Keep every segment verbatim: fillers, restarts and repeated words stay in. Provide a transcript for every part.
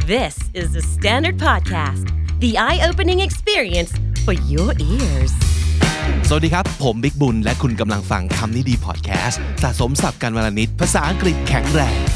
This is the Standard Podcast, the eye-opening experience for your ears. สวัสดีครับผมบิ๊กบุญและคุณกำลังฟังคำนี้ดีพอดแคสต์สะสมศัพท์กันวลนิดภาษาอังกฤษแข็งแรง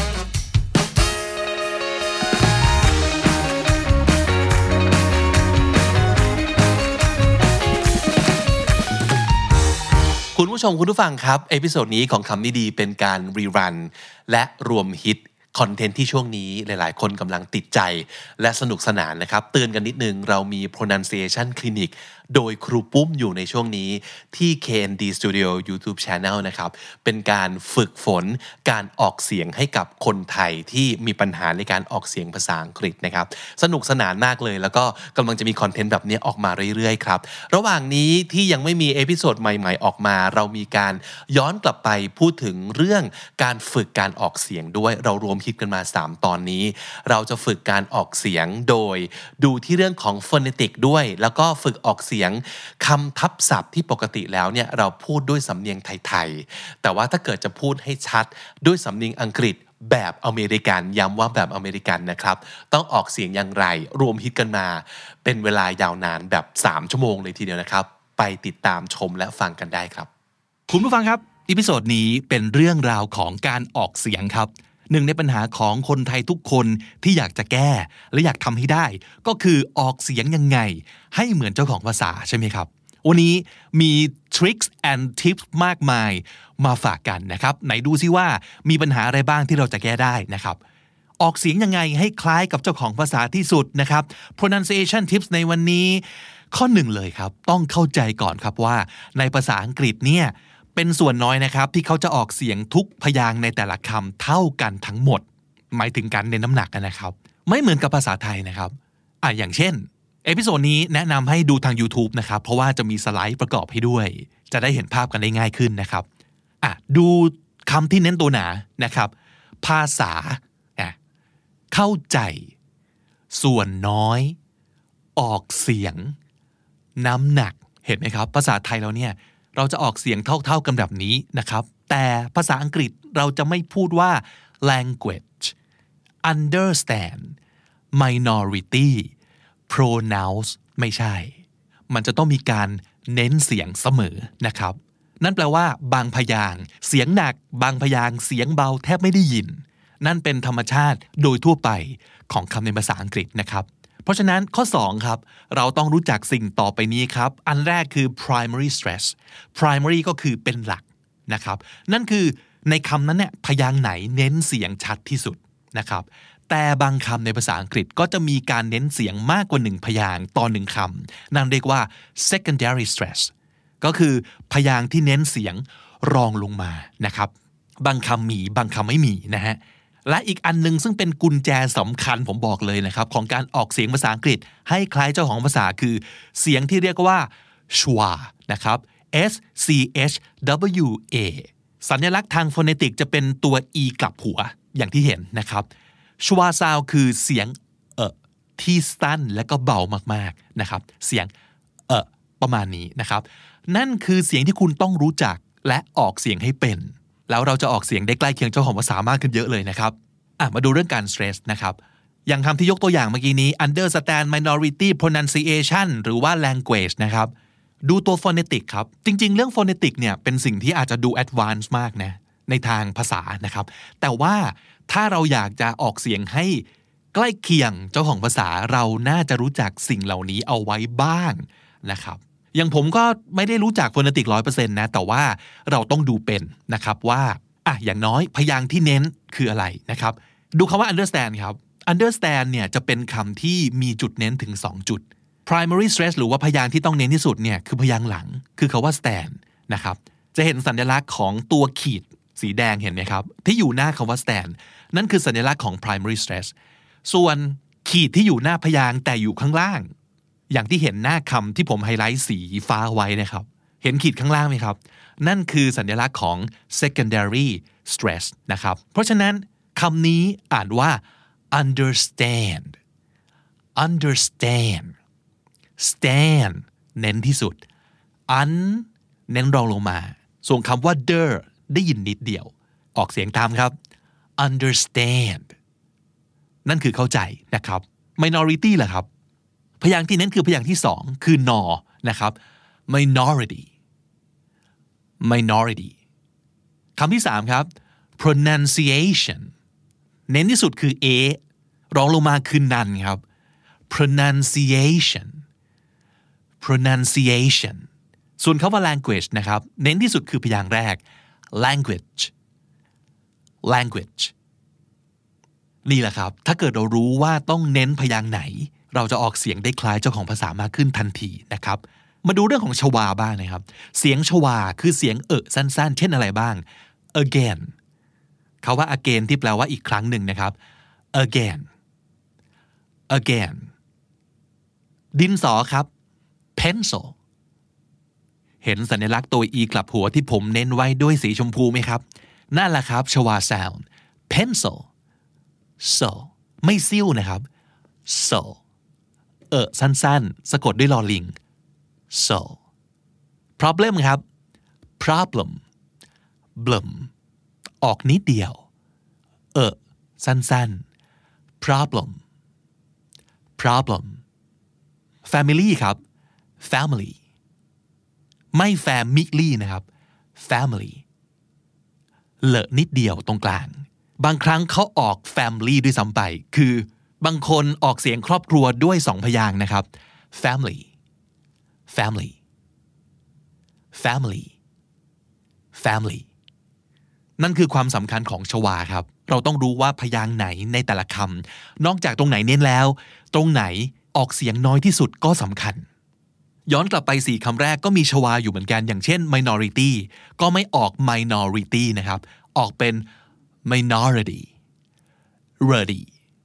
คุณผู้ชมคุณผู้ฟังครับเอพิโซดนี้ของคำนี้ดีเป็นการรีรันและรวมฮิตคอนเทนต์ที่ช่วงนี้หลายๆคนกำลังติดใจและสนุกสนานนะครับเตือนกันนิดนึงเรามี pronunciation clinic โดยครูปุ้มอยู่ในช่วงนี้ที่ เค เอ็น ดี Studio YouTube Channel นะครับเป็นการฝึกฝนการออกเสียงให้กับคนไทยที่มีปัญหาในการออกเสียงภาษาอังกฤษนะครับสนุกสนานมากเลยแล้วก็กำลังจะมีคอนเทนต์แบบนี้ออกมาเรื่อยๆครับระหว่างนี้ที่ยังไม่มีเอพิโซดใหม่ๆออกมาเรามีการย้อนกลับไปพูดถึงเรื่องการฝึกการออกเสียงด้วยเรารวมคิดกันมาสามตอนนี้เราจะฝึกการออกเสียงโดยดูที่เรื่องของ phonetic ด้วยแล้วก็ฝึกออกเสียงคำทับศัพท์ที่ปกติแล้วเนี่ยเราพูดด้วยสำเนียงไทยๆแต่ว่าถ้าเกิดจะพูดให้ชัดด้วยสำเนียงอังกฤษแบบอเมริกันย้ำว่าแบบอเมริกันนะครับต้องออกเสียงอย่างไรรวมฮิตกันมาเป็นเวลายาวนานแบบสามชั่วโมงเลยทีเดียวนะครับไปติดตามชมและฟังกันได้ครับคุณผู้ฟังครับอีพิโซดนี้เป็นเรื่องราวของการออกเสียงครับหนึ่งในปัญหาของคนไทยทุกคนที่อยากจะแก้และอยากทำให้ได้ก็คือออกเสียงยังไงให้เหมือนเจ้าของภาษาใช่ไหมครับวันนี้มี tricks and tips มากมายมาฝากกันนะครับไหนดูซิว่ามีปัญหาอะไรบ้างที่เราจะแก้ได้นะครับออกเสียงยังไงให้คล้ายกับเจ้าของภาษาที่สุดนะครับ pronunciation tips ในวันนี้ข้อหนึ่งเลยครับต้องเข้าใจก่อนครับว่าในภาษาอังกฤษเนี่ยเป็นส่วนน้อยนะครับที่เขาจะออกเสียงทุกพยางค์ในแต่ละคำเท่ากันทั้งหมดหมายถึงการเน้นน้ำหนักนะครับไม่เหมือนกับภาษาไทยนะครับอ่ะอย่างเช่นเอพิโซดนี้แนะนำให้ดูทาง YouTube นะครับเพราะว่าจะมีสไลด์ประกอบให้ด้วยจะได้เห็นภาพกันได้ง่ายขึ้นนะครับอ่ะดูคำที่เน้นตัวหนานะครับภาษาอ่ะเข้าใจส่วนน้อยออกเสียงน้ำหนักเห็นไหมครับภาษาไทยเราเนี่ยเราจะออกเสียงเท่าๆกันแบบนี้นะครับแต่ภาษาอังกฤษเราจะไม่พูดว่า language understand minority pronounce ไม่ใช่มันจะต้องมีการเน้นเสียงเสมอนะครับนั่นแปลว่าบางพยางค์เสียงหนักบางพยางค์เสียงเบาแทบไม่ได้ยินนั่นเป็นธรรมชาติโดยทั่วไปของคำในภาษาอังกฤษนะครับเพราะฉะนั้นข้อสองครับเราต้องรู้จักสิ่งต่อไปนี้ครับอันแรกคือ primary stress primary ก็คือเป็นหลักนะครับนั่นคือในคำนั้นเนี่ยพยางค์ไหนเน้นเสียงชัดที่สุดนะครับแต่บางคำในภาษาอังกฤษก็จะมีการเน้นเสียงมากกว่าหนึ่งพยางค์ต่อหนึ่งคำนั่นเรียกว่า secondary stress ก็คือพยางค์ที่เน้นเสียงรองลงมานะครับบางคำมีบางคำไม่มีนะฮะและอีกอันนึงซึ่งเป็นกุญแจสำคัญผมบอกเลยนะครับของการออกเสียงภาษาอังกฤษให้คล้ายเจ้าของภาษาคือเสียงที่เรียกว่า schwa นะครับ S C H W A สัญลักษณ์ทางโฟเนติกจะเป็นตัว e กลับหัวอย่างที่เห็นนะครับ schwa sound คือเสียงเอ่อที่สั้นและก็เบามากๆนะครับเสียงเอ่อประมาณนี้นะครับนั่นคือเสียงที่คุณต้องรู้จักและออกเสียงให้เป็นแล้วเราจะออกเสียงได้ใกล้เคียงเจ้าของภาษามากขึ้นเยอะเลยนะครับอ่ะมาดูเรื่องการ stress นะครับอย่างคำที่ยกตัวอย่างเมื่อกี้นี้ understand minority pronunciation หรือว่า language นะครับดูตัว phonetic ครับจริงๆเรื่อง phonetic เนี่ยเป็นสิ่งที่อาจจะดู advanced มากนะในทางภาษานะครับแต่ว่าถ้าเราอยากจะออกเสียงให้ใกล้เคียงเจ้าของภาษาเราน่าจะรู้จักสิ่งเหล่านี้เอาไว้บ้างนะครับอย่างผมก็ไม่ได้รู้จัก phonetic ร้อยเปอร์เซ็นต์ นะแต่ว่าเราต้องดูเป็นนะครับว่าอ่ะอย่างน้อยพยางค์ที่เน้นคืออะไรนะครับดูคำว่า understand ครับ understand เนี่ยจะเป็นคำที่มีจุดเน้นถึงสองจุด primary stress หรือว่าพยางค์ที่ต้องเน้นที่สุดเนี่ยคือพยางค์หลังคือคำว่า stand นะครับจะเห็นสัญลักษณ์ของตัวขีดสีแดงเห็นไหมครับที่อยู่หน้าคำว่า stand นั่นคือสัญลักษณ์ของ primary stress ส่วนขีดที่อยู่หน้าพยางค์แต่อยู่ข้างล่างอย่างที่เห็นหน้าคำที่ผมไฮไลท์สีฟ้าไว้นะครับเห็นขีดข้างล่างไหมครับนั่นคือสัญลักษณ์ของ secondary stress นะครับเพราะฉะนั้นคำนี้อ่านว่า understand understand stand เน้นที่สุด un เน้นรองลงมาส่วนคำว่า der ได้ยินนิดเดียวออกเสียงตามครับ understand นั่นคือเข้าใจนะครับ minority ล่ะครับพยางค์ที่เน้นคือพยางค์ที่สองคือนอนะครับ minority minority คำที่สามครับ pronunciation เน้นที่สุดคือ a รองลงมาคือนันครับ pronunciation pronunciation ส่วนคำว่า language นะครับเน้นที่สุดคือพยางค์แรก language language นี่แหละครับถ้าเกิดเรารู้ว่าต้องเน้นพยางค์ไหนเราจะออกเสียงได้คล้ายเจ้าของภาษามากขึ้นทันทีนะครับมาดูเรื่องของชวาบ้างนะครับเสียงชวาคือเสียงเอะสั้นๆเช่นอะไรบ้าง again คำว่า again ที่แปลว่าอีกครั้งหนึ่งนะครับ again again ดินสอครับ pencil เห็นสัญลักษณ์ตัว e กลับหัวที่ผมเน้นไว้ด้วยสีชมพูไหมครับนั่นแหละครับชวา sound pencil so ไม่ซิ่วนะครับ so เออสั้นๆสะกดด้วยลอลิง so problem ครับ problem blum ออกนิดเดียวเออสั้นๆ problem problem family ครับ family ไม่ family นะครับ family เลอะนิดเดียวตรงกลางบางครั้งเขาออก family ด้วยซ้ำไปคือบางคนออกเสียงครอบครัวด้วยสองพยางค์นะครับ family family family family นั่นคือความสำคัญของชวาครับเราต้องรู้ว่าพยางค์ไหนในแต่ละคำนอกจากตรงไหนเน้นแล้วตรงไหนออกเสียงน้อยที่สุดก็สำคัญย้อนกลับไปสี่คำแรกก็มีชวาอยู่เหมือนกันอย่างเช่น minority ก็ไม่ออก minority นะครับออกเป็น minority ready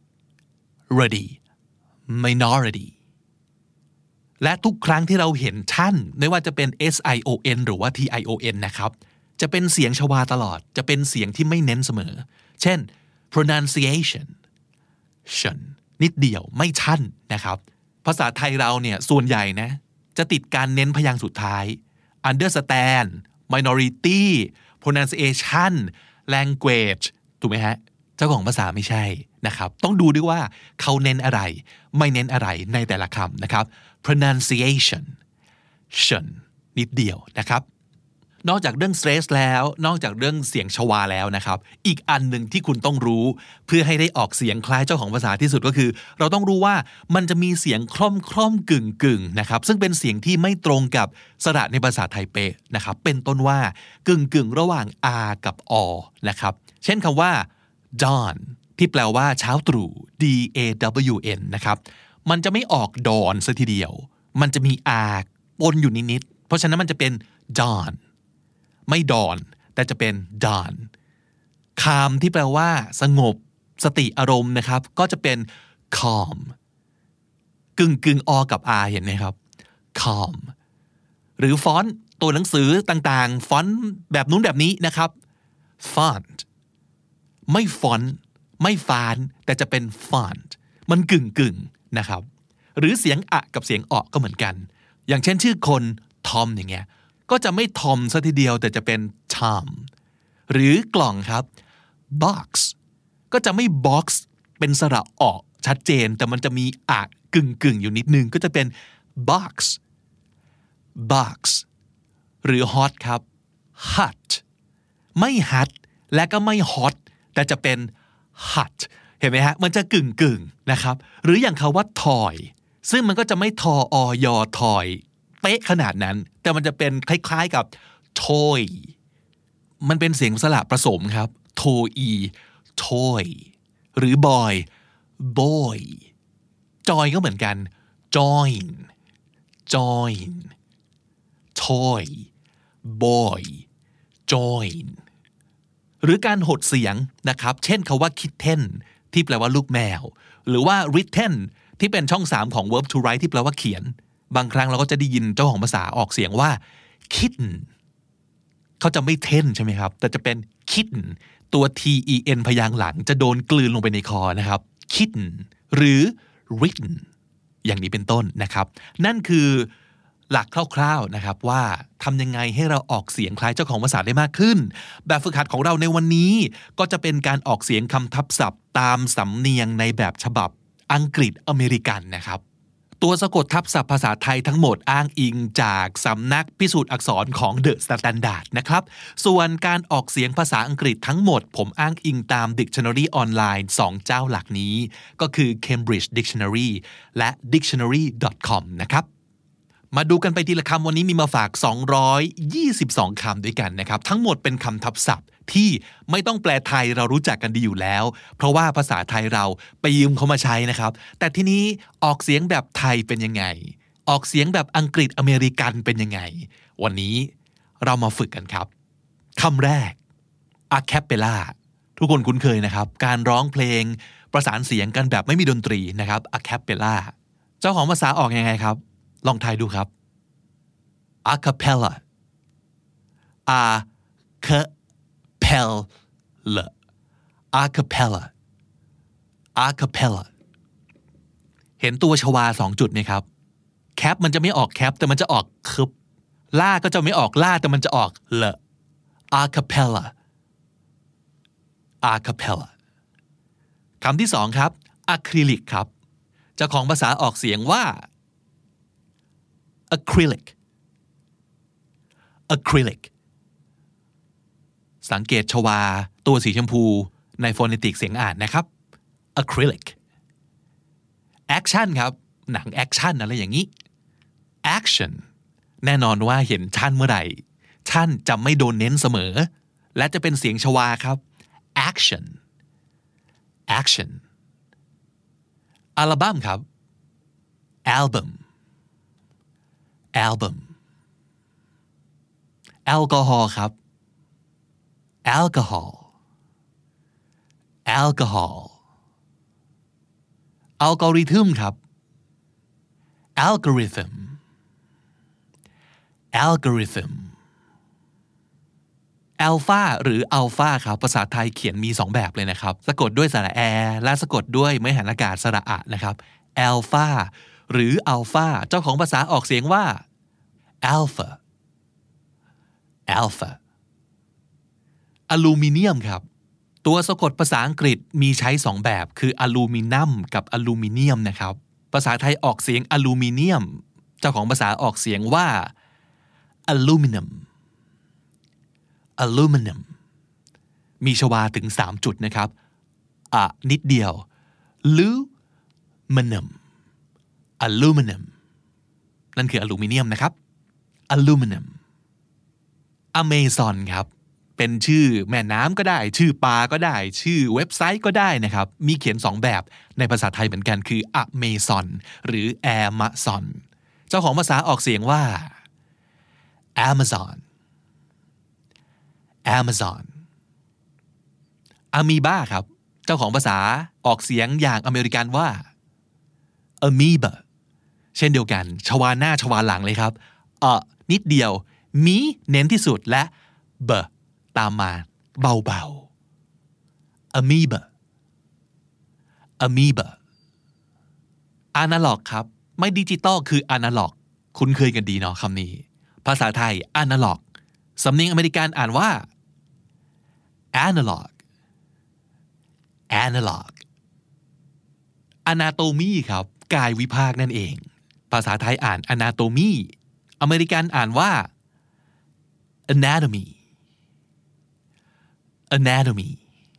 ready minority และทุกครั้งที่เราเห็นท่านไม่ว่าจะเป็น sion หรือว่า tion นะครับจะเป็นเสียงชวาตลอดจะเป็นเสียงที่ไม่เน้นเสมอเช่น pronunciation ชันนิดเดียวไม่ชันนะครับภาษาไทยเราเนี่ยส่วนใหญ่นะจะติดการเน้นพยางค์สุดท้าย understand minority pronunciation language ถูกไหมฮะเจ้าของภาษาไม่ใช่นะครับต้องดูด้วยว่าเขาเน้นอะไรไม่เน้นอะไรในแต่ละคำนะครับ pronunciation ชันนิดเดียวนะครับนอกจากเรื่อง stress แล้วนอกจากเรื่องเสียงชวาแล้วนะครับอีกอันหนึ่งที่คุณต้องรู้เพื่อให้ได้ออกเสียงคล้ายเจ้าของภาษาที่สุดก็คือเราต้องรู้ว่ามันจะมีเสียงคล่อมคล่อมกึ่งกึ่งนะครับซึ่งเป็นเสียงที่ไม่ตรงกับสระในภาษาไทยเป๊ะนะครับเป็นต้นว่ากึ่งกึ่งระหว่าง r กับ o นะครับเช่นคำว่า dawn ที่แปลว่าเช้าตรู่ d a w n นะครับมันจะไม่ออก dawn ซะทีเดียวมันจะมี r ปนอยู่นิดๆเพราะฉะนั้นมันจะเป็น dawnไม่ดอนแต่จะเป็นดอนคามที่แปลว่าสงบสติอารมณ์นะครับก็จะเป็น calm กึ่งกึ่งอกับ r เห็นไหมครับ calm หรือฟอนต์ตัวหนังสือต่างๆฟอนต์แบบนู้นแบบนี้นะครับ font ไม่ฟอนต์ไม่ฟานแต่จะเป็น font มันกึ่งกึ่งนะครับหรือเสียงอะกับเสียงอก็เหมือนกันอย่างเช่นชื่อคนทอมอย่างเงี้ยก็จะไม่ทอมซะทีเดียวแต่จะเป็น Tom หรือกล่องครับ box ก็จะไม่ box เป็นสระออกชัดเจนแต่มันจะมีอะกึ่งกึ่งอยู่นิดนึงก็จะเป็น box box หรือ hot ครับ hot ไม่ hot และก็ไม่ hot แต่จะเป็น hot เห็นไหมฮะมันจะกึ่งกึ่งนะครับหรืออย่างคำว่า toy ซึ่งมันก็จะไม่ทออยอ toyเป๊ะขนาดนั้นแต่มันจะเป็นคล้ายๆกับ toy มันเป็นเสียงสระผสมครับ toy toy หรือ boy boy joy ก็เหมือนกัน join join toy boy join หรือการหดเสียงนะครับเช่นคำว่า kitten ที่แปลว่าลูกแมวหรือว่า written ที่เป็นช่องสามของ verb to write ที่แปลว่าเขียนบางครั้งเราก็จะได้ยินเจ้าของภาษาออกเสียงว่า kitten เขาจะไม่เท่นใช่ไหมครับแต่จะเป็น kitten ตัว ten พยางค์หลังจะโดนกลืนลงไปในคอนะครับ kitten หรือ written อย่างนี้เป็นต้นนะครับนั่นคือหลักคร่าวๆนะครับว่าทำยังไงให้เราออกเสียงคล้ายเจ้าของภาษาได้มากขึ้นแบบฝึกหัดของเราในวันนี้ก็จะเป็นการออกเสียงคำทับศัพท์ตามสำเนียงในแบบฉบับอังกฤษอเมริกันนะครับตัวสะกดทับศัพท์ภาษาไทยทั้งหมดอ้างอิงจากสำนักพิสูจน์อักษรของ The Standard นะครับส่วนการออกเสียงภาษาอังกฤษทั้งหมดผมอ้างอิงตาม Dictionary ออนไลน์สองเจ้าหลักนี้ก็คือ Cambridge Dictionary และ ดิกชันนารี ดอท คอม นะครับมาดูกันไปทีละคำวันนี้มีมาฝากสองร้อยยี่สิบสองคำด้วยกันนะครับทั้งหมดเป็นคำทับศัพท์ที่ไม่ต้องแปลไทยเรารู้จักกันดีอยู่แล้วเพราะว่าภาษาไทยเราไปยืมเขามาใช้นะครับแต่ทีนี้ออกเสียงแบบไทยเป็นยังไงออกเสียงแบบอังกฤษอเมริกันเป็นยังไงวันนี้เรามาฝึกกันครับคำแรก a cappella ทุกคนคุ้นเคยนะครับการร้องเพลงประสานเสียงกันแบบไม่มีดนตรีนะครับ a cappella เจ้าของภาษาออกยังไงครับลองทายดูครับ a cappella a cappella a cappella a cappella เห็นตัวชวาสองจุดไหมครับแคปมันจะไม่ออกแคปแต่มันจะออกคึบล่าก็จะไม่ออกล่าแต่มันจะออกเล a cappella a cappella คำที่สองครับอะคริลิกครับเจ้าของภาษาออกเสียงว่า acrylic acrylic สังเกตชวาตัวสีชมพูในโฟเนติกเสียงอ่านนะครับ acrylic action ครับหนังแอคชั่นอะไรอย่างนี้ action แน่นอนว่าเห็นชั่นเมื่อไหร่ชั่นจะไม่โดนเน้นเสมอและจะเป็นเสียงชวาครับ action action อัลบั้มครับ album album แอลกอฮอล์ครับ alcohol alcohol อัลกอริทึมครับ algorithm algorithm อัลฟาหรืออัลฟาครับภาษาไทยเขียนมีสองแบบเลยนะครับสะกดด้วยสระแอและสะกดด้วยไม้หันอากาศสระอะนะครับอัลฟาหรืออัลฟาเจ้าของภาษาออกเสียงว่า alpha alpha อลูมิเนียมครับตัวสะกดภาษาอังกฤษมีใช้สองแบบคืออลูมิเนียมกับอลูมิเนียมนะครับภาษาไทยออกเสียงอลูมิเนียมเจ้าของภาษาออกเสียงว่า aluminum aluminum มีชวาถึงสามจุดนะครับอะนิดเดียว aluminum aluminum นั่นคืออลูมิเนียมนะครับ aluminum Amazon ครับเป็นชื่อแม่น้ำก็ได้ชื่อปลาก็ได้ชื่อเว็บไซต์ก็ได้นะครับมีเขียนสองแบบในภาษาไทยเหมือนกันคือ Amazon หรือ Amazon เจ้าของภาษาออกเสียงว่า Amazon Amazon Amoeba ครับเจ้าของภาษาออกเสียงอย่างอเมริกันว่า Amoeba เช่นเดียวกันชวาหน้าชวาหลังเลยครับเอ่อนิดเดียวมีเน้นที่สุดและเบตามมาเบาๆ amoeba amoeba analog ครับไม่ดิจิตอลคือ analog คุ้นเคยกันดีเนาะคำนี้ภาษาไทย analog สำเนียงอเมริกันอ่านว่า analog analog anatomy ครับกายวิภาคนั่นเองภาษาไทยอ่าน anatomy อเมริกันอ่านว่า anatomy anatomy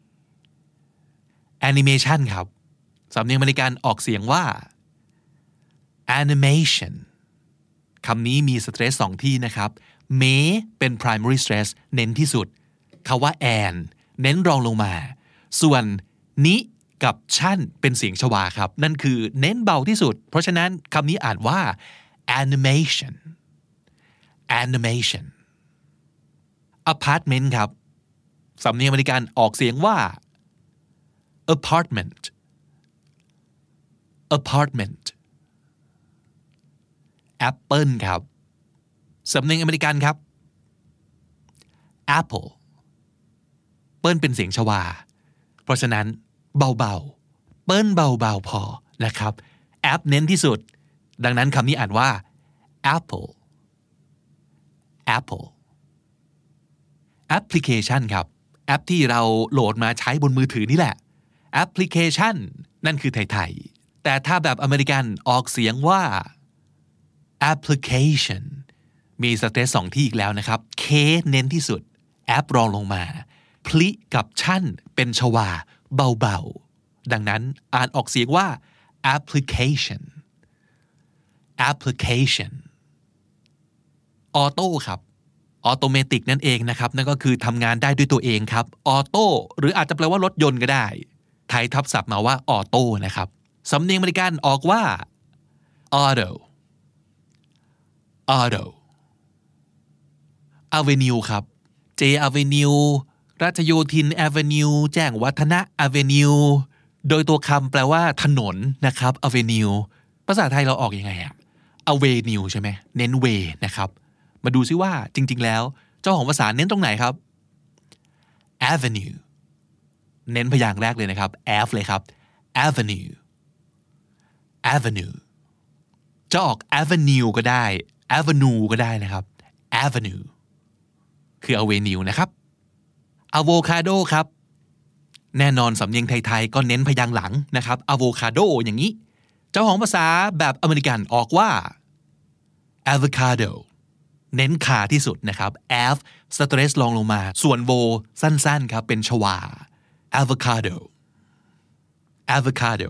animation ครับสำเนียงอเมริกันออกเสียงว่า animation คำนี้มีสเตรสสองที่นะครับเมเป็น primary stress เน้นที่สุดคำว่า an เน้นรองลงมาส่วนนิกับชั่นเป็นเสียงชวาครับนั่นคือเน้นเบาที่สุดเพราะฉะนั้นคำนี้อ่านว่า animation animation apartment ครับสำเนียงอเมริกันออกเสียงว่า apartment apartment apple ครับสำเนียงอเมริกันครับ apple เปิ้ลเป็นเสียงชวาเพราะฉะนั้นเบาๆเปิ้ลเบาๆพอนะครับ app เน้นที่สุดดังนั้นคำนี้อ่านว่า apple apple application ครับแอปที่เราโหลดมาใช้บนมือถือนี่แหละ application นั่นคือไทยๆแต่ถ้าแบบอเมริกันออกเสียงว่า application มีสเตรสสองที่อีกแล้วนะครับ K เน้นที่สุดแอปรองลงมาพลิกับชั่นเป็นชวาเบาๆดังนั้นอ่านออกเสียงว่า application application ออโต้ครับออโตเมติกนั่นเองนะครับนั่นก็คือทำงานได้ด้วยตัวเองครับออโต้หรืออาจจะแปลว่ารถยนต์ก็ได้ไทยทับศัพท์มาว่าออโต้นะครับสำเนียงอเมริกันออกว่า auto auto avenue ครับ J avenue ราชโยธิน avenue แจ้งวัฒนะ avenue โดยตัวคำแปลว่าถนนนะครับ avenue ภาษาไทยเราออกยังไงอะ avenue ใช่ไหมเน้น way นะครับมาดูซิว่าจริงๆแล้วเจ้าของภาษาเน้นตรงไหนครับ avenue เน้นพยางค์แรกเลยนะครับ F เลยครับ avenue avenue จะออก avenue ก็ได้ avenue ก็ได้นะครับ avenue คือ avenue นะครับ avocado ครับแน่นอนสำเนียงไทยๆก็เน้นพยางค์หลังนะครับ avocado อย่างนี้เจ้าของภาษาแบบอเมริกันออกว่า avocado เน้นขาที่สุดนะครับ f สเตรสลองลงมาส่วน vo สั้นๆครับเป็นชวา avocado avocado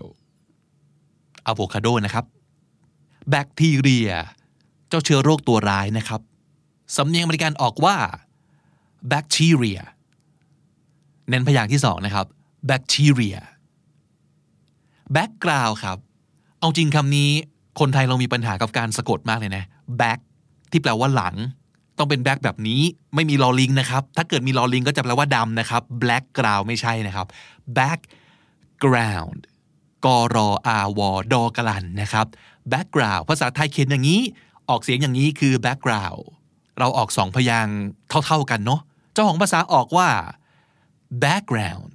avocado นะครับแบคทีเรียเจ้าเชื้อโรคตัวร้ายนะครับสำเนียงอเมริกันออกว่า bacteria เน้นพยางค์ที่สองนะครับ bacteria background ครับเอาจริงคำนี้คนไทยเรามีปัญหากับการสะกดมากเลยนะ back ที่แปลว่าหลังต้องเป็น back แบบนี้ไม่มีลอลิงนะครับถ้าเกิดมีลอลิงก็จะแปลว่าดำนะครับ black ground ไม่ใช่นะครับ background กรออาวอดอกลันนะครับ background ภาษาไทยเขียนอย่างนี้ออกเสียงอย่างนี้คือ background เราออกสองพยางค์เท่าๆกันเนาะเจ้าของภาษาออกว่า background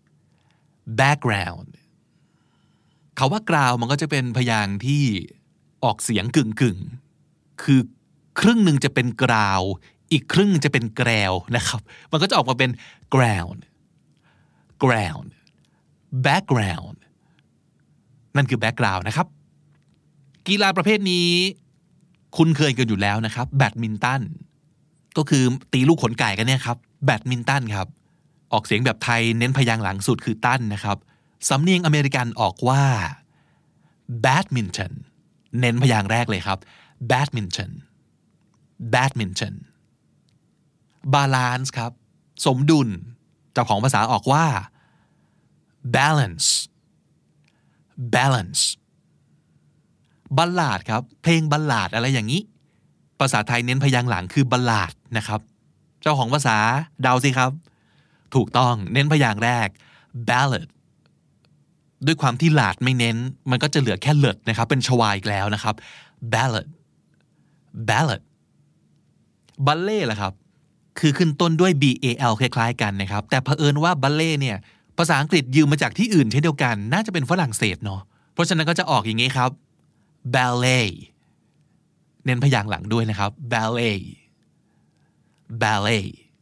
background คำว่ากราวมันก็จะเป็นพยางค์ที่ออกเสียงกึ่งๆคือครึ่งหนึ่งจะเป็นกราวอีกครึ่งจะเป็นแกรวนะครับมันก็จะออกมาเป็น ground ground background นั่นคือ background นะครับกีฬาประเภทนี้คุ้นเคยกันอยู่แล้วนะครับแบดมินตันก็คือตีลูกขนไก่กันเนี่ยครับแบดมินตันครับออกเสียงแบบไทยเน้นพยางค์หลังสุดคือตั้นนะครับสำเนียงอเมริกันออกว่า badminton เน้นพยางค์แรกเลยครับ badminton badminton balance ครับสมดุลเจ้าของภาษาออกว่า balance balance บัลลาดครับเพลงบัลลาดอะไรอย่างนี้ภาษาไทยเน้นพยางค์หลังคือบัลลาดนะครับเจ้าของภาษาเดาสิครับถูกต้องเน้นพยางค์แรก ballad ด้วยความที่หลาดไม่เน้นมันก็จะเหลือแค่เลิดนะครับเป็นชวาอีกแล้วนะครับ ballad ballad บัลเล่ล่ะครับคือขึ้นต้นด้วย b a l คล้ายๆกันนะครับแต่เผอิญว่าบัลเล่เนี่ยภาษาอังกฤษยืมมาจากที่อื่นเช่นเดียวกันน่าจะเป็นฝรั่งเศสเนาะเพราะฉะนั้นก็จะออกอย่างนี้ครับ ballet เน้นพยางค์หลังด้วยนะครับ ballet ballet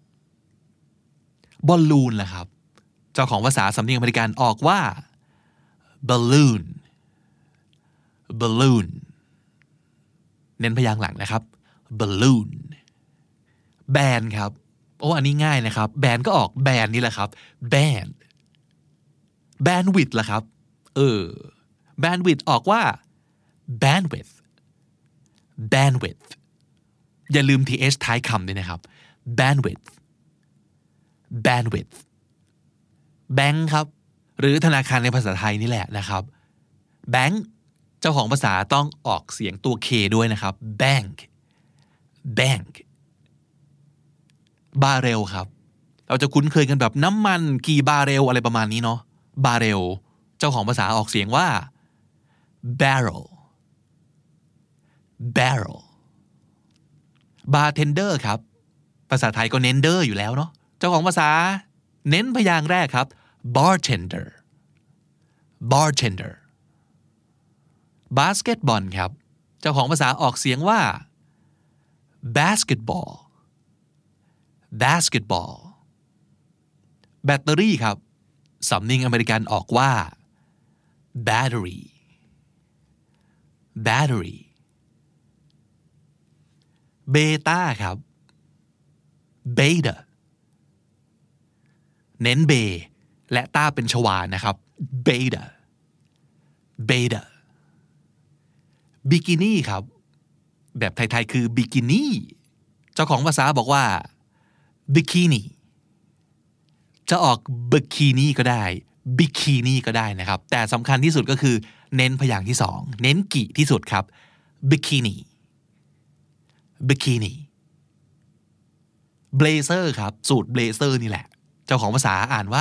บอลลูนล่ะครับเจ้าของภาษาสำเนียงอเมริกันออกว่า balloon balloon เน้นพยางค์หลังนะครับ balloon แบนครับโอ้อันนี้ง่ายนะครับแบนก็ออกแบนนี่แหละครับ band bandwidth ล่ะครับเออ bandwidth ออกว่า bandwidth bandwidth อย่าลืม th ท้ายคำด้วยนะครับ bandwidth bandwidth แบงค์ครับหรือธนาคารในภาษาไทยนี่แหละนะครับแบงค์เจ้าของภาษาต้องออกเสียงตัว K ด้วยนะครับ bank bank บาร์เรลครับเราจะคุ้นเคยกันแบบน้ำมันกี่บาร์เรลอะไรประมาณนี้เนาะบาร์เรลเจ้าของภาษาออกเสียงว่า barrel barrel bartender ครับภาษาไทยก็เน้นเดอร์อยู่แล้วเนาะเจ้าของภาษาเน้นพยางค์แรกครับ bartender bartender basketball ครับเจ้าของภาษาออกเสียงว่า basketball basketball แบตเตอรี่ครับสำเนียงอเมริกันออกว่า battery battery เบต้าครับ beta เน้นเบและต้าเป็นชวานะครับ beta beta บิกินี่ครับแบบไทยๆคือบิกินี่เจ้าของภาษาบอกว่า bikini จะออกบิกินี่ก็ได้บิกินี่ก็ได้นะครับแต่สำคัญที่สุดก็คือเน้นพยางค์ที่สองเน้นกิที่สุดครับ bikini bikini blazer ครับสูตร blazer นี่แหละเจ้าของภาษาอ่านว่า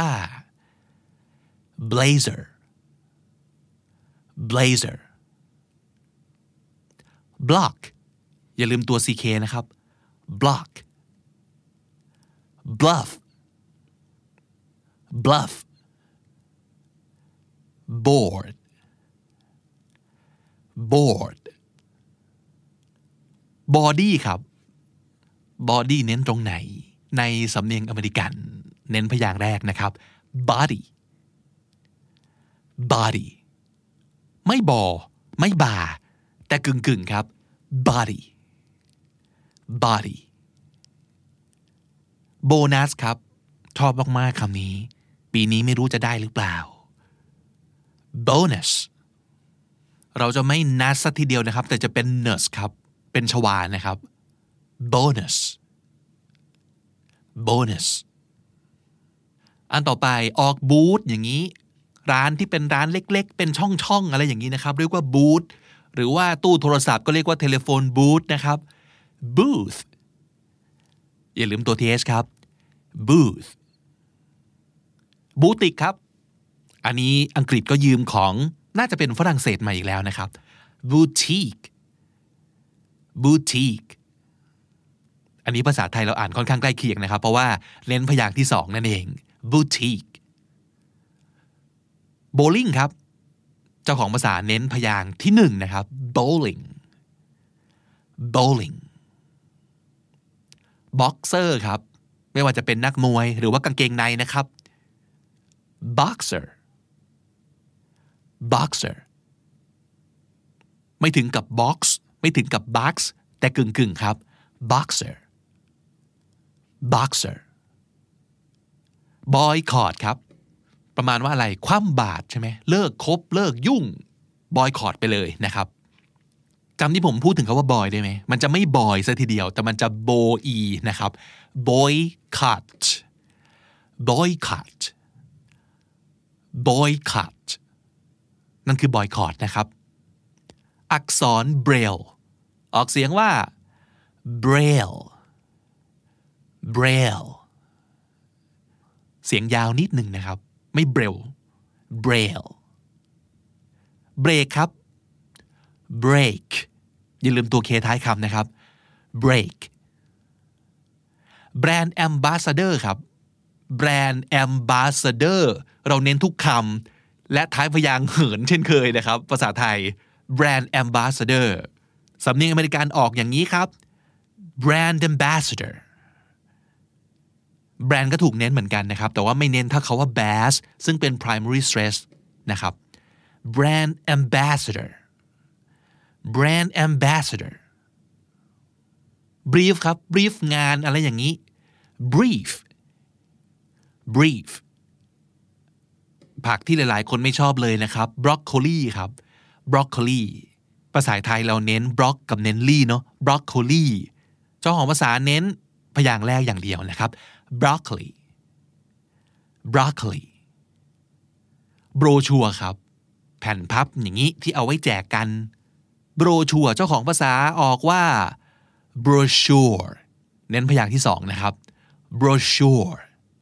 blazer blazer block อย่าลืมตัว ck นะครับ block bluff bluff board board body ครับ body เน้นตรงไหนในสำเนียงอเมริกันเน้นพยางค์แรกนะครับ body body ไม่บอไม่บาแต่กึ่งๆครับ body body bonus ครับชอบมากๆคำนี้ปีนี้ไม่รู้จะได้หรือเปล่า bonus เราจะไม่นัสสักทีเดียวนะครับแต่จะเป็น nurse ครับเป็นชวานะครับ bonus bonus อันต่อไปออกบูธอย่างนี้ร้านที่เป็นร้านเล็กๆเป็นช่องๆอะไรอย่างนี้นะครับเรียกว่าบูธหรือว่าตู้โทรศัพท์ก็เรียกว่าเทเลโฟนบูธนะครับ booth อย่าลืมตัว th ครับ booth บูติกครับอันนี้อังกฤษก็ยืมของน่าจะเป็นฝรั่งเศสมาอีกแล้วนะครับ boutique boutique อันนี้ภาษาไทยเราอ่านค่อนข้างใกล้เคียงนะครับเพราะว่าเน้นพยางค์ที่สองนั่นเอง boutique bowling ครับเจ้าของภาษาเน้นพยางค์ที่หนึ่งนะครับ bowling bowling boxer ครับไม่ว่าจะเป็นนักมวยหรือว่ากางเกงในนะครับ boxer boxer ไม่ถึงกับ box ไม่ถึงกับ box แต่กึ่งๆครับ boxer boxer boycott ครับประมาณว่าอะไรคว่ำบาตรใช่ไหมเลิกคบเลิกยุ่ง boycott ไปเลยนะครับจำที่ผมพูดถึงคำว่า boy ได้ไหมมันจะไม่ boy ซะทีเดียวแต่มันจะ boy นะครับ boycott boycott boycott นั่นคือ boycott นะครับอักษร braille ออกเสียงว่า braille braille เสียงยาวนิดหนึ่งนะครับไม่ braille braille break ครับ break อย่าลืมตัว k ท้ายคำนะครับ break brand ambassador ครับ brand ambassador เราเน้นทุกคำและท้ายพยางค์เหินเช่นเคยนะครับภาษาไทย brand ambassador สำเนียงอเมริกันออกอย่างนี้ครับ brand ambassador แบรนด์ก็ถูกเน้นเหมือนกันนะครับแต่ว่าไม่เน้นถ้าเขาว่า bass ซึ่งเป็น primary stress นะครับ brand ambassador brand ambassador brief ครับ brief งานอะไรอย่างนี้ brief brief ผักที่หลายๆคนไม่ชอบเลยนะครับ broccoli ครับ broccoli ภาษาไทยเราเน้น brock กับเน้นลี่เนาะ broccoli เจ้าของภาษาเน้นพยางค์แรกอย่างเดียวนะครับ broccoli broccoli โบรชัวร์ครับแผ่นพับอย่างนี้ที่เอาไว้แจกกันโบรชัวร์เจ้าของภาษาออกว่า brochure เน้นพยางค์ที่สองนะครับ brochure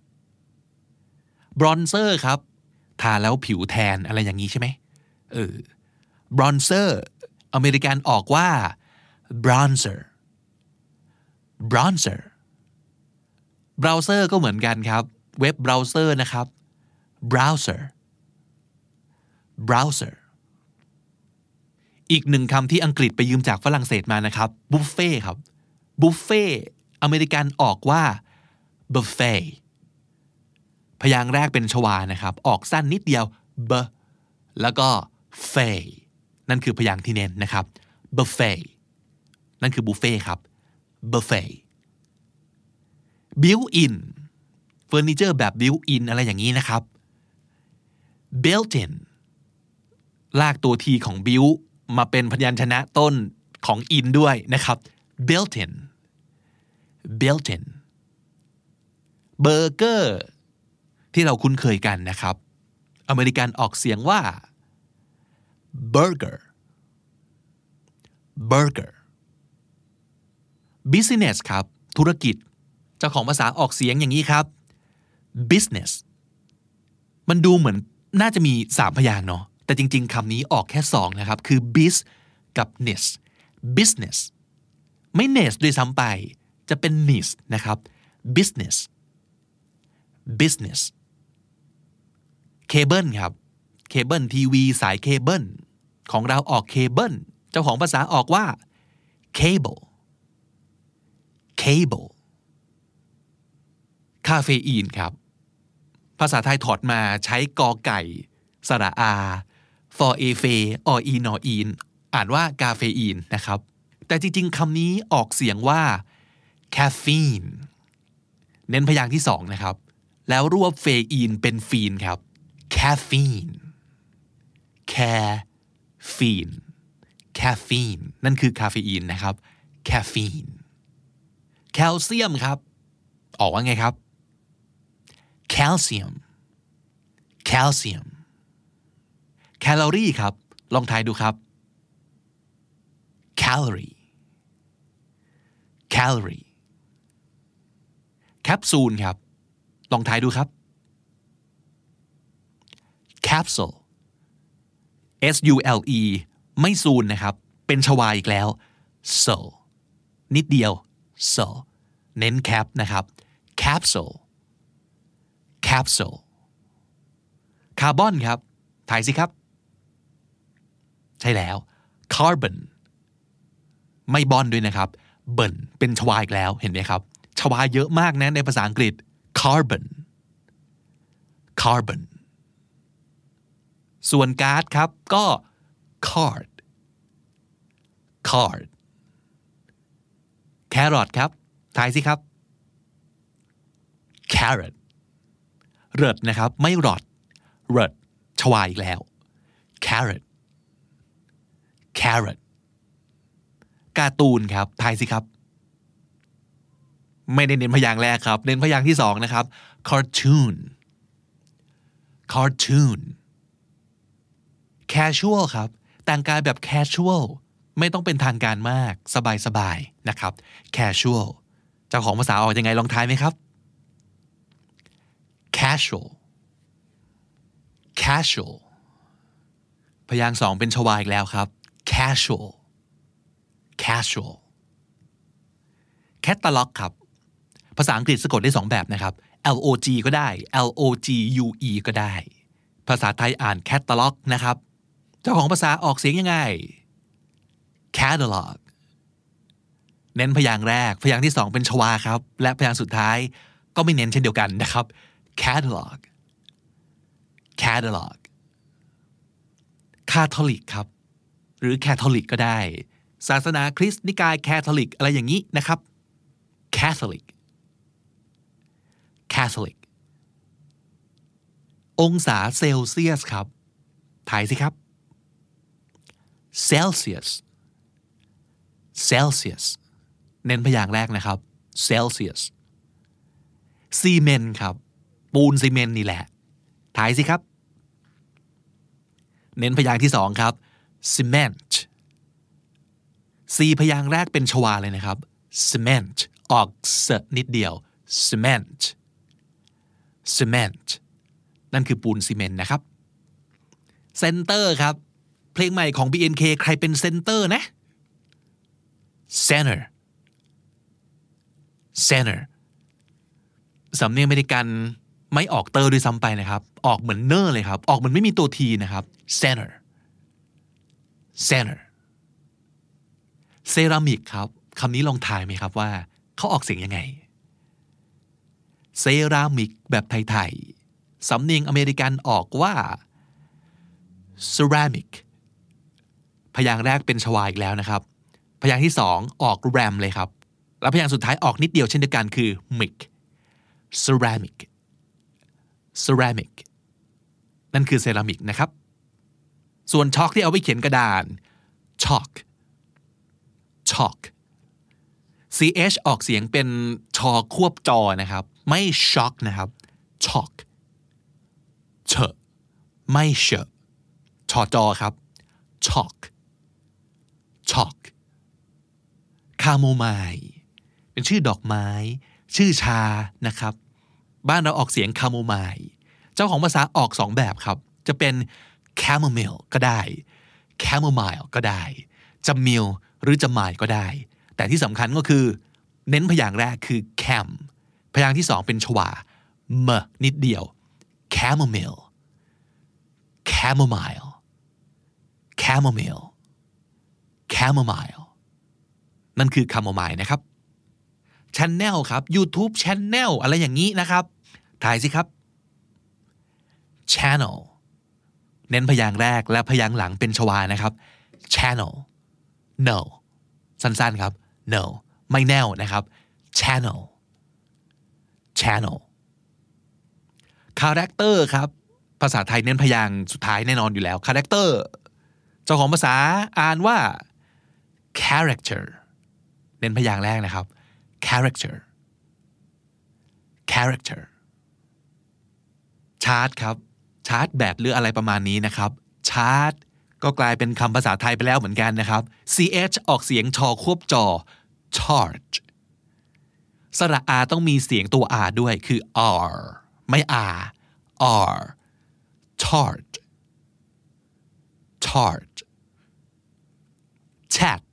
bronzer ครับทาแล้วผิวแทนอะไรอย่างนี้ใช่ไหมเออ bronzer อเมริกันออกว่า bronzer bronzer browser ก็เหมือนกันครับเว็บ browser นะครับ browser browser อีกหนึ่งคำที่อังกฤษไปยืมจากฝรั่งเศสมานะครับ buffet ครับ buffet อเมริกันออกว่า buffet พยางค์แรกเป็นชวานะครับออกสั้นนิดเดียว b แล้วก็ fay นั่นคือพยางค์ที่เน้นนะครับ buffet นั่นคือบุฟเฟ่ครับ buffet built in เฟอร์นิเจอร์แบบ built in อะไรอย่างนี้นะครับ built in ลากตัวทีของ built มาเป็นพยัญชนะต้นของ in ด้วยนะครับ built in built in เบอร์เกอร์ที่เราคุ้นเคยกันนะครับอเมริกันออกเสียงว่า burger burger business ครับธุรกิจเจ้าของภาษาออกเสียงอย่างนี้ครับ business มันดูเหมือนน่าจะมีสามพยางค์เนาะแต่จริงๆคำนี้ออกแค่สองนะครับคือ biz กับ ness business ไม่ ness ด้วยซ้ำไปจะเป็น ness นะครับ business business เคเบิลครับเคเบิลทีวีสายเคเบิลของเราออกเคเบิลเจ้าของภาษาออกว่า cable cable คาเฟอีนครับภาษาไทยถอดมาใช้กอไก่สระอา for a f ออีนออีนอ่านว่ากาเฟอีนนะครับแต่จริงๆคำนี้ออกเสียงว่า caffeine เน้นพยางค์ที่สองนะครับแล้วรวบเฟอีนเป็นฟีนครับ caffeine caffeine caffeine นั่นคือคาเฟอีนนะครับ caffeine แคลเซียมครับออกว่าไงครับ calcium calcium แคลอรี่ครับลองทายดูครับ calorie calorie แคปซูลครับลองทายดูครับ capsule s u l e ไม่ซูนนะครับเป็นชวาอีกแล้ว so นิดเดียว so เน้น cap นะครับ capsule capsule คาร์บอนครับถ่ายสิครับใช่แล้ว carbon ไม่บอนด้วยนะครับเบิร์นเป็นชวาอีกแล้วเห็นไหมครับชวาเยอะมากนะในภาษาอังกฤษ carbon carbon ส่วนการ์ดครับก็ card card แครอทครับทายสิครับ carrot เริดนะครับไม่รอดเริดชวาอีกแล้ว carrot carrot การ์ตูนครับทายสิครับไม่ได้เน้นพยางค์แรกครับเน้นพยางค์ที่สองนะครับ cartoon cartoon casual ครับแต่งกายแบบ casual ไม่ต้องเป็นทางการมากสบายๆนะครับ casual เจ้าของภาษาออกยังไงลองทายไหมครับ casual casual พยางค์สองเป็นชวาอีกแล้วครับ casual casual catalog ครับภาษาอังกฤษสะกดได้สองแบบนะครับ l o g ก็ได้ l o g u e ก็ได้ภาษาไทยอ่าน catalog นะครับเจ้าของภาษาออกเสียงยังไง catalog เน้นพยางค์แรกพยางค์ที่สองเป็นชวาครับและพยางค์สุดท้ายก็ไม่เน้นเช่นเดียวกันนะครับ catalog catalog catholic ครับหรือ catholic ก็ได้ศาสนาคริสต์นิกาย catholic อะไรอย่างนี้นะครับ catholic catholic องศาเซลเซียสครับถ่ายสิครับ celsius celsius เน้นพยางค์แรกนะครับ celsius ซีเมนต์ครับปูนซีเมนต์นี่แหละถ่ายสิครับเน้นพยางค์ที่สองครับ cement ซีพยางค์แรกเป็นชวาเลยนะครับ cement ออกเสนิดเดียว cement cement นั่นคือปูนซีเมนต์นะครับ center ครับเพลงใหม่ของ บี เอ็น เค ใครเป็น center นะ center center สำเนียงอเมริกันไม่ออกเตอร์ด้วยซ้ำไปนะครับออกเหมือนเนอร์เลยครับออกเหมือนไม่มีตัวทีนะครับ center center เซรามิกครับคำนี้ลองทายไหมครับว่าเขาออกเสียงยังไงเซรามิกแบบไทยๆสำเนียงอเมริกันออกว่า ceramic พยางค์แรกเป็นชวาอีกแล้วนะครับพยางค์ที่สองออกแรมเลยครับแล้วพยางค์สุดท้ายออกนิดเดียวเช่นเดียวกันคือ mic ceramic ceramic นั่นคือเซรามิกนะครับส่วนช็อกที่เอาไว้เขียนกระดาน chalk chalk ch ออกเสียงเป็นชอควบจอนะครับไม่ shock นะครับ chalk เชไม่เชชอจอครับ chalk chalk คาโมไมล์เป็นชื่อดอกไม้ชื่อชานะครับบ้านเราออกเสียงคาโมไมล์เจ้าของภาษาออกสองแบบครับจะเป็น chamomile ก็ได้ chamomile ก็ได้จะ mile หรือจะ mile ก็ได้แต่ที่สำคัญก็คือเน้นพยางค์แรกคือ cam พยางค์ที่สองเป็นชวา m นิดเดียว chamomile chamomile chamomile chamomile นั่นคือ chamomile นะครับ channel ครับ YouTube channel อะไรอย่างนี้นะครับทายสิครับ channel เน้นพยางค์แรกและพยางค์หลังเป็นชวานะครับ channel no สั้นๆครับ no ไม่แน่วนะครับ channel channel character ครับภาษาไทยเน้นพยางค์สุดท้ายแน่นอนอยู่แล้ว character เจ้าของภาษาอ่านว่า character เน้นพยางค์แรกนะครับ character character ชาร์ตครับชาร์ตแบตหรืออะไรประมาณนี้นะครับชาร์ตก็กลายเป็นคำภาษาไทยไปแล้วเหมือนกันนะครับ ch ออกเสียงชอควบจอ charge สระ r ต้องมีเสียงตัว r ด้วยคือ r ไม่ r r charge charge chat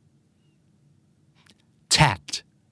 chat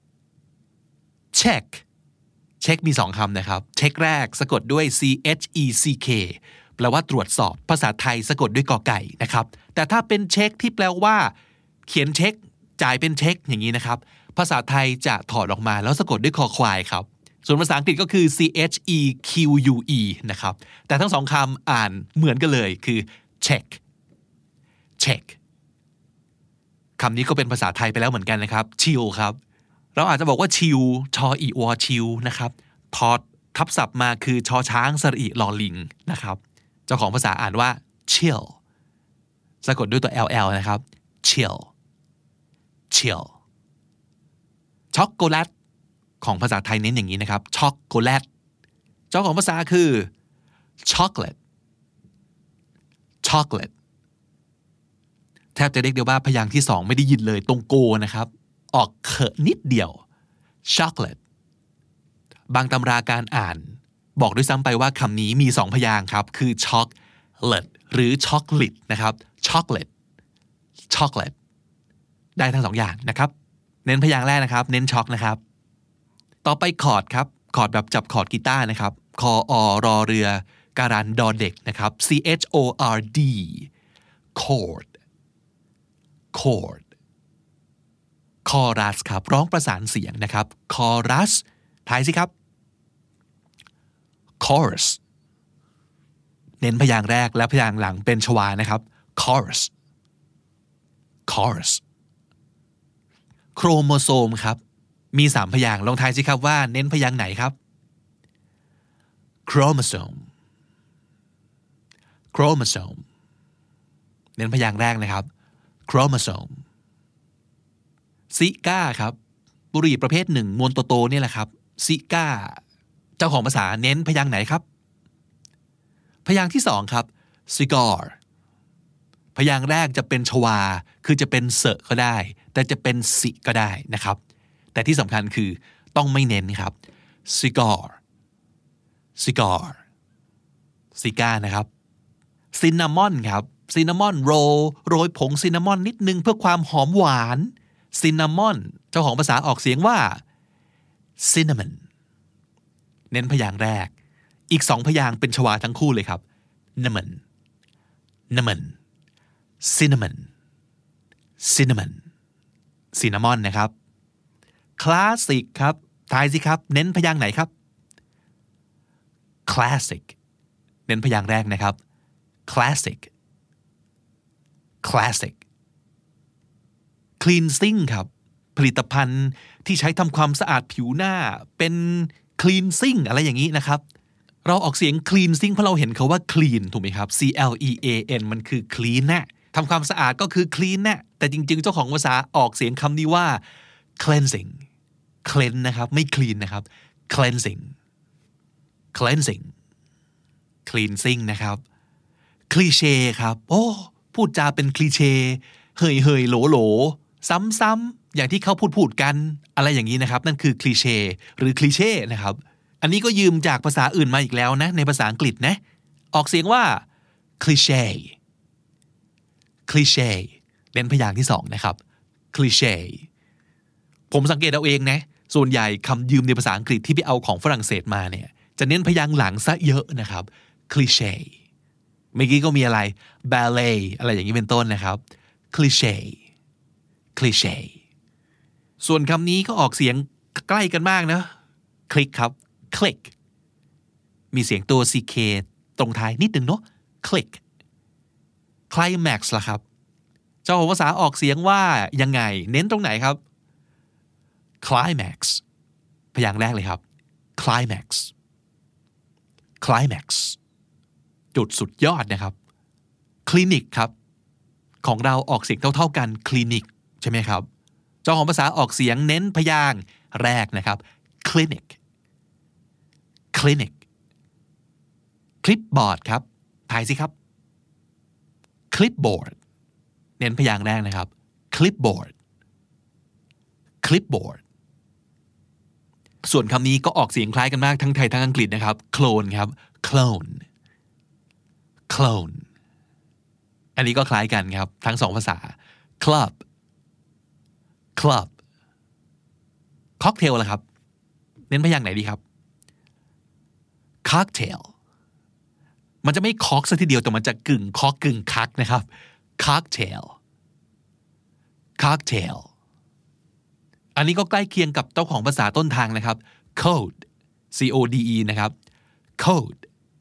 check เช็คมีสองคำนะครับเช็คแรกสะกดด้วย c h e c k แปลว่าตรวจสอบภาษาไทยสะกดด้วยกอไก่นะครับแต่ถ้าเป็นเช็คที่แปลว่าเขียนเช็คจ่ายเป็นเช็คอย่างนี้นะครับภาษาไทยจะถอดออกมาแล้วสะกดด้วยคอควายครับส่วนภาษาอังกฤษก็คือ c h e q u e นะครับแต่ทั้งสองคำอ่านเหมือนกันเลยคือ check check คำนี้ก็เป็นภาษาไทยไปแล้วเหมือนกันนะครับ chill ครับเราอาจจะบอกว่า chill ชออีวอ chill นะครับถอดทับศัพท์มาคือชอช้างสระอีลอลิงนะครับเจ้าของภาษาอ่านว่า chill สะกดด้วยตัว ll นะครับ chill chill ช็อกโกแลตของภาษาไทยเน้นอย่างนี้นะครับช็อกโกแลตเจ้าของภาษาคือ chocolate chocolate แทบจะเรียกได้ว่าพยางค์ที่สองไม่ได้ยินเลยตรงโกนะครับออกเขอะนิดเดียว chocolate บางตำราการอ่านบอกด้วยซ้ำไปว่าคำนี้มีสองพยางค์ครับคือ chocolate หรือ chocolate นะครับ chocolate chocolate ได้ทั้งสองอย่างนะครับเน้นพยางค์แรกนะครับเน้นช็อกนะครับต่อไปคอร์ดครับคอร์ดแบบจับคอร์ดกีตาร์นะครับคออรอเรือการันดอเด็กนะครับ c h o r d chord chord chorus ครับร้องประสานเสียงนะครับ chorus ทายสิครับ chorus เน้นพยางค์แรกและพยางค์หลังเป็นชวานะครับ chorus chorus โครโมโซมครับมีสามพยางค์ลองทายสิครับว่าเน้นพยางค์ไหนครับ chromosome chromosome เน้นพยางค์แรกนะครับ chromosome ซิก้าครับบุหรี่ประเภทหนึ่งมวลโตๆนี่แหละครับซิก้าเจ้าของภาษาเน้นพยางค์ไหนครับพยางค์ที่สองครับ cigar พยางค์แรกจะเป็นชวาคือจะเป็นเสก็ได้แต่จะเป็นสิก็ได้นะครับแต่ที่สำคัญคือต้องไม่เน้นครับ cigar cigar ซิก้านะครับซินนามอนครับซินนามอนโรลโรยผงซินนามอนนิดนึงเพื่อความหอมหวานซินนามอนเจ้าของภาษาออกเสียงว่า cinnamon เน้นพยางค์แรกอีกสองพยางค์เป็นชวาทั้งคู่เลยครับ naman naman cinnamon cinnamon ซินนามอนนะครับคลาสสิกครับทายสิครับเน้นพยางค์ไหนครับ classic เน้นพยางค์แรกนะครับ classic classic cleansing ครับผลิตภัณฑ์ที่ใช้ทำความสะอาดผิวหน้าเป็น cleansing อะไรอย่างนี้นะครับเราออกเสียง cleansing เพราะเราเห็นเขาว่า clean ถูกไหมครับ C L E A N มันคือ clean นะทำความสะอาดก็คือ clean นะแต่จริงๆเจ้าของภาษาออกเสียงคำนี้ว่า cleansing cleanse นะครับไม่ clean นะครับ cleansing cleansing cleansing นะครับ cliché ครับโอ้พูดจาเป็นคลีเช่เฮยเฮยโหลโหลซ้ำๆอย่างที่เขาพูดพูดกันอะไรอย่างนี้นะครับนั่นคือคลีเช่หรือคลีเช่นะครับอันนี้ก็ยืมจากภาษาอื่นมาอีกแล้วนะในภาษาอังกฤษนะออกเสียงว่า cliché cliché เน้นพยางค์ที่สองนะครับ cliché ผมสังเกตเอาเองนะส่วนใหญ่คำยืมในภาษาอังกฤษที่ไปเอาของฝรั่งเศสมาเนี่ยจะเน้นพยางค์หลังซะเยอะนะครับ cliché เมื่อกี้ก็มีอะไร ballet อะไรอย่างนี้เป็นต้นนะครับ cliché cliché ส่วนคำนี้ก็ออกเสียงใกล้กันมากนะคลิกครับ click มีเสียงตัว ck ตรงท้ายนิดนึงเนาะ click climax ล่ะครับเจ้าของภาษาออกเสียงว่ายังไงเน้นตรงไหนครับ climax พยางค์แรกเลยครับ climax climax จุดสุดยอดนะครับคลินิกครับของเราออกเสียงเท่าๆกันคลินิกใช่ไหมครับเจ้าของภาษาออกเสียงเน้นพยางค์แรกนะครับ clinic clinic คลิปบอร์ดครับทายสิครับ clipboard เน้นพยางค์แรกนะครับ clipboard clipboard ส่วนคำนี้ก็ออกเสียงคล้ายกันมากทั้งไทยทั้งอังกฤษนะครับ clone ครับ clone clone อันนี้ก็คล้ายกันครับทั้งสองภาษา club club cocktail ล่ะครับเน้นพยางค์ไหนดีครับ cocktail มันจะไม่คอกซะทีเดียวแต่มันจะกึ่งคอกกึ่งคักนะครับ cocktail cocktail อันนี้ก็ใกล้เคียงกับเจ้าของภาษาต้นทางนะครับ code C O D E นะครับ code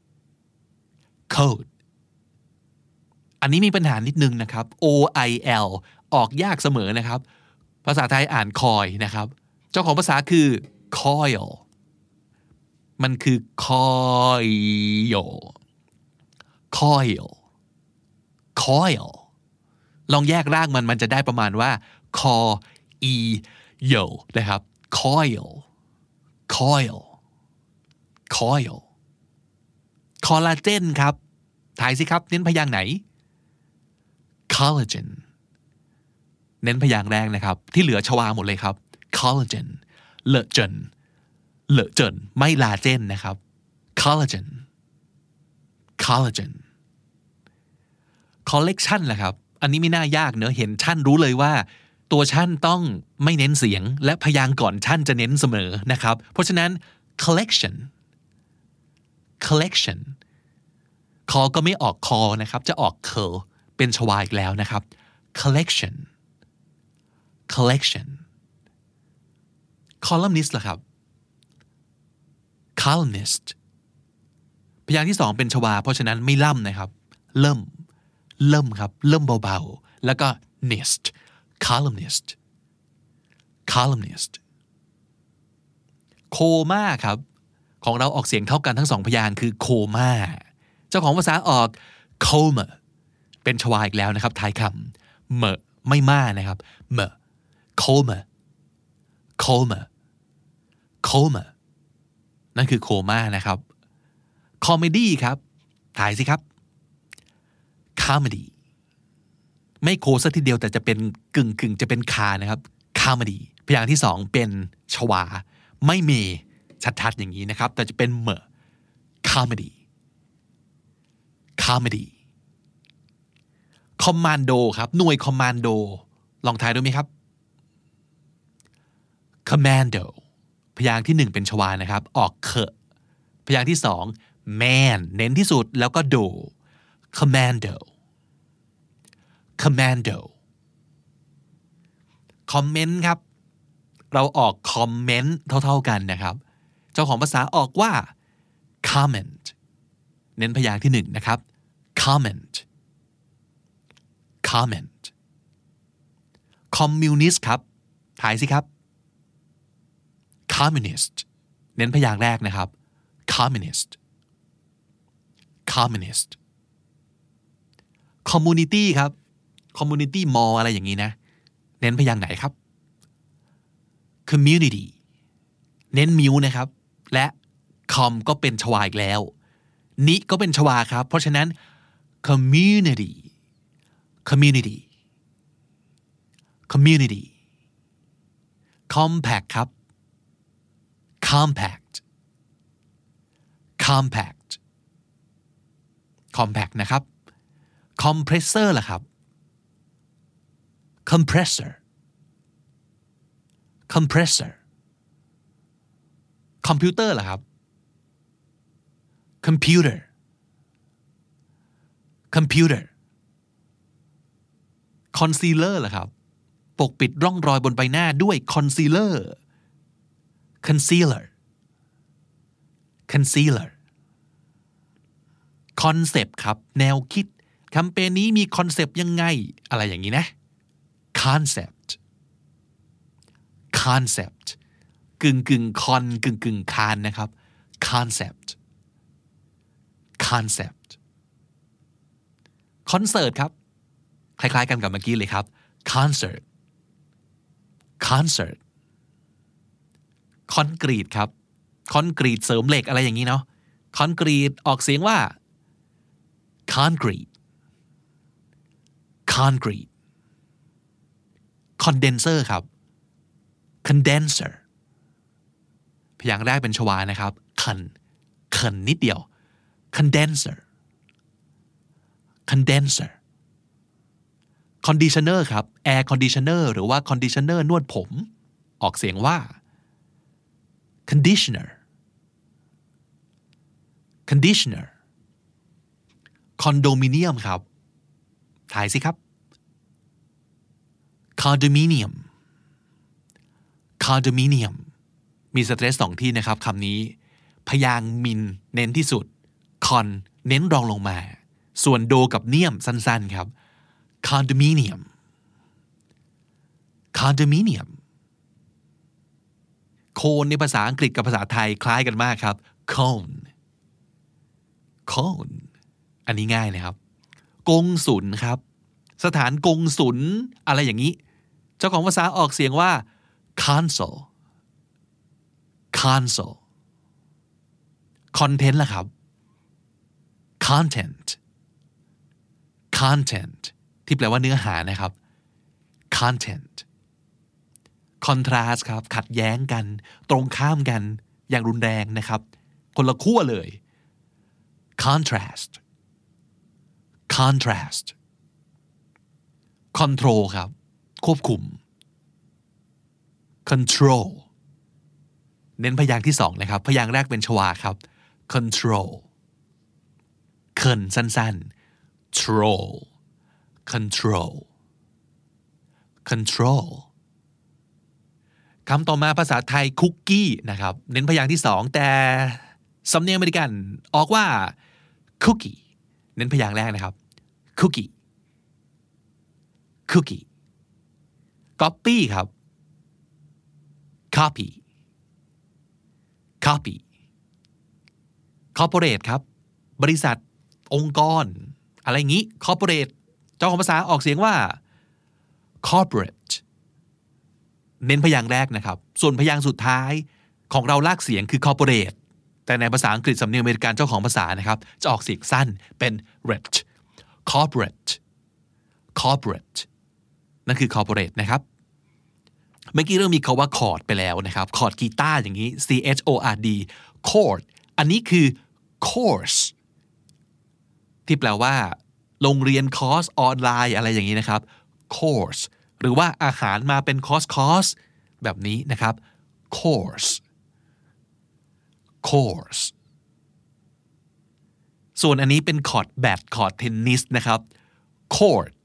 code อันนี้มีปัญหานิดนึงนะครับ O I L ออกยากเสมอนะครับภาษาไทยอ่านคอยนะครับเจ้าของภาษาคือ coil มันคือ coil coil coil ลองแยกร่างมันมันจะได้ประมาณว่า co e yo นะครับ coil coil coil คอลลาเจนครับถ่ายสิครับเน้นพยางค์ไหน collagen เน้นพยางค์แรกนะครับที่เหลือชวาหมดเลยครับ collagen เลอะเจนเลอะเจนไม่ลาเจนนะครับ collagen collagen collection ล่ะครับอันนี้ไม่น่ายากเนอะเห็นชั่นรู้เลยว่าตัวชั่นต้องไม่เน้นเสียงและพยางค์ก่อนชั่นจะเน้นเสมอนะครับเพราะฉะนั้น collection collection คอก็ไม่ออกคอนะครับจะออกเคอเป็นชวาอีกแล้วนะครับ collection collection columnist ล่ะครับ columnist พยางค์ที่สองเป็นชวาเพราะฉะนั้นไม่ล่ำนะครับเริ่มเริ่มครับเริ่มเบาๆแล้วก็ nist columnist columnist โคม่าครับของเราออกเสียงเท่ากันทั้งสองพยางค์คือโคม่าเจ้าของภาษาออก coma เป็นชวาอีกแล้วนะครับท้ายคำเมะไม่ม่านะครับเมะ coma coma coma นั่นคือโคม่านะครับ comedy ครับถ่ายสิครับ comedy ไม่โคซะทีเดียวแต่จะเป็นกึ่งกึ่งจะเป็นคานะครับ comedy พยางค์ที่สองเป็นชวาไม่มีชัดๆอย่างนี้นะครับแต่จะเป็นเมอ comedy comedy commando ครับหน่วยคอมมานโดลองทายดูไหมครับ commando พยางค์ที่หนึ่งเป็นชวานะครับออกเคอะพยางค์ที่สอง man เน้นที่สุดแล้วก็โด commando commando คอมเมนต์ครับเราออกคอมเมนต์เท่าๆกันนะครับเจ้าของภาษาออกว่า comment เน้นพยางค์ที่หนึ่งนะครับ comment comment communist ครับถ่ายสิครับ communist เน้นพยางค์แรกนะครับ communist communist community ครับ community mall อะไรอย่างนี้นะเน้นพยางค์ไหนครับ community เน้นมิวนะครับและ com ก็เป็นชวาอีกแล้วนิก็เป็นชวาครับเพราะฉะนั้น community community community compact ครับ compact compact compact นะครับ compressor ล่ะครับ compressor compressor computer ล่ะครับ computer computer concealer ล่ะครับปกปิดร่องรอยบนใบหน้าด้วย concealer concealer concealer concept ครับแนวคิดแคมเปญนี้มีคอนเซปต์ยังไงอะไรอย่างนี้นะ concept concept กึ่งกึ่งคอนกึ่งกึ่งคานนะครับ concept concept concert ครับคล้ายๆกันกับเมื่อกี้เลยครับ concert concert คอนกรีตครับคอนกรีตเสริมเหล็กอะไรอย่างนี้เนาะคอนกรีตออกเสียงว่า concrete concrete condenser ครับ condenser พยางค์แรกเป็นชวานะครับ con con นิดเดียว condenser condenser conditioner ครับ air conditioner หรือว่า conditioner นวดผมออกเสียงว่า conditioner conditioner condominium ครับถ่ายสิครับ condominium condominium มีสเตรสสองที่นะครับคำนี้พยางค์มินเน้นที่สุด con เน้นรองลงมาส่วนโดกับเนียมสั้นๆครับ condominium condominium โคนในภาษาอังกฤษกับภาษาไทยคล้ายกันมากครับ cone cone อันนี้ง่ายนะครับกงสุลครับสถานกงสุลอะไรอย่างนี้เจ้าของภาษาออกเสียงว่า console console content ล่ะครับ content content ที่แปลว่าเนื้อหานะครับ content contrast ครับขัดแย้งกันตรงข้ามกันอย่างรุนแรงนะครับคนละขั้วเลย contrast contrast control ครับควบคุม control เน้นพยางค์ที่สองนะครับพยางค์แรกเป็นชวาครับ control เคินสั้นๆ troll control control คำต่อมาภาษาไทยคุกกี้นะครับเน้นพยางค์ที่สองแต่สำเนียงอเมริกันออกว่า cookie เน้นพยางค์แรกนะครับ cookie cookie copy ครับ copy copy corporate ครับบริษัทองค์กรอะไรอย่างนี้ corporate เจ้าของภาษาออกเสียงว่า corporate เน้นพยางค์แรกนะครับส่วนพยางค์สุดท้ายของเราลากเสียงคือ corporate แต่ในภาษาอังกฤษสำเนียงอเมริกันเจ้าของภาษานะครับจะออกเสียงสั้นเป็น rate corporate corporate นั่นคือ corporate นะครับเมื่อกี้เรื่องมีคาว่าคอร์ดไปแล้วนะครับคอร์ดกีตาร์อย่างนี้ C H O R D chord อันนี้คือ course ที่แปลว่าโรงเรียนคอร์สออนไลน์อะไรอย่างนี้นะครับ course หรือว่าอาหารมาเป็นคอร์สคอร์สแบบนี้นะครับ course course ส่วนอันนี้เป็นคอร์ดแบดคอร์ดเทนนิสนะครับ court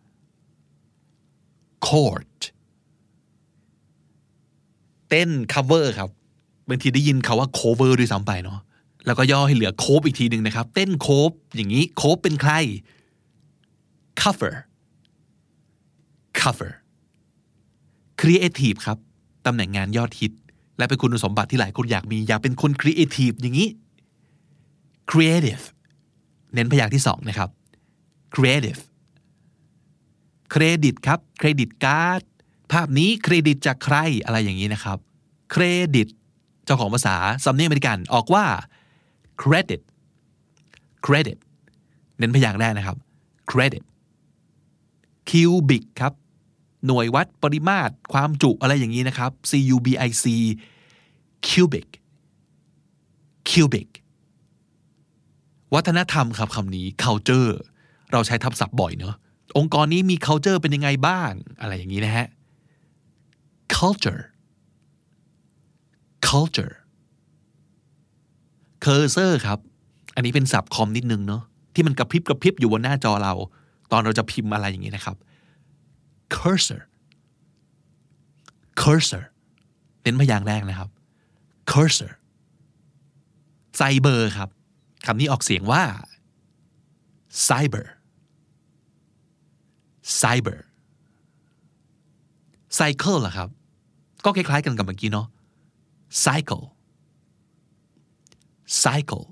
court เต้น cover ครับบางทีได้ยินคาว่า cover ด้วยซ้ำไปเนาะแล้วก็ย่อให้เหลือโคฟอีกทีหนึ่งนะครับเต้นโคฟอย่างนี้โคฟเป็นใคร cover cover creative ครับตำแหน่งงานยอดฮิตและเป็นคุณสมบัติที่หลายคนอยากมีอยากเป็นคน creative อย่างนี้ creative เน้นพยางค์ที่สองนะครับ creative เครดิตครับเครดิตการ์ดภาพนี้เครดิตจากใครอะไรอย่างนี้นะครับเครดิตเจ้าของภาษาสำเนียงอเมริกันออกว่า credit credit เน้นพยางค์แรกนะครับ credit cubic ครับหน่วยวัดปริมาตรความจุอะไรอย่างนี้นะครับ C U B I C cubic cubic วัฒนธรรมครับคำนี้ culture เราใช้ทับศัพท์บ่อยเนอะองค์กรนี้มี culture เป็นยังไงบ้างอะไรอย่างนี้นะฮะ culture culture cursor ครับอันนี้เป็นศัพท์คอมนิดนึงเนอะที่มันกระพริบกระพริบอยู่บนหน้าจอเราตอนเราจะพิมพ์อะไรอย่างนี้นะครับ cursor cursor เน้นพยางค์แรกนะครับ cursor ไซเบอร์ครับคำนี้ออกเสียงว่า cyber cyber cycle ล่ะครับก็คล้ายๆกันกับเมื่อกี้เนาะ cycle cycle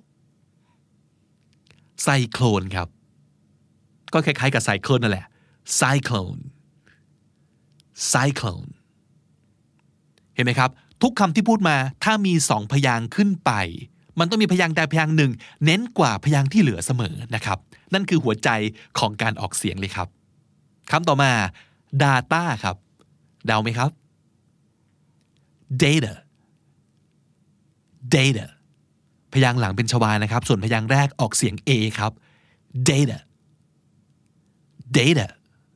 cyclone ครับก็คล้ายๆกับ cycle นั่นแหละ cyclone cyclone เห็นไหมครับทุกคำที่พูดมาถ้ามีสองพยางค์ขึ้นไปมันต้องมีพยางค์ใดพยางค์หนึ่งเน้นกว่าพยางค์ที่เหลือเสมอนะครับนั่นคือหัวใจของการออกเสียงเลยครับคำต่อมา data ครับเดาไหมครับ data data พยางค์หลังเป็นชวานะครับส่วนพยางค์แรกออกเสียง A ครับ data data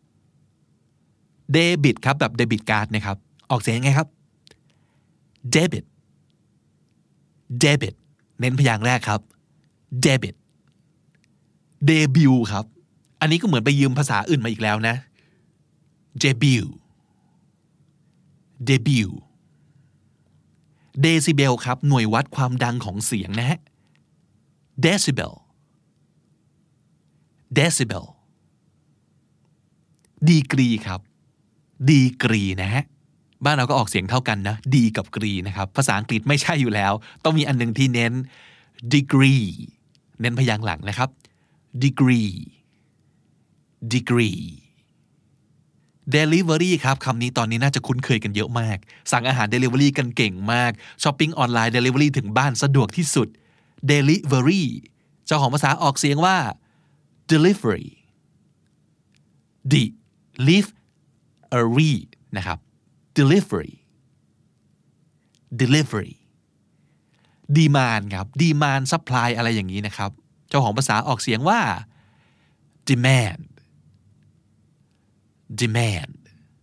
debit ครับแบบ debit card นะครับออกเสียงยังไงครับ debit debit เน้นพยางค์แรกครับ debit debut ครับอันนี้ก็เหมือนไปยืมภาษาอื่นมาอีกแล้วนะ debut debut decibel ครับหน่วยวัดความดังของเสียงนะฮะ decibel decibel degree ครับ degree นะฮะบ้านเราก็ออกเสียงเท่ากันนะดีกับกรีนะครับภาษาอังกฤษไม่ใช่อยู่แล้วต้องมีอันหนึ่งที่เน้น degree เน้นพยางค์หลังนะครับ degree degree delivery ครับคำนี้ตอนนี้น่าจะคุ้นเคยกันเยอะมากสั่งอาหาร delivery กันเก่งมากช้อปปิ้งออนไลน์ delivery ถึงบ้านสะดวกที่สุด delivery เจ้าของภาษาออกเสียงว่า delivery delivery นะครับ delivery delivery demand ครับ demand supply อะไรอย่างนี้นะครับเจ้าของภาษาออกเสียงว่า demand demand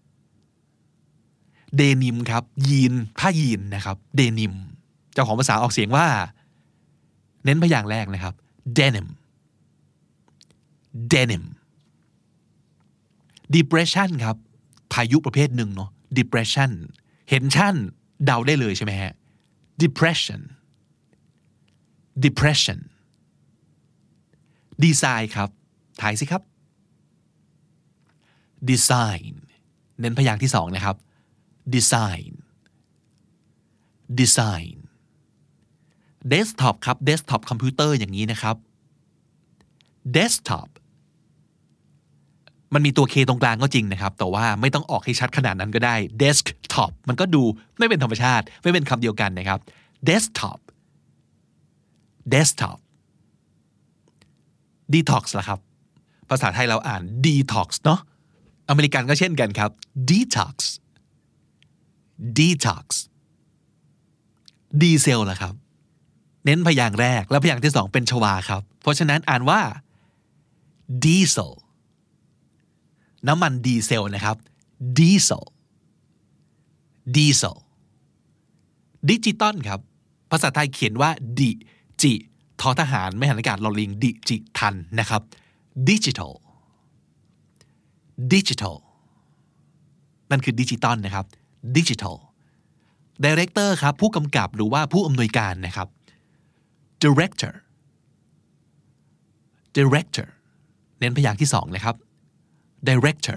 denim ครับยีนผ้ายีนนะครับ denim เจ้าของภาษาออกเสียงว่าเน้นพยางค์แรกนะครับ denim denim depression ครับพายุประเภทหนึ่งเนาะ depression เห็นชั่นเดาได้เลยใช่ไหมฮะ depression depression design ครับถ่ายสิครับ design เน้นพยางค์ที่สองนะครับ design design desktop ครับ desktop คอมพิวเตอร์อย่างนี้นะครับ desktop มันมีตัว K ตรงกลางก็จริงนะครับแต่ว่าไม่ต้องออกให้ชัดขนาดนั้นก็ได้ desktop มันก็ดูไม่เป็นธรรมชาติไม่เป็นคำเดียวกันนะครับ desktop desktop detox ล่ะครับภาษาไทยเราอ่าน detox เนาะอเมริกันก็เช่นกันครับ detox detox diesel ล่ะครับเน้นพยางค์แรกและพยางค์ที่สองเป็นชวาครับเพราะฉะนั้นอ่านว่า diesel น้ำมันดีเซลนะครับ diesel diesel ดิจิตอลครับภาษาไทยเขียนว่าดิจิทอทหารไม่หันอากาศลอลิงดิจิทัลนะครับ digital digital นั่นคือดิจิตอลนะครับ digital director ครับผู้กำกับหรือว่าผู้อำนวยการนะครับ director director เน้นพยางค์ที่สองนะครับ director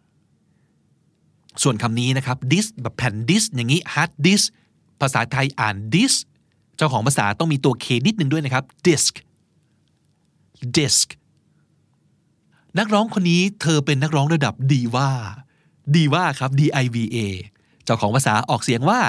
ส่วนคำนี้นะครับ disk แบบแผ่น disk อย่างนี้ hard disk ภาษาไทยอ่าน disk เจ้าของภาษาต้องมีตัว K นิดนึงด้วยนะครับ disk disk นักร้องคนนี้เธอเป็นนักร้องระดับดีว่าดีว่าครับ D I V A เจ้าของภาษาออกเสียงว่า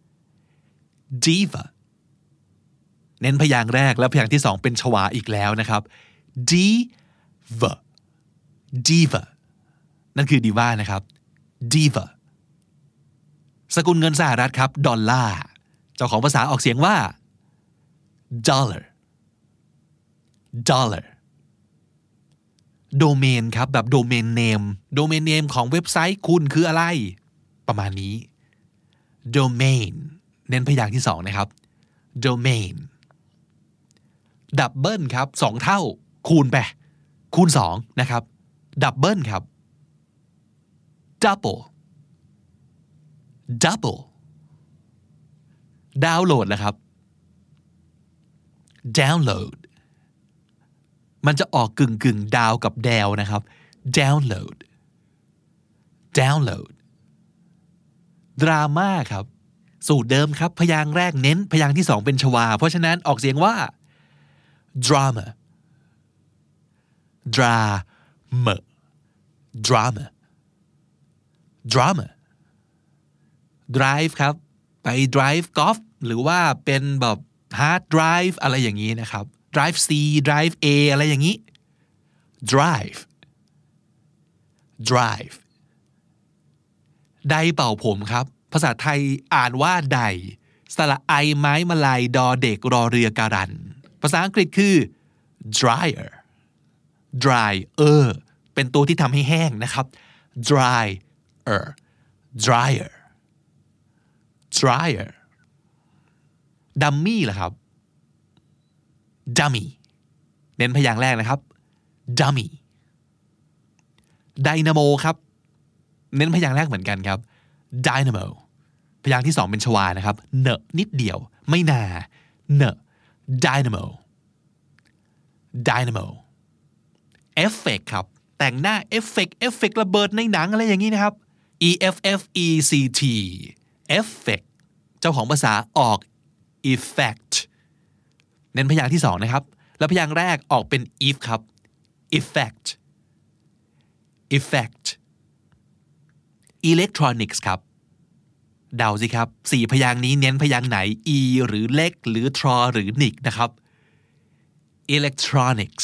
diva เน้นพยางค์แรกและพยางค์ที่สองเป็นชวาอีกแล้วนะครับ diva diva นั่นคือดีว่านะครับ diva สกุลเงินสหรัฐครับดอลลาร์เจ้าของภาษาออกเสียงว่า dollar dollar โดเมนครับแบบโดเมนเนมโดเมนเนมของเว็บไซต์คุณคืออะไรประมาณนี้ domain เน้นพยางค์ที่สองนะครับ domain ดับเบิลครับสองเท่าคูณไปคูณสองนะครับดับเบิลครับ double double ดาวน์โหลดแล้วครับ download มันจะออกกึ่งกึ่งดาวกับแดวนะครับ download download ดราม่าครับสูตรเดิมครับพยางค์แรกเน้นพยางค์ที่สองเป็นชวาเพราะฉะนั้นออกเสียงว่า drama drama drama drama drive ครับไป drive golf หรือว่าเป็นแบบ hard drive อะไรอย่างนี้นะครับ drive C drive A อะไรอย่างนี้ drive drive ไดเป่าผมครับภาษาไทยอ่านว่าไดสระไอไม้มะลายดอเด็กรอเรือการันภาษาอังกฤษคือ dryer dryer เป็นตัวที่ทำให้แห้งนะครับ dryer dryer dryer dummy ล่ะครับ dummy เน้นพยางค์แรกนะครับ dummy dynamo ครับเน้นพยางค์แรกเหมือนกันครับ dynamo พยางค์ที่สองเป็นชวานะครับเนอะนิดเดียวไม่นาเนอะ dynamo dynamo effect ครับแต่งหน้าเอฟเฟกต์เอฟเฟกต์ระเบิดในหนังอะไรอย่างนี้นะครับ E F F E C T effect เจ้าของภาษาออก effect เน้นพยางค์ที่สองนะครับแล้วพยางค์แรกออกเป็น if ครับ effect effect electronics ครับเดาสิครับสี่พยางค์นี้เน้นพยางค์ไหน e หรือเล็กหรือ tr หรือ nick นะครับ electronics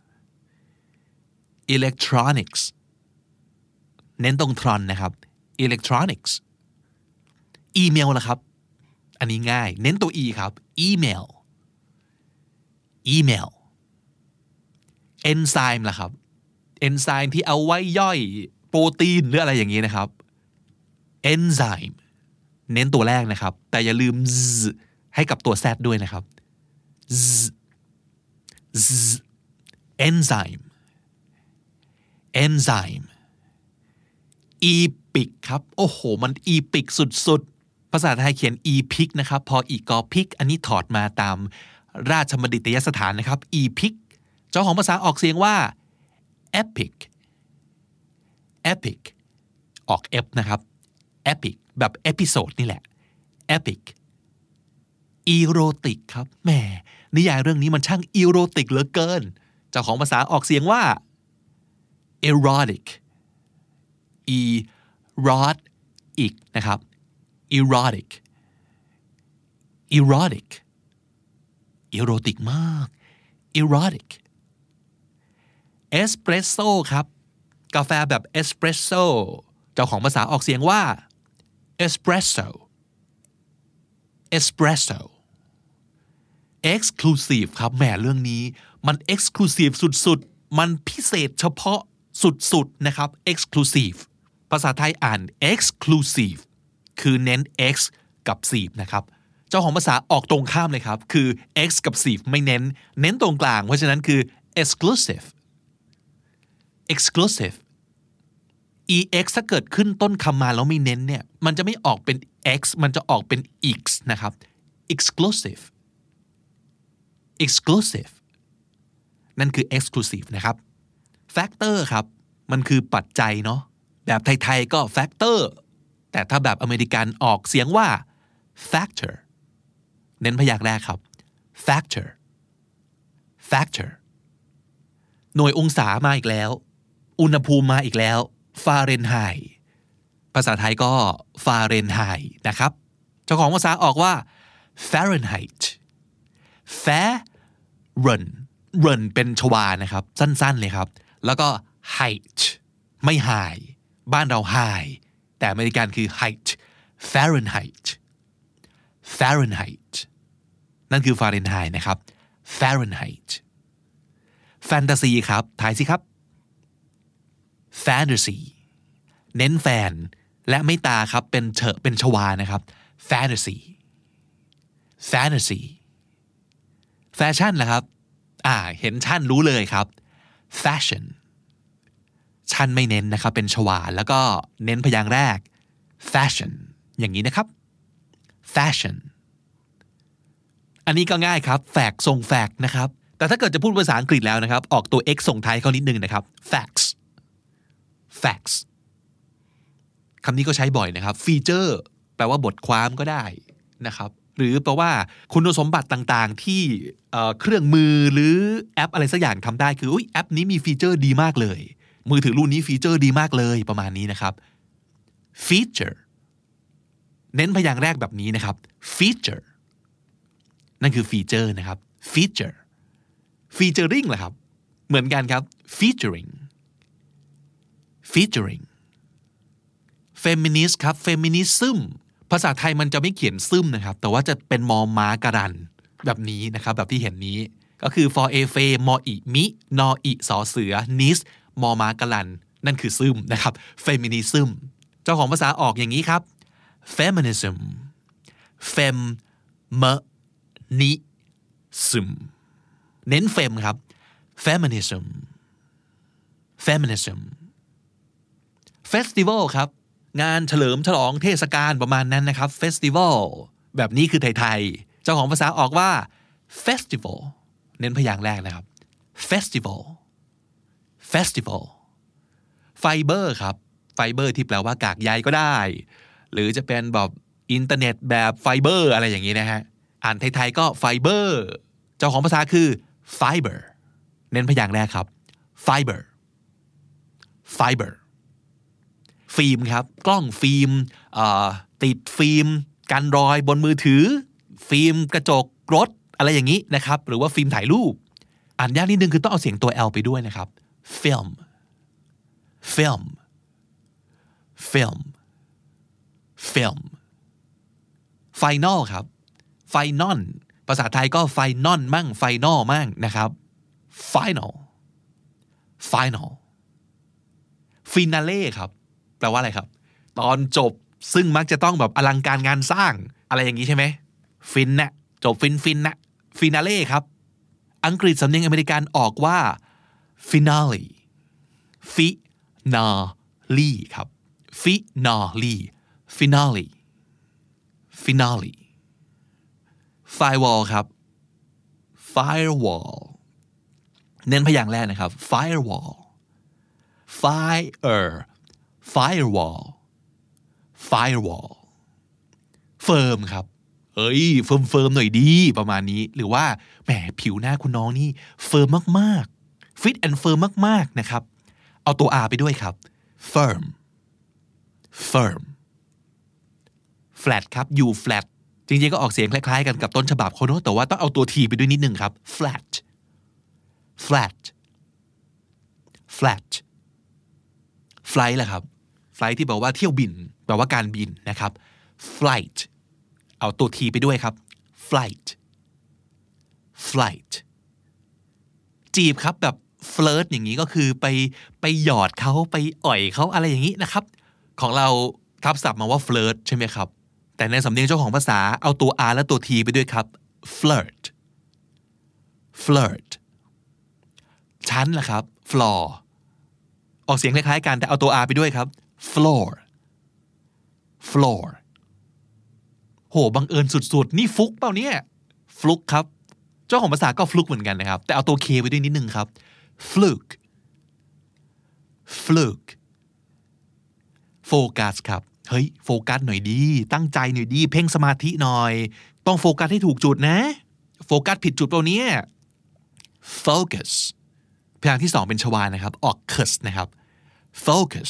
electronics เน้นตรง tron นะครับ electronics email ล่ะครับอันนี้ง่ายเน้นตัว e ครับ email email enzyme ล่ะครับ enzyme ที่เอาไว้ย่อยโปรตีนหรืออะไรอย่างนี้นะครับ enzyme เน้นตัวแรกนะครับแต่อย่าลืม z ให้กับตัว z ด้วยนะครับ z z enzyme enzyme epic ครับโอ้โหมัน epic สุดๆภาษาไทยเขียน epic นะครับพออีกอพิกอันนี้ถอดมาตามราชบัณฑิตยสถานนะครับ epic เจ้าของภาษาออกเสียงว่า epic epic ออก f นะครับ epic แบบ episode นี่แหละ epic erotic ครับแหมนิยายเรื่องนี้มันช่าง erotic เหลือเกินเจ้าของภาษาออกเสียงว่า erotic erotic นะครับ erotic erotic erotic มาก erotic espresso ครับกาแฟแบบ espresso เจ้าของภาษาออกเสียงว่า espresso espresso exclusive ครับแหมเรื่องนี้มัน exclusive สุดๆมันพิเศษเฉพาะสุดๆนะครับ exclusive ภาษาไทยอ่าน exclusive คือเน้น x กับ sieve นะครับเจ้าของภาษาออกตรงข้ามเลยครับคือ x กับ sieve ไม่เน้นเน้นตรงกลางเพราะฉะนั้นคือ exclusive exclusive ex ถ้าเกิดขึ้นต้นคำมาแล้วไม่เน้นเนี่ยมันจะไม่ออกเป็น x มันจะออกเป็น x นะครับ exclusive exclusive นั่นคือ exclusive นะครับ factor ครับมันคือปัจจัยเนาะแบบไทยๆก็ factor แต่ถ้าแบบอเมริกันออกเสียงว่า factor เน้นพยางค์แรกครับ factor factor หน่วยองศามาอีกแล้วอุณหภูมิมาอีกแล้วฟาเรนไฮต์ภาษาไทยก็ฟาเรนไฮต์นะครับเจ้าของภาษาออกว่า Fahrenheit Fahrenheit เป็นชวานะครับสั้นๆเลยครับแล้วก็ height ไม่ high บ้านเรา high แต่อเมริกันคือ height Fahrenheit Fahrenheit นั่นคือฟาเรนไฮต์นะครับ Fahrenheit แฟนตาซีครับทายสิครับ Fantasy เน้นแฟนและไม่ตาครับเป็นเฉอะเป็นชวานะครับ Fantasy Fantasy แฟชั่นล่ะครับอ่าเห็นชั่นรู้เลยครับ Fashion ชั่นไม่เน้นนะครับเป็นชวาแล้วก็เน้นพยางค์แรก Fashion อย่างนี้นะครับ Fashion อันนี้ก็ง่ายครับแฟกต์ส่งแฟกต์นะครับแต่ถ้าเกิดจะพูดภาษาอังกฤษแล้วนะครับออกตัว x ส่งท้ายเขานิดนึงนะครับ facts facts คำนี้ก็ใช้บ่อยนะครับ feature แปลว่าบทความก็ได้นะครับหรือแปลว่าคุณสมบัติต่างๆที่เครื่องมือหรือแอปอะไรสักอย่างทำได้คืออุ๊ยแอปนี้มีฟีเจอร์ดีมากเลยมือถือรุ่นนี้ฟีเจอร์ดีมากเลยประมาณนี้นะครับ feature เน้นพยางค์แรกแบบนี้นะครับ feature นั่นคือฟีเจอร์นะครับ feature featuring ล่ะครับเหมือนกันครับ featuring featuring feminist ครับ feminism ภาษาไทยมันจะไม่เขียนซึมนะครับแต่ว่าจะเป็นมอม้าการันแบบนี้นะครับแบบที่เห็นนี้ก็คือ for a f มออิมินออิสอเสือ nis มอม้าการันนั่นคือซึมนะครับ feminism เจ้าของภาษาออกอย่างนี้ครับ feminism fem m ni sum เน้น fem ครับ feminism feminism festival ครับงานเฉลิมฉลองเทศกาลประมาณนั้นนะครับ festival แบบนี้คือไทยๆเจ้าของภาษาออกว่า festival เน้นพยางค์แรกนะครับ festival festival fiber ครับ fiber ที่แปลว่ากากใยก็ได้หรือจะเป็นแบบอินเทอร์เน็ตแบบไฟเบอร์อะไรอย่างนี้นะฮะอ่านไทยๆก็ fiber เจ้าของภาษาคือ fiber เน้นพยางค์แรกครับ fiber fiberฟิล์มครับกล้องฟิล์มติดฟิล์มกันรอยบนมือถือฟิล์มกระจกรถอะไรอย่างนี้นะครับหรือว่าฟิล์มถ่ายรูปอ่านยากนิดนึงคือต้องเอาเสียงตัว L ไปด้วยนะครับ film film film film final ครับ final ภาษาไทยก็ final มั่ง final มั่งนะครับ final final finale ครับแปลว่าอะไรครับตอนจบซึ่งมักจะต้องแบบอลังการงานสร้างอะไรอย่างนี้ใช่ไหมฟินนะจบฟินฟินนะฟินาเล่ครับอังกฤษสำเนียงอเมริกันออกว่า finale finale ครับ finale finale finale firewall ครับ firewall เน้นพยางค์แรกนะครับ firewall fire firewall firewall เฟิร์มครับเอ้ยเฟิร์มเฟิร์มหน่อยดีประมาณนี้หรือว่าแหมผิวหน้าคุณน้องนี่เฟิร์มมากๆ fit and firm มากๆนะครับเอาตัว R ไปด้วยครับ firm firm flat ครับ you flat จริงๆก็ออกเสียงคล้ายๆกันกับต้นฉบับเขาเนอะแต่ว่าต้องเอาตัว T ไปด้วยนิดนึงครับ flat flat flat flight แหละครับ flight ที่แปลว่าเที่ยวบินแปลว่าการบินนะครับ flight เอาตัว T ไปด้วยครับ flight flight จีบครับแบบ flirt อย่างนี้ก็คือไปไปหยอดเขาไปอ่อยเขาอะไรอย่างนี้นะครับของเราทับศัพท์มาว่า flirt ใช่ไหมครับแต่ในสำเนียงเจ้าของภาษาเอาตัว R และตัว T ไปด้วยครับ flirt flirt ชั้นล่ะครับ floor ออกเสียงคล้ายๆกันแต่เอาตัว R ไปด้วยครับ floor floor โหบังเอิญสุดๆนี่ฟุกเปล่าเนี่ยฟลุกครับเจ้าของภาษาก็ fluke เหมือนกันนะครับแต่เอาตัว K ไว้ด้วยนิดนึงครับ fluke fluke โฟกัสครับเฮ้ยโฟกัสหน่อยดีตั้งใจหน่อยดีเพ่งสมาธิหน่อยต้องโฟกัสให้ถูกจุดนะโฟกัสผิดจุดเปล่าเนี่ย focus พยางค์ที่สองเป็นชวานะครับออก cus นะครับ focus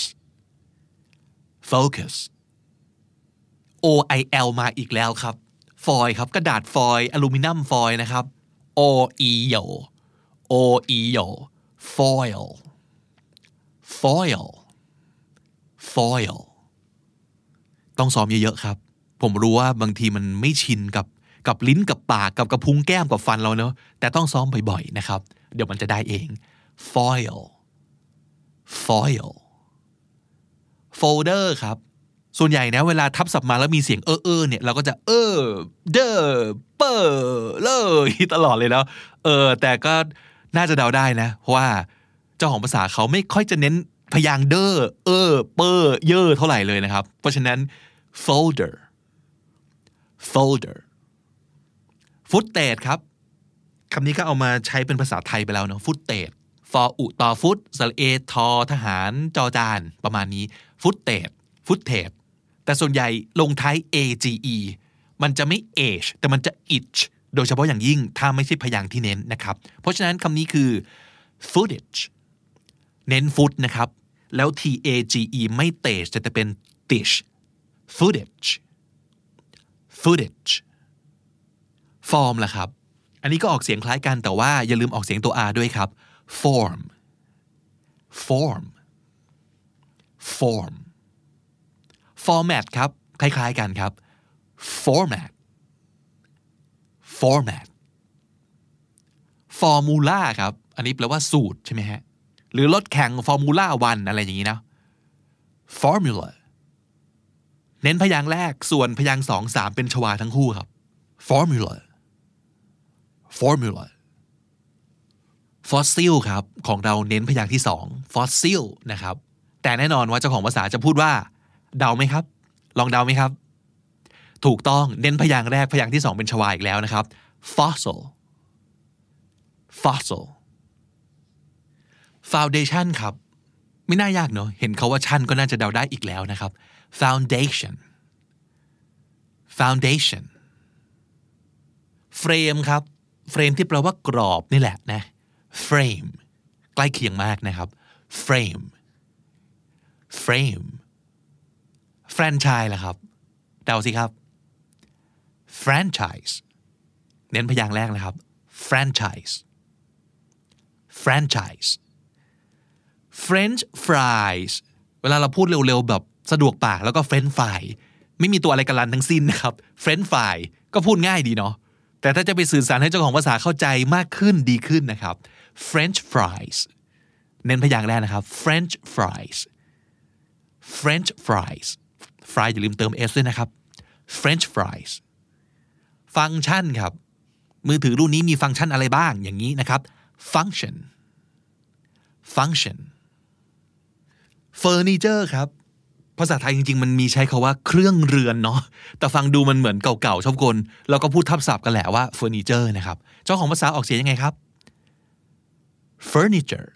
focus O I L มาอีกแล้วครับฟอยล์ครับกระดาษฟอยล์อลูมิเนียมฟอยล์นะครับ O E O O E O foil foil foil ต้องซ้อมเยอะๆครับผมรู้ว่าบางทีมันไม่ชินกับกับลิ้นกับปากกับกระพุ้งแก้มกับฟันเราเนอะแต่ต้องซ้อมบ่อยๆนะครับเดี๋ยวมันจะได้เอง foil foil folder ครับส่วนใหญ่นะเวลาทับศัพท์มาแล้วมีเสียงเออเออเนี่ยเราก็จะเออเดอเปอเลยตลอดเลยแล้วเออแต่ก็น่าจะเดาได้นะเพราะว่าเจ้าของภาษาเขาไม่ค่อยจะเน้นพยางค์เดอเออเปอเยอะเท่าไหร่เลยนะครับเพราะฉะนั้น folder folder footage ครับคำนี้ก็เอามาใช้เป็นภาษาไทยไปแล้วเนาะ footage ฟออุต่อฟุตสระเอทอทหารจอจานประมาณนี้ footage footage แต่ส่วนใหญ่ลงท้าย age มันจะไม่ age แต่มันจะ itch โดยเฉพาะอย่างยิ่งถ้าไม่ใช่พยางค์ที่เน้นนะครับเพราะฉะนั้นคำนี้คือ footage เน้นฟุตนะครับแล้ว tage ไม่เตจจะเป็น tish footage footage form ล่ะครับอันนี้ก็ออกเสียงคล้ายกันแต่ว่าอย่าลืมออกเสียงตัว r ด้วยครับ form form form format ครับคล้ายๆกันครับ format format formula ครับอันนี้แปลว่าสูตรใช่ไหมฮะหรือรถแข่ง formula วันอะไรอย่างนี้นะ formula เน้นพยางค์แรกส่วนพยางค์สองสามเป็นชวาทั้งคู่ครับ formula formula fossil ครับของเราเน้นพยางค์ที่สอง fossil นะครับแต่แน่นอนว่าเจ้าของภาษาจะพูดว่าเดาไหมครับลองเดาไหมครับถูกต้องเน้นพยางค์แรกพยางค์ที่สองเป็นชวาอีกแล้วนะครับ fossil fossil foundation ครับไม่น่ายากเนอะเห็นเขาว่าชั้นก็น่าจะเดาได้อีกแล้วนะครับ foundation foundation frame ครับ frame ที่แปลว่ากรอบนี่แหละนะ frame ใกล้เคียงมากนะครับ frame frame franchise ล่ะครับเดาสิครับ franchise เน้นพยางค์แรกนะครับ franchise franchise French fries เวลาเราพูดเร็วๆแบบสะดวกปากแล้วก็ French fry ไม่มีตัวอะไรกันลันทั้งสิ้นนะครับ French fry ก็พูดง่ายดีเนาะแต่ถ้าจะไปสื่อสารให้เจ้าของภาษาเข้าใจมากขึ้นดีขึ้นนะครับ French fries เน้นพยางค์แรกนะครับ French fries French fries fry อย่าลืมเติม s ด้วยนะครับ French fries ฟังก์ชันครับมือถือรุ่นนี้มีฟังก์ชันอะไรบ้างอย่างนี้นะครับ function function furniture ครับภาษาไทยจริงๆมันมีใช้คาว่าเครื่องเรือนเนาะแต่ฟังดูมันเหมือนเก่าๆชอบกลเราก็พูดทับศัพท์กันแหละว่า furniture นะครับเจ้าของภาษาออกเสียงยังไงครับ furniture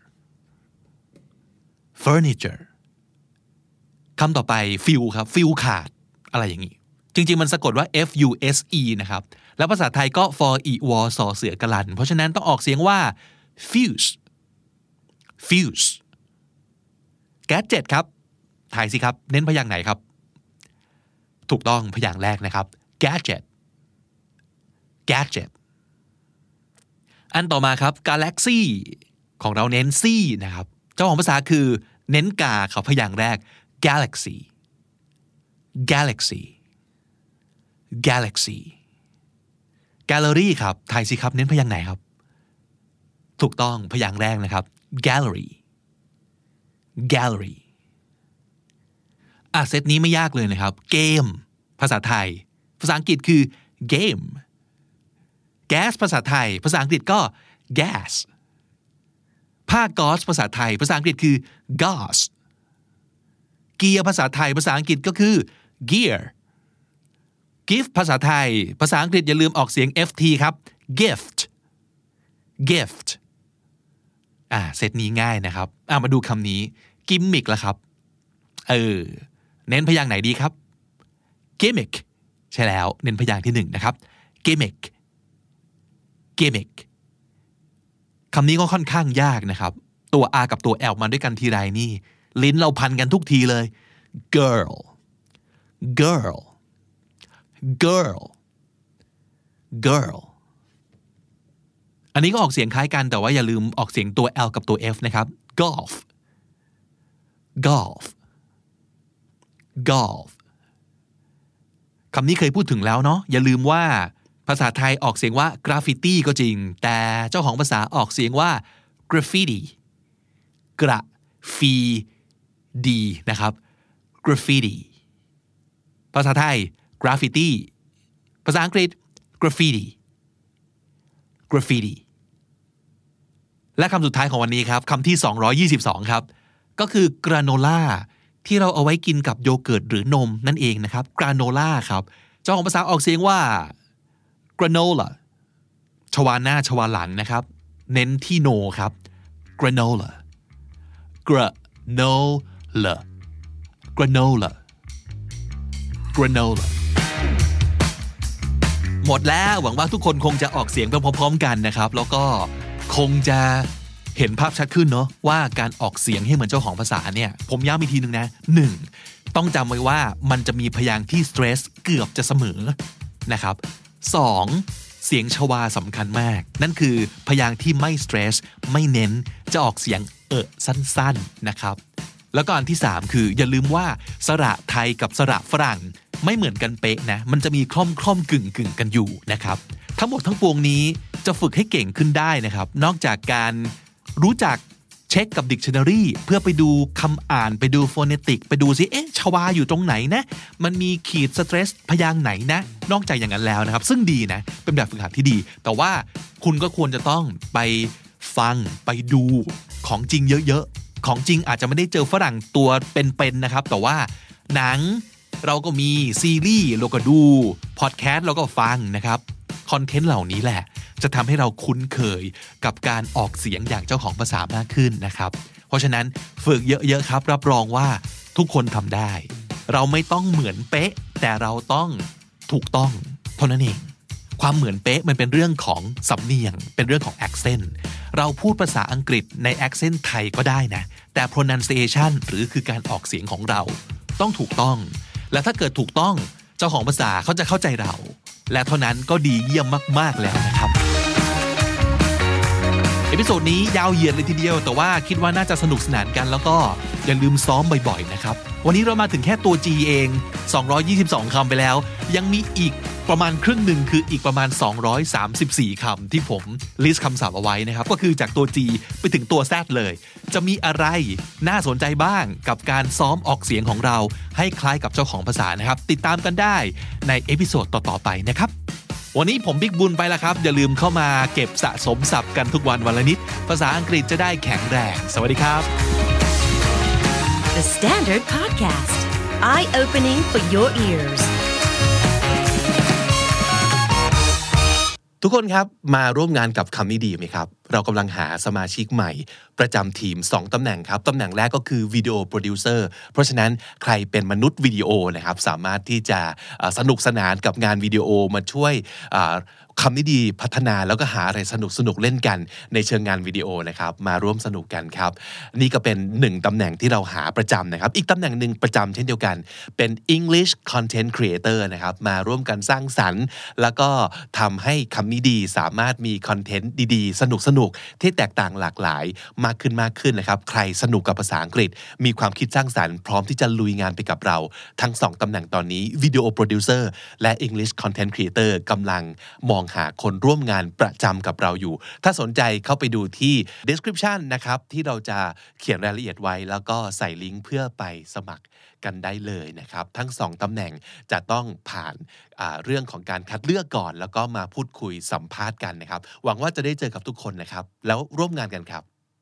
furniture คำต่อไป fill ครับ fill ขาดอะไรอย่างนี้จริงๆมันสะกดว่า f u s e นะครับแล้วภาษาไทยก็ for e w o สอเสือกลันเพราะฉะนั้นต้องออกเสียงว่า fuse fuse gadget ครับถ่ายสิครับเน้นพยางค์ไหนครับถูกต้องพยางค์แรกนะครับ gadget gadget อันต่อมาครับ galaxy ของเราเน้น c นะครับเจ้าของภาษาคือเน้นกาครับพยางค์แรก galaxy galaxy galaxy gallery ครับถ่ายสิครับเน้นพยางค์ไหนครับถูกต้องพยางค์แรกนะครับ gallery gallery อ่ะเซตนี้ไม่ยากเลยนะครับเกมภาษาไทยภาษาอังกฤษคือ game gas ภาษาไทยภาษาอังกฤษก็ gas ผ้าก๊อซภาษาไทยภาษาอังกฤษคือ gauze เกียร์ภาษาไทยภาษาอังกฤษก็คือ gear gift ภาษาไทยภาษาอังกฤษอย่าลืมออกเสียง ft ครับ gift gift อ่าเซตนี้ง่ายนะครับอ่ามาดูคำนี้ gimmick ละครับเออเน้นพยางค์ไหนดีครับ gimmick ใช่แล้วเน้นพยางค์ที่หนึ่งนะครับ gimmick gimmick คำนี้ก็ค่อนข้างยากนะครับตัว R กับตัว L มาด้วยกันทีไรนี่ลิ้นเราพันกันทุกทีเลย girl girl girl girl อันนี้ก็ออกเสียงคล้ายกันแต่ว่าอย่าลืมออกเสียงตัว L กับตัว F นะครับ golf golf golf คำนี้เคยพูดถึงแล้วเนาะอย่าลืมว่าภาษาไทยออกเสียงว่า graffiti ก็จริงแต่เจ้าของภาษาออกเสียงว่า graffiti กระฟีดีนะครับ graffiti ภาษาไทย graffiti ภาษาอังกฤษ graffiti graffiti และคำสุดท้ายของวันนี้ครับคำที่สองร้อยยี่สิบสองครับก็คือกราโนล่าที่เราเอาไว้กินกับโยเกิร์ตหรือนมนั่นเองนะครับกราโนล่าครับเจ้าของภาษาออกเสียงว่า granola ชวาหน้าชวาหลังนะครับเน้นที่โนครับ granola granola granola granola หมดแล้วหวังว่าทุกคนคงจะออกเสียงไปพร้อมๆกันนะครับแล้วก็คงจะเห็นภาพชัดขึ้นเนาะว่าการออกเสียงให้เหมือนเจ้าของภาษาเนี่ยผมย้ำอีกทีนึงนะหนึ่งต้องจำไว้ว่ามันจะมีพยางค์ที่ stress เกือบจะเสมอนะครับสองเสียงชวาสำคัญมากนั่นคือพยางค์ที่ไม่ stress ไม่เน้นจะออกเสียงเออสั้นๆนะครับแล้วก็อันที่สามคืออย่าลืมว่าสระไทยกับสระฝรั่งไม่เหมือนกันเป๊ะนะมันจะมีคล่อมคล่อมกึ่งกึ่งกันอยู่นะครับทั้งหมดทั้งปวงนี้จะฝึกให้เก่งขึ้นได้นะครับนอกจากการรู้จักเช็คกับ dictionary เพื่อไปดูคำอ่านไปดู phonetic ไปดูซิเอ๊ะชวาอยู่ตรงไหนนะมันมีขีด stress พยางค์ไหนนะนอกจากอย่างนั้นแล้วนะครับซึ่งดีนะเป็นแบบฝึกหัดที่ดีแต่ว่าคุณก็ควรจะต้องไปฟังไปดูของจริงเยอะๆของจริงอาจจะไม่ได้เจอฝรั่งตัวเป็นๆนะครับแต่ว่าหนังเราก็มีซีรีส์เราก็ดูพอดแคสต์เราก็ฟังนะครับคอนเทนต์เหล่านี้แหละจะทำให้เราคุ้นเคยกับการออกเสียงอย่างเจ้าของภาษามากขึ้นนะครับเพราะฉะนั้นฝึกเยอะๆครับรับรองว่าทุกคนทำได้เราไม่ต้องเหมือนเป๊ะแต่เราต้องถูกต้องเท่านั้นเองความเหมือนเป๊ะมันเป็นเรื่องของสำเนียงเป็นเรื่องของ accent เราพูดภาษาอังกฤษใน accent ไทยก็ได้นะแต่ pronunciation หรือคือการออกเสียงของเราต้องถูกต้องและถ้าเกิดถูกต้องเจ้าของภาษาเขาจะเข้าใจเราและเท่านั้นก็ดีเยี่ยมมากๆแล้วนะครับเอพิโซดนี้ยาวเหยียดเลยทีเดียวแต่ว่าคิดว่าน่าจะสนุกสนานกันแล้วก็อย่าลืมซ้อมบ่อยๆนะครับวันนี้เรามาถึงแค่ตัว G เองสองร้อยยี่สิบสองคำไปแล้วยังมีอีกประมาณครึ่งหนึ่งคืออีกประมาณสองร้อยสามสิบสี่คำที่ผมลิสต์คำศัพท์เอาไว้นะครับก็คือจากตัว G ไปถึงตัว Z เลยจะมีอะไรน่าสนใจบ้างกับการซ้อมออกเสียงของเราให้คล้ายกับเจ้าของภาษานะครับติดตามกันได้ในเอพิโซดต่อๆไปนะครับวันนี้ผมบิ๊กบุญไปแล้วครับอย่าลืมเข้ามาเก็บสะสมศัพท์กันทุกวันวันละนิดภาษาอังกฤษจะได้แข็งแรงสวัสดีครับ The Standard Podcast Eye-opening for your ears ทุกคนครับมาร่วมงานกับคำนี้ดีไหมครับเรากำลังหาสมาชิกใหม่ประจำทีมสองตำแหน่งครับตำแหน่งแรกก็คือวิดีโอโปรดิวเซอร์เพราะฉะนั้นใครเป็นมนุษย์วิดีโอนะครับสามารถที่จะสนุกสนานกับงานวิดีโอมาช่วยคำนี้ดีพัฒนาแล้วก็หาอะไรสนุกสนุกเล่นกันในเชิงงานวิดีโอนะครับมาร่วมสนุกกันครับนี่ก็เป็นหนึ่งตำแหน่งที่เราหาประจำนะครับอีกตำแหน่งหนึ่งประจำเช่นเดียวกันเป็น English Content Creator นะครับมาร่วมกันสร้างสรรค์แล้วก็ทำให้คำนี้ดีสามารถมีคอนเทนต์ดีๆสนุกสนุกที่แตกต่างหลากหลายมากขึ้นมากขึ้นนะครับใครสนุกกับภาษาอังกฤษมีความคิดสร้างสรรค์พร้อมที่จะลุยงานไปกับเราทั้งสองตำแหน่งตอนนี้วิดีโอโปรดิวเซอร์และ English Content Creator กำลังมองหาคนร่วมงานประจำกับเราอยู่ถ้าสนใจเข้าไปดูที่ description นะครับที่เราจะเขียนรายละเอียดไว้แล้วก็ใส่ลิงก์เพื่อไปสมัครกันได้เลยนะครับทั้งสองตำแหน่งจะต้องผ่านเรื่องของการคัดเลือกก่อนแล้วก็มาพูดคุยสัมภาษณ์กันนะครับหวังว่าจะได้เจอกับทุกคนนะครับแล้วร่วมงานกันครับ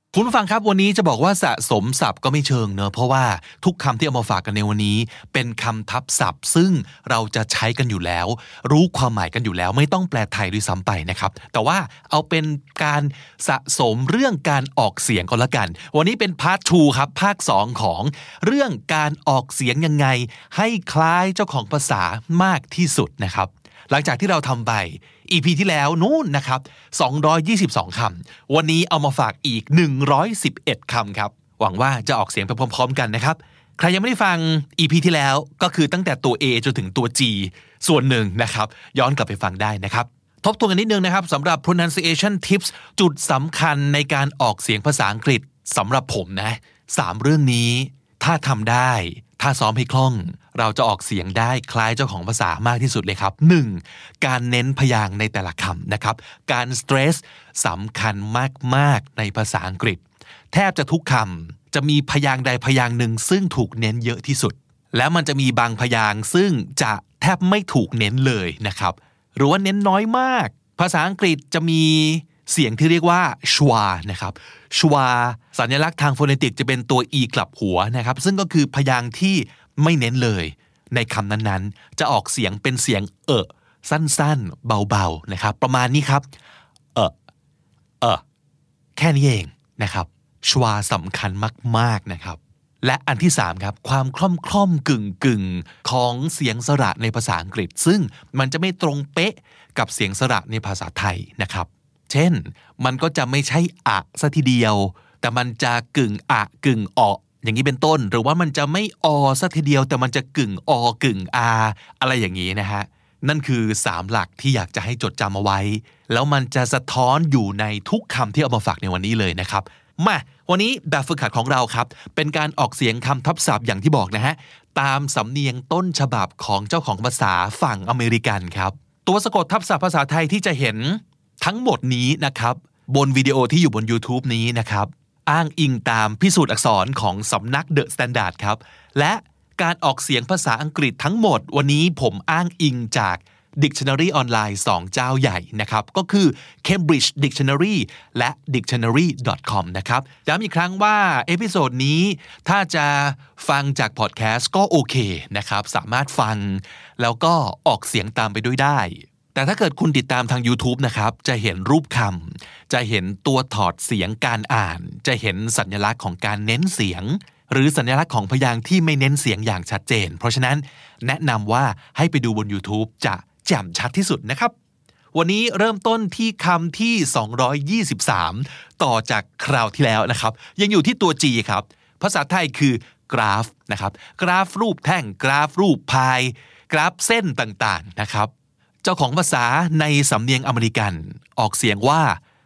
คุณผู้ฟังครับวันนี้จะบอกว่าสะสมศัพท์ก็ไม่เชิงเนอะเพราะว่าทุกคำที่เอามาฝากกันในวันนี้เป็นคำทับศัพท์ซึ่งเราจะใช้กันอยู่แล้วรู้ความหมายกันอยู่แล้วไม่ต้องแปลไทยด้วยซ้ำไปนะครับแต่ว่าเอาเป็นการสะสมเรื่องการออกเสียงก็แล้วกันวันนี้เป็นพาร์ทสองครับภาคสองของเรื่องการออกเสียงยังไงให้คล้ายเจ้าของภาษามากที่สุดนะครับหลังจากที่เราทำไป อี พี ที่แล้วนู่นนะครับสองร้อยยี่สิบสองคำวันนี้เอามาฝากอีกหนึ่งร้อยสิบเอ็ดคำครับหวังว่าจะออกเสียงไปพร้อมๆกันนะครับใครยังไม่ได้ฟัง อี พี ที่แล้วก็คือตั้งแต่ตัว A จนถึงตัว G ส่วนหนึ่งนะครับย้อนกลับไปฟังได้นะครับทบทวนกันนิดนึงนะครับสำหรับ pronunciation tips จุดสำคัญในการออกเสียงภาษาอังกฤษสำหรับผมนะสามเรื่องนี้ถ้าทำได้ถ้าซ้อมให้คล่องเราจะออกเสียงได้คล้ายเจ้าของภาษามากที่สุดเลยครับ หนึ่ง การเน้นพยางค์ในแต่ละคำนะครับการสเตรสสำคัญมากๆในภาษาอังกฤษแทบจะทุกคำจะมีพยางค์ใดพยางค์หนึ่งซึ่งถูกเน้นเยอะที่สุดแล้วมันจะมีบางพยางค์ซึ่งจะแทบไม่ถูกเน้นเลยนะครับหรือว่าเน้นน้อยมากภาษาอังกฤษจะมีเสียงที่เรียกว่าชวานะครับชวาสัญลักษณ์ทางโฟเนติกจะเป็นตัว e กลับหัวนะครับซึ่งก็คือพยางค์ที่ไม่เน้นเลยในคำนั้นๆจะออกเสียงเป็นเสียงเอะสั้นๆเบาๆนะครับประมาณนี้ครับเอะเอะแค่นี้เองนะครับชวาสำคัญมากๆนะครับและอันที่สามครับความคล่อมคล่อมกึ่งกึ่งของเสียงสระในภาษาอังกฤษซึ่งมันจะไม่ตรงเป๊ะกับเสียงสระในภาษาไทยนะครับเช่นมันก็จะไม่ใช่อะซะทีเดียวแต่มันจะกึ่งอะกึ่งอออย่างนี้เป็นต้นหรือว่ามันจะไม่อซะทีเดียวแต่มันจะกึ่งอกึ่งอาอะไรอย่างนี้นะฮะนั่นคือสามหลักที่อยากจะให้จดจำเอาไว้แล้วมันจะสะท้อนอยู่ในทุกคำที่เอามาฝากในวันนี้เลยนะครับมาวันนี้แบบฝึกหัดของเราครับเป็นการออกเสียงคำทับศัพท์อย่างที่บอกนะฮะตามสำเนียงต้นฉบับของเจ้าของภาษาฝั่งอเมริกันครับตัวสะกดทับศัพท์ภาษาไทยที่จะเห็นทั้งหมดนี้นะครับบนวิดีโอที่อยู่บน YouTube นี้นะครับอ้างอิงตามพิสูจน์อักษรของสำนัก The Standard ครับและการออกเสียงภาษาอังกฤษทั้งหมดวันนี้ผมอ้างอิงจาก Dictionary ออนไลน์สองเจ้าใหญ่นะครับก็คือ Cambridge Dictionary และ ดิกชันนารี ดอท คอม นะครับย้ำอีกครั้งว่าเอพิโซดนี้ถ้าจะฟังจากพอดแคสต์ก็โอเคนะครับสามารถฟังแล้วก็ออกเสียงตามไปด้วยได้แต่ถ้าเกิดคุณติดตามทาง YouTube นะครับจะเห็นรูปคำจะเห็นตัวถอดเสียงการอ่านจะเห็นสัญลักษณ์ของการเน้นเสียงหรือสัญลักษณ์ของพยางค์ที่ไม่เน้นเสียงอย่างชัดเจนเพราะฉะนั้นแนะนำว่าให้ไปดูบน YouTube จะแจ่มชัดที่สุดนะครับวันนี้เริ่มต้นที่คำที่สองร้อยยี่สิบสามต่อจากคราวที่แล้วนะครับยังอยู่ที่ตัว G ครับภาษาไทยคือกราฟนะครับกราฟรูปแท่งกราฟรูปพายกราฟเส้นต่างๆนะครับเจ้าของภาษาในสำเนียงอเมริกันออกเสียงว่า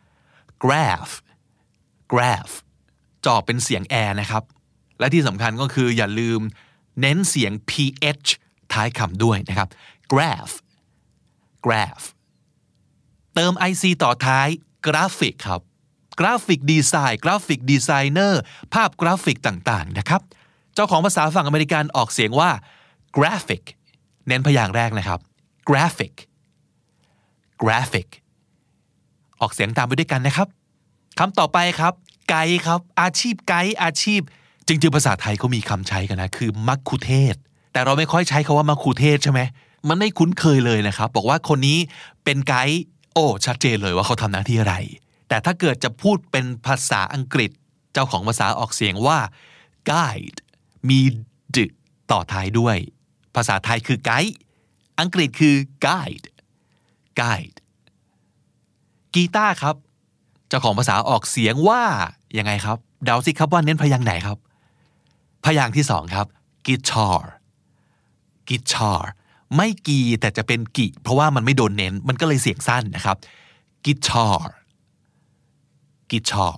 graph graph จะออกเป็นเสียงแอนะครับและที่สำคัญก็คืออย่าลืมเน้นเสียง ph ท้ายคำด้วยนะครับ graph graph เติม ic ต่อท้ายกราฟิกครับกราฟิกดีไซน์กราฟิกดีไซเนอร์ภาพกราฟิกต่างๆนะครับเจ้าของภาษาฝั่งอเมริกันออกเสียงว่า graphic เน้นพยางค์แรกนะครับ graphic graphic ออกเสียงตามไปด้วยกันนะครับคำต่อไปครับไกด์ครับอาชีพไกด์อาชีพจริงๆภาษาไทยเขามีคำใช้กันนะคือมัคคุเทศก์แต่เราไม่ค่อยใช้คำว่ามัคคุเทศก์ใช่ไหมมันไม่คุ้นเคยเลยนะครับบอกว่าคนนี้เป็นไกด์โอ้ชัดเจนเลยว่าเขาทำหน้าที่อะไรแต่ถ้าเกิดจะพูดเป็นภาษาอังกฤษเจ้าของภาษาออกเสียงว่า guide มีดต่อท้ายด้วยภาษาไทยคือไกด์อังกฤษคือ guide guide กีตาร์ครับเจ้าของภาษาออกเสียงว่ายังไงครับเดาสิครับว่าเน้นพยางค์ไหนครับพยางค์ที่สองครับ guitar guitar ไม่กีแต่จะเป็นกิเพราะว่ามันไม่โดนเน้นมันก็เลยเสียงสั้นนะครับ guitar guitar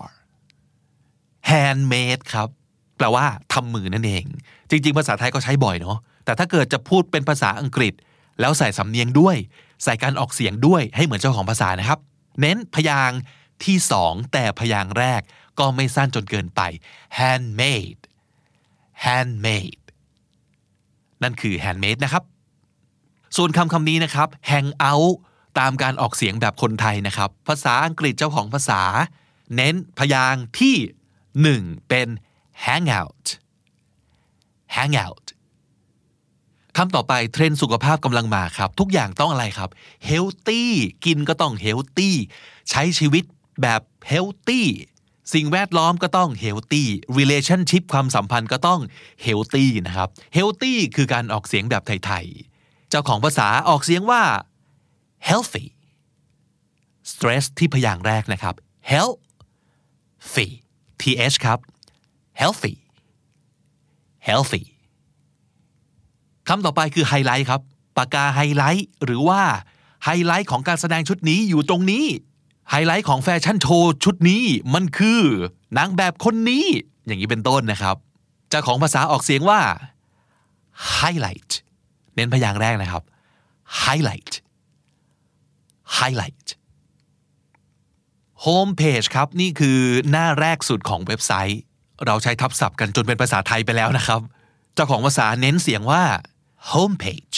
handmade ครับแปลว่าทำมือนั่นเองจริงๆภาษาไทยก็ใช้บ่อยเนาะแต่ถ้าเกิดจะพูดเป็นภาษาอังกฤษแล้วใส่สำเนียงด้วยใส่การออกเสียงด้วยให้เหมือนเจ้าของภาษานะครับเน้นพยางค์ที่สองแต่พยางค์แรกก็ไม่สั้นจนเกินไป handmade handmade นั่นคือ handmade นะครับส่วนคำคำนี้นะครับ hang out ตามการออกเสียงแบบคนไทยนะครับภาษาอังกฤษเจ้าของภาษาเน้นพยางค์ที่หนึ่งเป็น hang out hang out คำต่อไปเทรนด์สุขภาพกำลังมาครับทุกอย่างต้องอะไรครับ healthy กินก็ต้อง healthy ใช้ชีวิตแบบ healthy สิ่งแวดล้อมก็ต้อง healthy relationship ความสัมพันธ์ก็ต้อง healthy นะครับ healthy คือการออกเสียงแบบไทยๆเจ้าของภาษาออกเสียงว่า healthy stress ที่พยางค์แรกนะครับ healthy th ครับ healthy healthy คำต่อไปคือไฮไลท์ครับปากกาไฮไลท์หรือว่าไฮไลท์ของการแสดงชุดนี้อยู่ตรงนี้ไฮไลท์ของแฟชั่นโชว์ชุดนี้มันคือนางแบบคนนี้อย่างนี้เป็นต้นนะครับเจ้าของภาษาออกเสียงว่า highlight เน้นพยางค์แรกนะครับ highlight highlight home page ครับนี่คือหน้าแรกสุดของเว็บไซต์เราใช้ทับศัพท์กันจนเป็นภาษาไทยไปแล้วนะครับเจ้าของภาษาเน้นเสียงว่า home page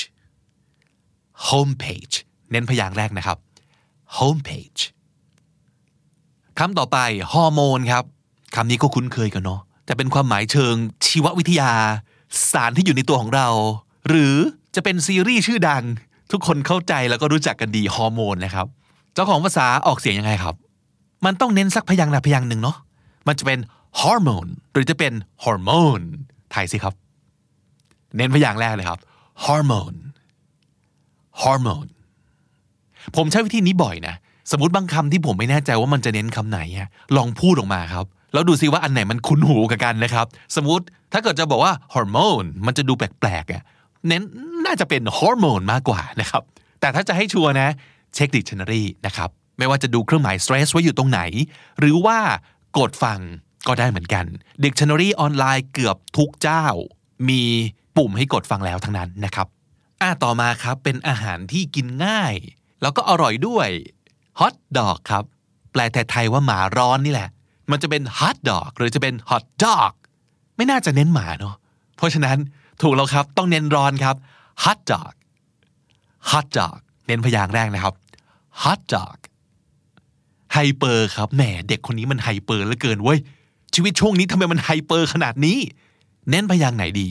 home page เน้นพยางค์แรกนะครับ home page คำต่อไปฮอร์โมนครับคำนี้ก็คุ้นเคยกันเนาะแต่เป็นความหมายเชิงชีววิทยาสารที่อยู่ในตัวของเราหรือจะเป็นซีรีส์ชื่อดังทุกคนเข้าใจแล้วก็รู้จักกันดีฮอร์โมนนะครับเจ้าของภาษาออกเสียงยังไงครับมันต้องเน้นสักพยางค์ใดพยางค์หนึ่งเนาะมันจะเป็นฮอร์โมนหรือจะเป็นฮอร์โมนไทยสิครับเน้นพยางค์แรกเลยครับฮอร์โมนฮอร์โมนผมใช้วิธีนี้บ่อยนะสมมติบางคำที่ผมไม่แน่ใจว่ามันจะเน้นคำไหนลองพูดออกมาครับแล้วดูซิว่าอันไหนมันคุ้นหูกับกันนะครับสมมติถ้าเกิดจะบอกว่าฮอร์โมนมันจะดูแปลกๆอ่ะเน้นน่าจะเป็นฮอร์โมนมากกว่านะครับแต่ถ้าจะให้ชัวร์นะเช็ค dictionary นะครับไม่ว่าจะดูเครื่องหมาย stress ไว้อยู่ตรงไหนหรือว่ากดฟังก็ได้เหมือนกัน dictionary ออนไลน์เกือบทุกเจ้ามีปุ่มให้กดฟังแล้วทั้งนั้นนะครับอ่ะต่อมาครับเป็นอาหารที่กินง่ายแล้วก็อร่อยด้วย hot dog ครับแปลไทยๆว่าหมาร้อนนี่แหละมันจะเป็น hot dog หรือจะเป็น hot dog ไม่น่าจะเน้นหมาเนาะเพราะฉะนั้นถูกแล้วครับต้องเน้นร้อนครับ hot dog hot dog เน้นพยางค์แรกนะครับ hot dog ไฮเปอร์ครับแหมเด็กคนนี้มันไฮเปอร์เหลือเกินเว้ยชีวิตช่วงนี้ทำไมมันไฮเปอร์ขนาดนี้เน้นพยางค์ไหนดี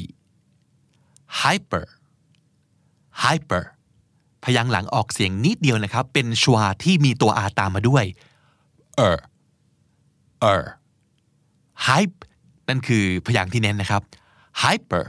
hyper hyper พยางค์หลังออกเสียงนิดเดียวนะครับเป็นชวาที่มีตัว r ตามมาด้วย er er hype นั่นคือพยางค์ที่เน้นนะครับ hyper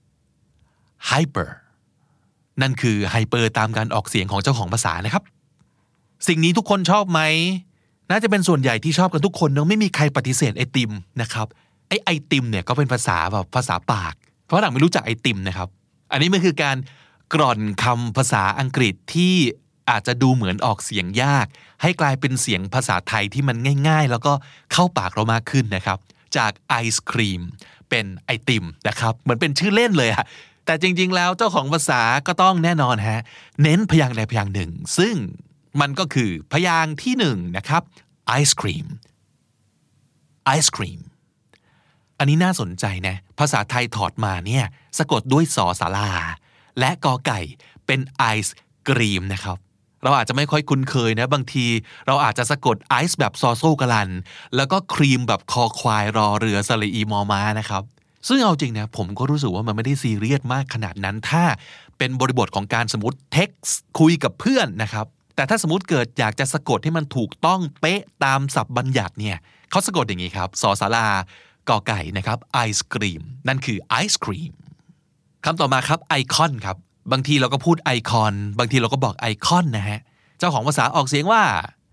hyper นั่นคือไฮเปอร์ตามการออกเสียงของเจ้าของภาษานะครับสิ่งนี้ทุกคนชอบไหมน่าจะเป็นส่วนใหญ่ที่ชอบกันทุกคนเนอะไม่มีใครปฏิเสธไอติมนะครับไอไอติมเนี่ยก็เป็นภาษาแบบภาษาปากเพราะหลังไม่รู้จักไอติมนะครับอันนี้มันคือการกร่อนคำภาษาอังกฤษที่อาจจะดูเหมือนออกเสียงยากให้กลายเป็นเสียงภาษาไทยที่มันง่ายๆแล้วก็เข้าปากเรามากขึ้นนะครับจากไอศครีมเป็นไอติมนะครับเหมือนเป็นชื่อเล่นเลยอะแต่จริงๆแล้วเจ้าของภาษาก็ต้องแน่นอนฮะเน้นพยางค์ใดพยางค์หนึ่งซึ่งมันก็คือพยางค์ที่หนึ่งนะครับไอศครีมไอศครีมอันนี้น่าสนใจนะภาษาไทยถอดมาเนี่ยสะกดด้วยสอสาราและกอไก่เป็นไอศกรีมนะครับเราอาจจะไม่ค่อยคุ้นเคยนะบางทีเราอาจจะสะกดไอซ์แบบซอโซกะลันแล้วก็ครีมแบบคอควายรอเรือสระอีมอม้านะครับซึ่งเอาจริงนะผมก็รู้สึกว่ามันไม่ได้ซีเรียสมากขนาดนั้นถ้าเป็นบริบทของการสมมติเท็กซ์คุยกับเพื่อนนะครับแต่ถ้าสมมติเกิดอยากจะสะกดให้มันถูกต้องเป๊ะตามศัพท์บัญญัติเนี่ยเขาสะกดอย่างนี้ครับสอสารากอไก่นะครับไอศกรีมนั่นคือไอศกรีมคำต่อมาครับไอคอนครับบางทีเราก็พูดไอคอนบางทีเราก็บอกไอคอนนะฮะเจ้าของภาษาออกเสียงว่า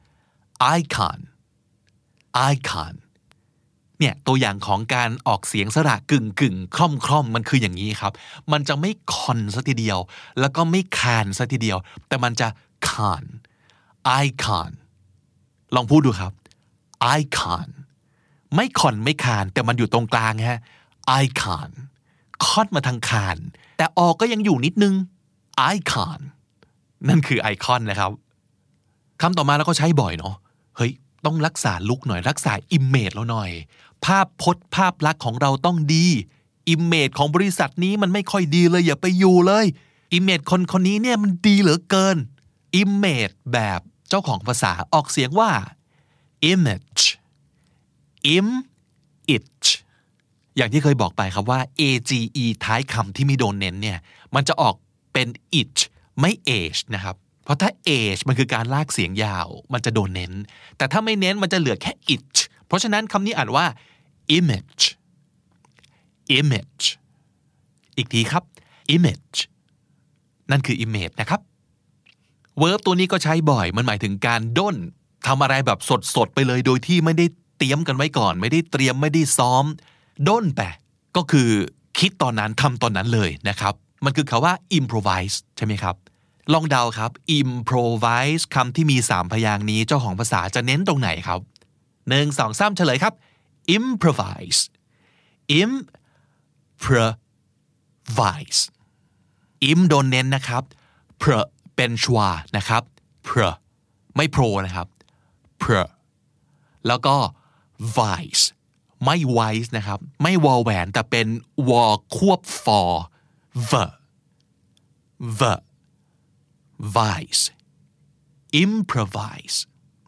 icon icon เนี่ยตัวอย่างของการออกเสียงสระกึ่งกึ่งคล่อมคล่อมมันคืออย่างนี้ครับมันจะไม่คอนซะทีเดียวแล้วก็ไม่คานซะทีเดียวแต่มันจะคาน icon ลองพูดดูครับ icon ไม่คอนไม่คานแต่มันอยู่ตรงกลางฮะ icon คอนมาทางคานแต่ออกก็ยังอยู่นิดนึง icon นั่นคือไอคอนนะครับคำต่อมาแล้วก็ใช้บ่อยเนาะเฮ้ยต้องรักษาลุคหน่อยรักษาอิมเมจเราหน่อยภาพพจน์ภาพลักษณ์ของเราต้องดีอิมเมจของบริษัทนี้มันไม่ค่อยดีเลยอย่าไปอยู่เลยอิมเมจคนคนนี้เนี่ยมันดีเหลือเกินอิมเมจแบบเจ้าของภาษาออกเสียงว่า image im it อย่างที่เคยบอกไปครับว่า age ท้ายคำที่ไม่โดนเน้นเนี่ยมันจะออกเป็น it ไม่ age นะครับเพราะถ้า age มันคือการลากเสียงยาวมันจะโดนเน้นแต่ถ้าไม่เน้นมันจะเหลือแค่ it เพราะฉะนั้นคำนี้อ่านว่า image image อีกทีครับ image นั่นคือ image นะครับ verb ตัวนี้ก็ใช้บ่อยมันหมายถึงการด้นทำอะไรแบบสดๆไปเลยโดยที่ไม่ได้เตรียมกันไว้ก่อนไม่ได้เตรียมไม่ได้ซ้อมด้นไปก็คือคิดตอนนั้นทำตอนนั้นเลยนะครับมันคือคำว่า improvise ใช่ไหมครับลองเดาครับ improvise คำที่มีสามพยางค์นี้เจ้าของภาษาจะเน้นตรงไหนครับหนึ่ง สอง สามเฉลยครับ improvise improvise im โดนเน้นนะครับ pro เป็นชวานะครับ pro ไม่ pro นะครับ pro แล้วก็ vice ไม่ vice นะครับไม่วอแหวนแต่เป็นวอควบ for the the vice improvise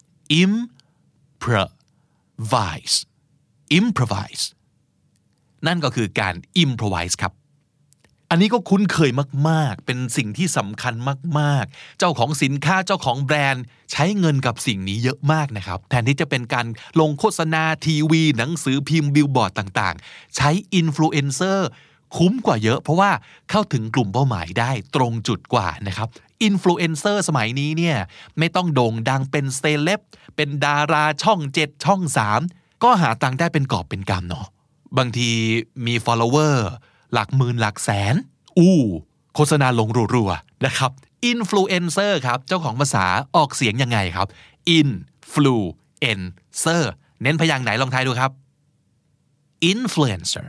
improvise improvise นั่นก็คือการ improvise ครับอันนี้ก็คุ้นเคยมากๆเป็นสิ่งที่สำคัญมากๆเจ้าของสินค้าเจ้าของแบรนด์ใช้เงินกับสิ่งนี้เยอะมากนะครับแทนที่จะเป็นการลงโฆษณาทีวีหนังสือพิมพ์บิลบอร์ดต่างๆใช้อินฟลูเอนเซอร์คุ้มกว่าเยอะเพราะว่าเข้าถึงกลุ่มเป้าหมายได้ตรงจุดกว่านะครับอินฟลูเอนเซอร์สมัยนี้เนี่ยไม่ต้องโด่งดังเป็นเซเลบเป็นดาราช่องเจ็ดช่องสามก็หาตังค์ได้เป็นกอบเป็นกำเนาะบางทีมี follower หลักหมื่นหลักแสนอู้โฆษณาลงรัวๆนะครับอินฟลูเอนเซอร์ครับเจ้าของภาษาออกเสียงยังไงครับอินฟลูเอนเซอร์เน้นพยางค์ไหนลองทายดูครับ influencer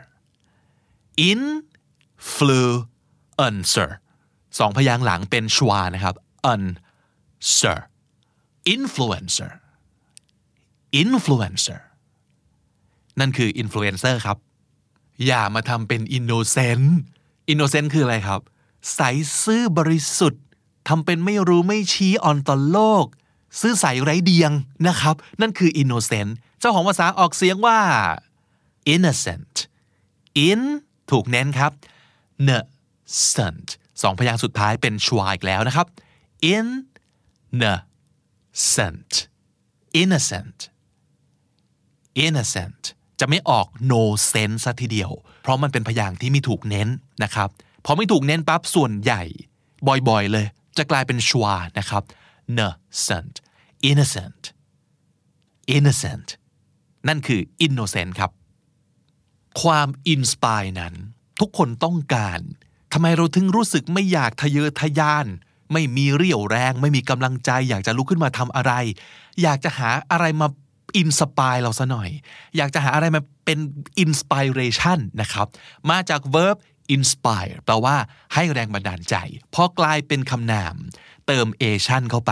influencer สองพยางค์หลังเป็นชวานะครับ unser influencer influencer นั่นคือ influencer ครับอย่ามาทำเป็น innocent innocent คืออะไรครับใสซื่อบริสุทธิ์ทำเป็นไม่รู้ไม่ชี้อ่อนต่อโลกซื่อใสไร้เดียงนะครับนั่นคือ innocent เจ้าของภาษาออกเสียงว่า innocent in ถูกเน้นครับ innocent สองพยางค์สุดท้ายเป็นชวาอีกแล้วนะครับ innocent innocent innocent จะไม่ออก no sense ซะทีเดียวเพราะมันเป็นพยางค์ที่ไม่ถูกเน้นนะครับพอไม่ถูกเน้นปั๊บส่วนใหญ่บ่อยๆเลยจะกลายเป็นชวานะครับ innocent innocent innocent นั่นคือ innocent ครับความ inspire นั้นทุกคนต้องการทำไมเราถึงรู้สึกไม่อยากทะเยอทะยานไม่มีเรี่ยวแรงไม่มีกำลังใจอยากจะลุกขึ้นมาทำอะไรอยากจะหาอะไรมาอินสปายเราซะหน่อยอยากจะหาอะไรมาเป็น inspiration นะครับมาจาก verb inspire แปลว่าให้แรงบันดาลใจพอกลายเป็นคำนามเติม ation เข้าไป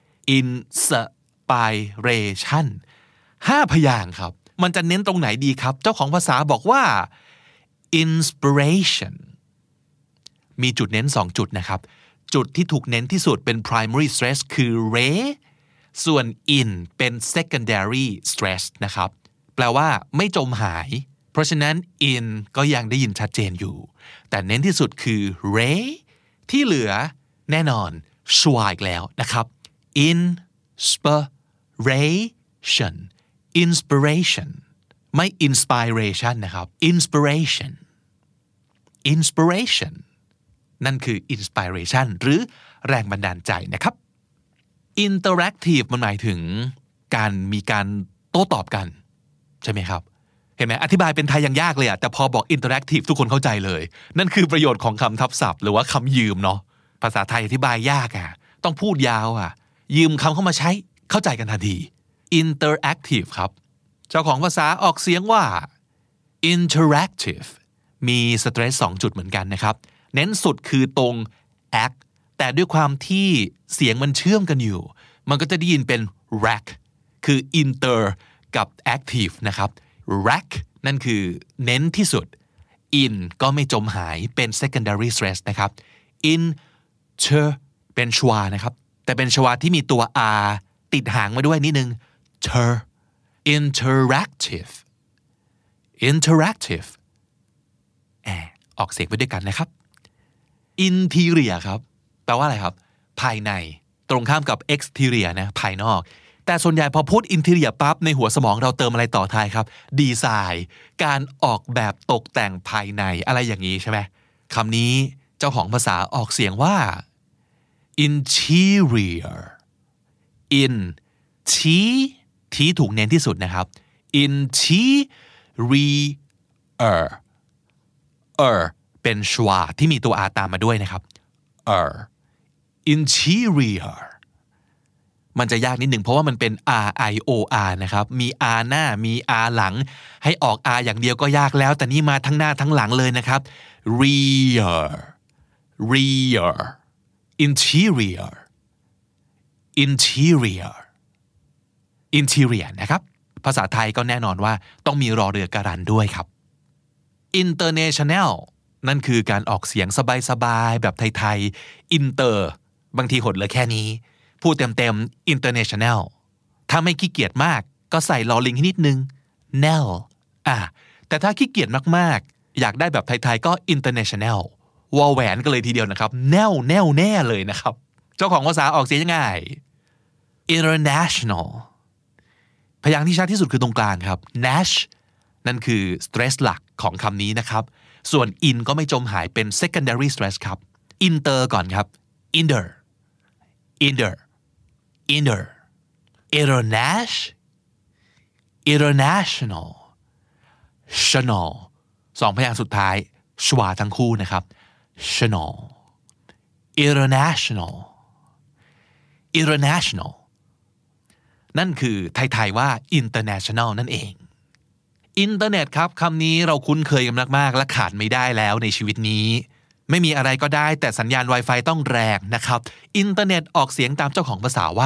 inspiration ห้าพยางค์ครับมันจะเน้นตรงไหนดีครับเจ้าของภาษาบอกว่า inspiration มีจุดเน้นสองจุดนะครับจุดที่ถูกเน้นที่สุดเป็น primary stress คือ re ส่วน in เป็น secondary stress นะครับแปลว่าไม่จมหายเพราะฉะนั้น in ก็ยังได้ยินชัดเจนอยู่แต่เน้นที่สุดคือ re ที่เหลือแน่นอนชัวร์อีกแล้วนะครับ inspiration inspiration ไม่ inspiration นะครับ inspiration inspiration นั่นคือ inspiration หรือแรงบันดาลใจนะครับ interactive มันหมายถึงการมีการโต้ตอบกันใช่ไหมครับเห็นไหมอธิบายเป็นไทยยังยากเลยอะแต่พอบอก interactive ทุกคนเข้าใจเลยนั่นคือประโยชน์ของคำทับศัพท์หรือว่าคำยืมเนาะภาษาไทยอธิบายยากอะต้องพูดยาวอะยืมคำเข้ามาใช้เข้าใจกันทันที interactive ครับเจ้าของภาษาออกเสียงว่า interactive มีสเตรสสองจุดเหมือนกันนะครับเน้นสุดคือตรง act แต่ด้วยความที่เสียงมันเชื่อมกันอยู่มันก็จะได้ยินเป็น rack คือ inter กับ active นะครับ rack นั่นคือเน้นที่สุด in ก็ไม่จมหายเป็น secondary stress นะครับ inter เป็นชวานะครับแต่เป็นชวาที่มีตัว r ติดหางมาด้วยนิดนึง ter interactive interactive แอบออกเสียงไปด้วยกันนะครับ interior ครับแปลว่าอะไรครับภายในตรงข้ามกับ exterior นะภายนอกแต่ส่วนใหญ่พอพูด interior ปั๊บในหัวสมองเราเติมอะไรต่อท้ายครับดีไซน์การออกแบบตกแต่งภายในอะไรอย่างนี้ใช่ไหมคำนี้เจ้าของภาษาออกเสียงว่า interior in ทีทีถูกเน้นที่สุดนะครับ interior er เป็นชวาที่มีตัว r ตามมาด้วยนะครับ er interior มันจะยากนิดหนึ่งเพราะว่ามันเป็น r i o r นะครับมี r หน้ามี r หลังให้ออก r อย่างเดียวก็ยากแล้วแต่นี่มาทั้งหน้าทั้งหลังเลยนะครับ rear rear interior interior interior นะครับภาษาไทยก็แน่นอนว่าต้องมีรอเรือการันด้วยครับ international นั่นคือการออกเสียงสบายๆแบบไทยๆ inter บางทีหดเหลือแค่นี้พูดเต็มๆ international ถ้าไม่ขี้เกียจมากก็ใส่ลอลิงให้นิดนึง nel อ่ะแต่ถ้าขี้เกียจมากๆอยากได้แบบไทยๆก็ international วอลแหวนก็เลยทีเดียวนะครับแน่วแน่วแน่เลยนะครับเจ้าของภาษาออกเสียงยังไง international พยางค์ที่ชัดที่สุดคือตรงกลางครับ nash นั่นคือ stress หลักของคำนี้นะครับส่วน in ก็ไม่จมหายเป็น secondary stress ครับ inter ก่อนครับ inter inter inter international international chanel สองพยางค์สุดท้ายชวาทั้งคู่นะครับ chanel international international นั่นคือไทยๆว่า international นั่นเองอินเทอร์เน็ตครับคำนี้เราคุ้นเคยกันมากๆและขาดไม่ได้แล้วในชีวิตนี้ไม่มีอะไรก็ได้แต่สัญญาณ Wi-Fi ต้องแรงนะครับอินเทอร์เน็ตออกเสียงตามเจ้าของภาษาว่า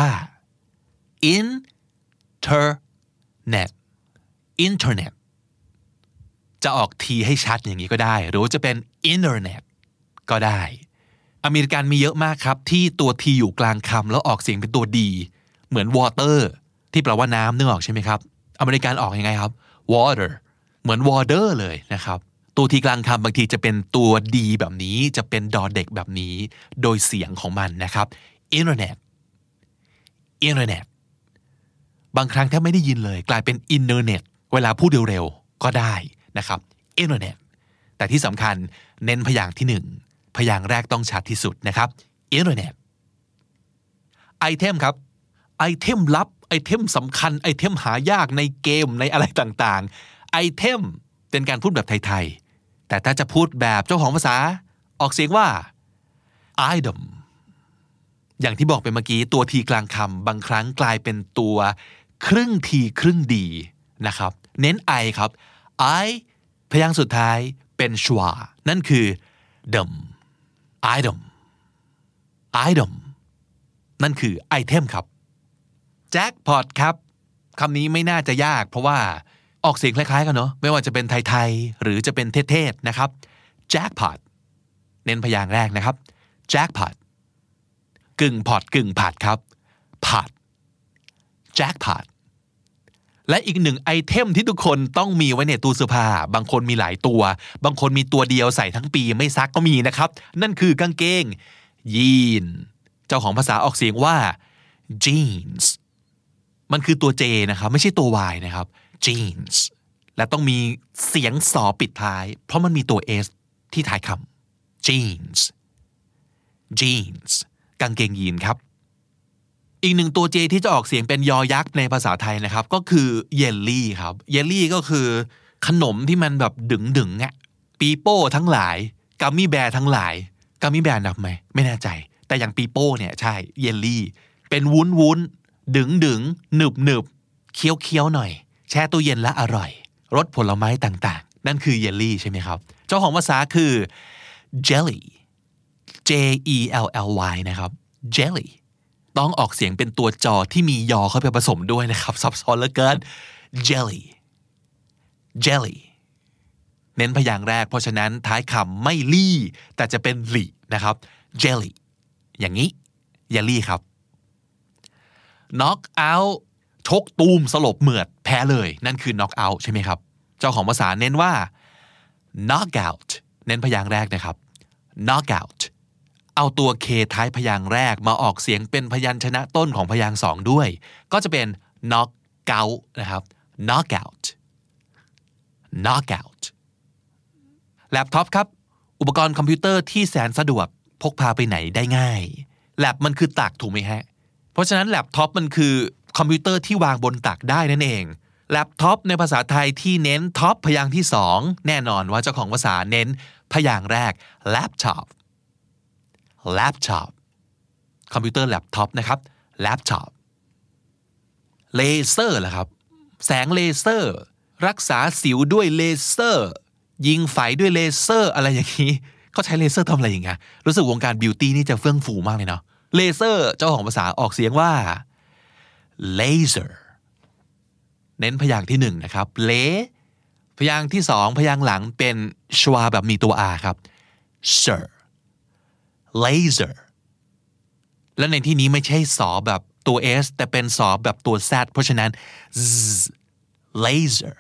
internet internet จะออกทีให้ชัดอย่างนี้ก็ได้หรือว่าจะเป็น internet ก็ได้อเมริกันมีเยอะมากครับที่ตัวทีอยู่กลางคำแล้วออกเสียงเป็นตัวดีเหมือน water ที่แปลว่าน้ำนึกออกใช่ไหมครับอเมริกันออกยังไงครับ water เหมือน water เลยนะครับตัวทีกลางคำบางทีจะเป็นตัวดีแบบนี้จะเป็นดอเด็กแบบนี้โดยเสียงของมันนะครับ internet internet บางครั้งถ้าไม่ได้ยินเลยกลายเป็น internet เวลาพูดเร็วๆก็ได้นะครับ internet แต่ที่สำคัญเน้นพยางค์ที่หนึ่งพยางค์แรกต้องชัดที่สุดนะครับ internet ไอเทมครับไอเทมลับไอเทมสำคัญไอเทมหายากในเกมในอะไรต่างๆไอเทมเป็นการพูดแบบไทยๆแต่ถ้าจะพูดแบบเจ้าของภาษาออกเสียงว่า item อย่างที่บอกไปเมื่อกี้ตัวทีกลางคำบางครั้งกลายเป็นตัวครึ่งทีครึ่งดีนะครับเน้น I ครับ I พยางค์สุดท้ายเป็นชวานั่นคือ dom item item นั่นคือไอเทมครับ jackpot ครับคำนี้ไม่น่าจะยากเพราะว่าออกเสียงคล้ายๆกันเนาะไม่ว่าจะเป็นไทยๆหรือจะเป็นเทศๆนะครับ jackpot เน้นพยางค์แรกนะครับ jackpot กึ่งพอตกึ่งผัดครับ pot jackpot และอีกหนึ่งไอเทมที่ทุกคนต้องมีไว้ในตู้เสื้อผ้าบางคนมีหลายตัวบางคนมีตัวเดียวใส่ทั้งปีไม่ซักก็มีนะครับนั่นคือกางเกงยีนเจ้าของภาษาออกเสียงว่า jeans มันคือตัว J นะครับไม่ใช่ตัว Y นะครับ jeans และต้องมีเสียงสอปิดท้ายเพราะมันมีตัว S ที่ท้ายคำ jeans jeans กางเกงยีนครับอีกหนึ่งตัว J ที่จะออกเสียงเป็นยอยักษ์ในภาษาไทยนะครับก็คือเยลลี่ครับเยลลี่ก็คือขนมที่มันแบบดึงๆอ่ะปีโป้ทั้งหลายกัมมี่แบร์ทั้งหลายกัมมี่แบร์นับไหมไม่แน่ใจแต่อย่างปีโป้เนี่ยใช่เยลลี่เป็นวุ้นวุ้นดึงดึงหนึบหนึบเคี้ยวเคี้ยวหน่อยแช่ตู้เย็นและอร่อยรสผลไม้ต่างๆนั่นคือเยลลี่ใช่ไหมครับเจ้าของภาษาคือ jelly J E L L Y นะครับ jelly ต้องออกเสียงเป็นตัวจอที่มียอเข้าไปผสมด้วยนะครับซับซ้อนเหลือเกิน jelly jelly เน้นพยางค์แรกเพราะฉะนั้นท้ายคำไม่ลี่แต่จะเป็นหลี่นะครับ jelly อย่างนี้เยลลี่ครับ knock out ชกตูมสลบเหมือดแพ้เลยนั่นคือ knock out ใช่ไหมครับเจ้าของภาษาเน้นว่า knock out เน้นพยางค์แรกนะครับ knock out เอาตัว K ท้ายพยางค์แรกมาออกเสียงเป็นพยัญชนะต้นของพยางค์สองด้วยก็จะเป็น knock out นะครับ knock out knock out แล็ปท็อปครับอุปกรณ์คอมพิวเตอร์ที่แสนสะดวกพกพาไปไหนได้ง่ายแล็ปมันคือตักถูกไหมฮะเพราะฉะนั้นแล็ปท็อปมันคือคอมพิวเตอร์ที่วางบนตักได้นั่นเองแล็ปท็อปในภาษาไทยที่เน้นท็อปพยางค์ที่สองแน่นอนว่าเจ้าของภาษาเน้นพยางค์แรก laptop laptop คอมพิวเตอร์แล็ปท็อปนะครับ laptop เลเซอร์ล่ะครับแสงเลเซอร์รักษาสิวด้วยเลเซอร์ยิงไฝด้วยเลเซอร์อะไรอย่างนี้เขาใช้เลเซอร์ทำอะไรอย่างเงี้ยรู้สึกวงการบิวตี้นี่จะเฟื่องฟูมากเลยเนาะเลเซอร์เจ้าของภาษาออกเสียงว่า laser เน้นพยางค์ที่หนึ่งนะครับเลพยางค์ที่สองพยางค์หลังเป็นชวาแบบมีตัว r ครับ sir laser และในที่นี้ไม่ใช่สอแบบตัว s แต่เป็นสอแบบตัว z เพราะฉะนั้น z laser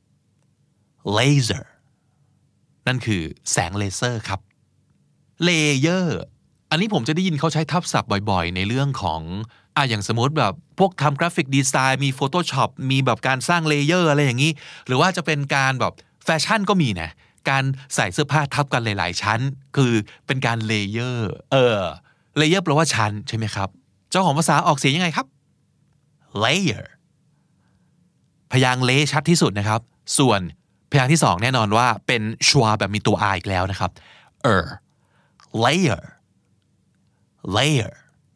laser นั่นคือแสงเลเซอร์ครับเลเยอร์อันนี้ผมจะได้ยินเขาใช้ทับศัพท์บ่อยๆในเรื่องของอ่ะอย่างสมมติแบบพวกทำกราฟิกดีไซน์มี Photoshop มีแบบการสร้างเลเยอร์อะไรอย่างนี้หรือว่าจะเป็นการแบบแฟชั่นก็มีนะการใส่เสื้อผ้าทับกันหลายๆชั้นคือเป็นการเลเยอร์เออเลเยอร์แปลว่าชั้นใช่ไหมครับเจ้าของภาษาออกเสียงยังไงครับ layer พยางค์เลชัดที่สุดนะครับส่วนพยางค์ที่สองแน่นอนว่าเป็นชวาแบบมีตัว r อีกแล้วนะครับ er layer layer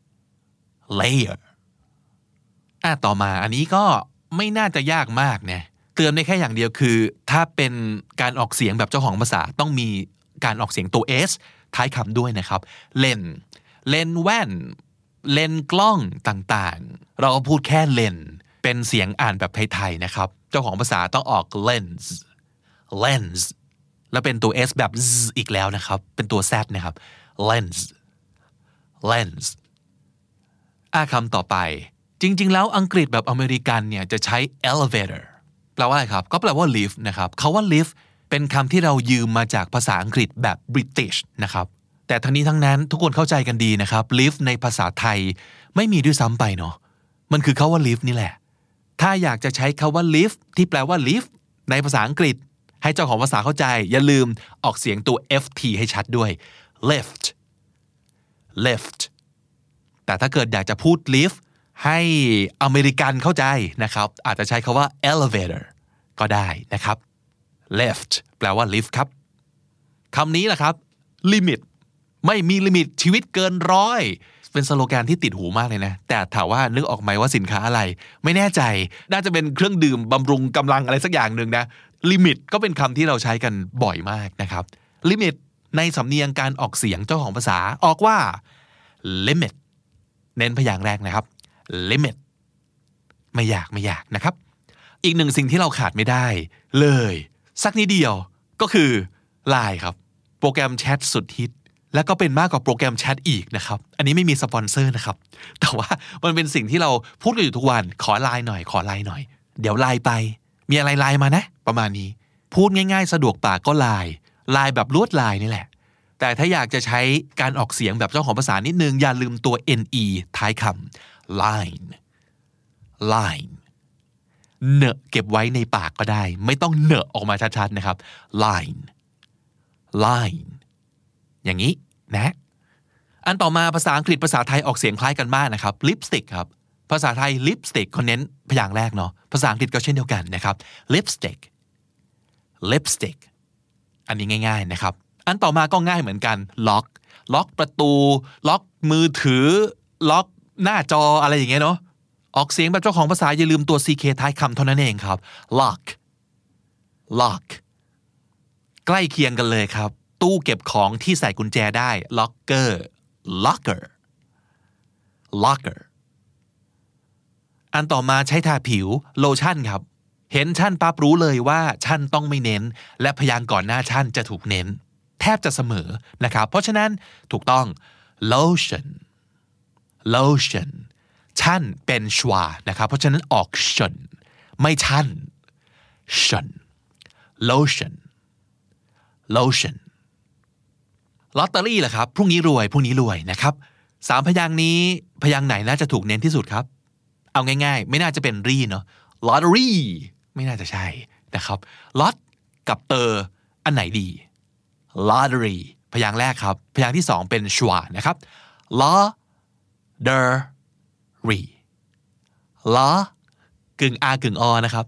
layer อ่ะต่อมาอันนี้ก็ไม่น่าจะยากมากนะเตือนได้แค่อย่างเดียวคือถ้าเป็นการออกเสียงแบบเจ้าของภาษาต้องมีการออกเสียงตัว s ท้ายคำด้วยนะครับเลนเลนแว่นเลนกล้องต่างๆเราก็พูดแค่เลนเป็นเสียงอ่านแบบไทยๆนะครับเจ้าของภาษาต้องออก lens lens แล้วเป็นตัว s แบบ z อีกแล้วนะครับเป็นตัว z นะครับ lens lens อ่ะคำต่อไปจริงๆแล้วอังกฤษแบบอเมริกันเนี่ยจะใช้ elevator แปลว่าอะไรครับก็แปลว่า lift นะครับคำว่า lift เป็นคำที่เรายืมมาจากภาษาอังกฤษแบบ British นะครับแต่ทั้งนี้ทั้งนั้นทุกคนเข้าใจกันดีนะครับ lift ในภาษาไทยไม่มีด้วยซ้ำไปเนาะมันคือคำว่า lift นี่แหละถ้าอยากจะใช้คำว่า lift ที่แปลว่า lift ในภาษาอังกฤษให้เจ้าของภาษาเข้าใจอย่าลืมออกเสียงตัว ft ให้ชัดด้วย lift lift แต่ถ้าเกิดอยากจะพูด lift ให้อเมริกันเข้าใจนะครับอาจจะใช้คำว่า elevator ก็ได้นะครับ lift แปลว่า lift ครับคำนี้แหละครับ limit ไม่มีลิมิตชีวิตเกินร้อยเป็นสโลแกนที่ติดหูมากเลยนะแต่ถามว่านึกออกไหมว่าสินค้าอะไรไม่แน่ใจน่าจะเป็นเครื่องดื่มบำรุงกำลังอะไรสักอย่างหนึ่งนะลิมิตก็เป็นคำที่เราใช้กันบ่อยมากนะครับลิมิตในสำเนียงการออกเสียงเจ้าของภาษาออกว่า limit เน้นพยางค์แรกนะครับ limit ไม่ยากไม่ยากนะครับอีกหนึ่งสิ่งที่เราขาดไม่ได้เลยสักนิดเดียวก็คือ ไลน์ ครับโปรแกรมแชทสุดฮิตและก็เป็นมากกว่าโปรแกรมแชทอีกนะครับอันนี้ไม่มีสปอนเซอร์นะครับแต่ว่ามันเป็นสิ่งที่เราพูดกันอยู่ทุกวันขอ ไลน์ หน่อยขอ ไลน์ หน่อยเดี๋ยว ไลน์ ไปมีอะไร ไลน์ มานะประมาณนี้พูดง่ายๆสะดวกปากก็ ไลน์ ไลน์ แบบลวดลายนี่แหละแต่ถ้าอยากจะใช้การออกเสียงแบบเจ้าของภาษานิดนึงอย่าลืมตัว ne ท้ายคำ line line เนอะเก็บไว้ในปากก็ได้ไม่ต้องเนอะออกมาชัดๆนะครับ line line อย่างนี้นะอันต่อมาภาษาอังกฤษภาษาไทยออกเสียงคล้ายกันมากนะครับ lipstick ครับภาษาไทย lipstick เขาเน้นพยางค์แรกเนาะภาษาอังกฤษก็เช่นเดียวกันนะครับ lipstick lipstick อันนี้ง่ายๆนะครับอันต่อมาก็ง่ายเหมือนกัน lock ล็อกประตูล็อกมือถือล็อกหน้าจออะไรอย่างเงี้ยเนาะออกเสียงแบบเจ้าของภาษาอย่าลืมตัว ck ท้ายคำเท่านั้นเองครับ lock lock ใกล้เคียงกันเลยครับตู้เก็บของที่ใส่กุญแจได้ locker locker locker อันต่อมาใช้ทาผิวโลชั่นครับเห็นชั่นปั๊บรู้เลยว่าชั่นต้องไม่เน้นและพยางค์ก่อนหน้าชั่นจะถูกเน้นแทบจะเสมอนะครับเพราะฉะนั้นถูกต้อง lotion lotion ชั่นเป็นชวานะครับเพราะฉะนั้นออกชนไม่ชั่นชน lotion lotion ลอตเตอรี่ล่ะครับพรุ่งนี้รวยพรุ่งนี้รวยนะครับสามพยางค์นี้พยางค์ไหนน่าจะถูกเน้นที่สุดครับเอาง่ายๆไม่น่าจะเป็นรีเนาะ lottery ไม่น่าจะใช่นะครับ lot กับเตอร์อันไหนดี lottery พยางค์แรกครับพยางค์ที่สองเป็นชวานะครับ lottery la กึ่ง r กึ่ง o นะครับ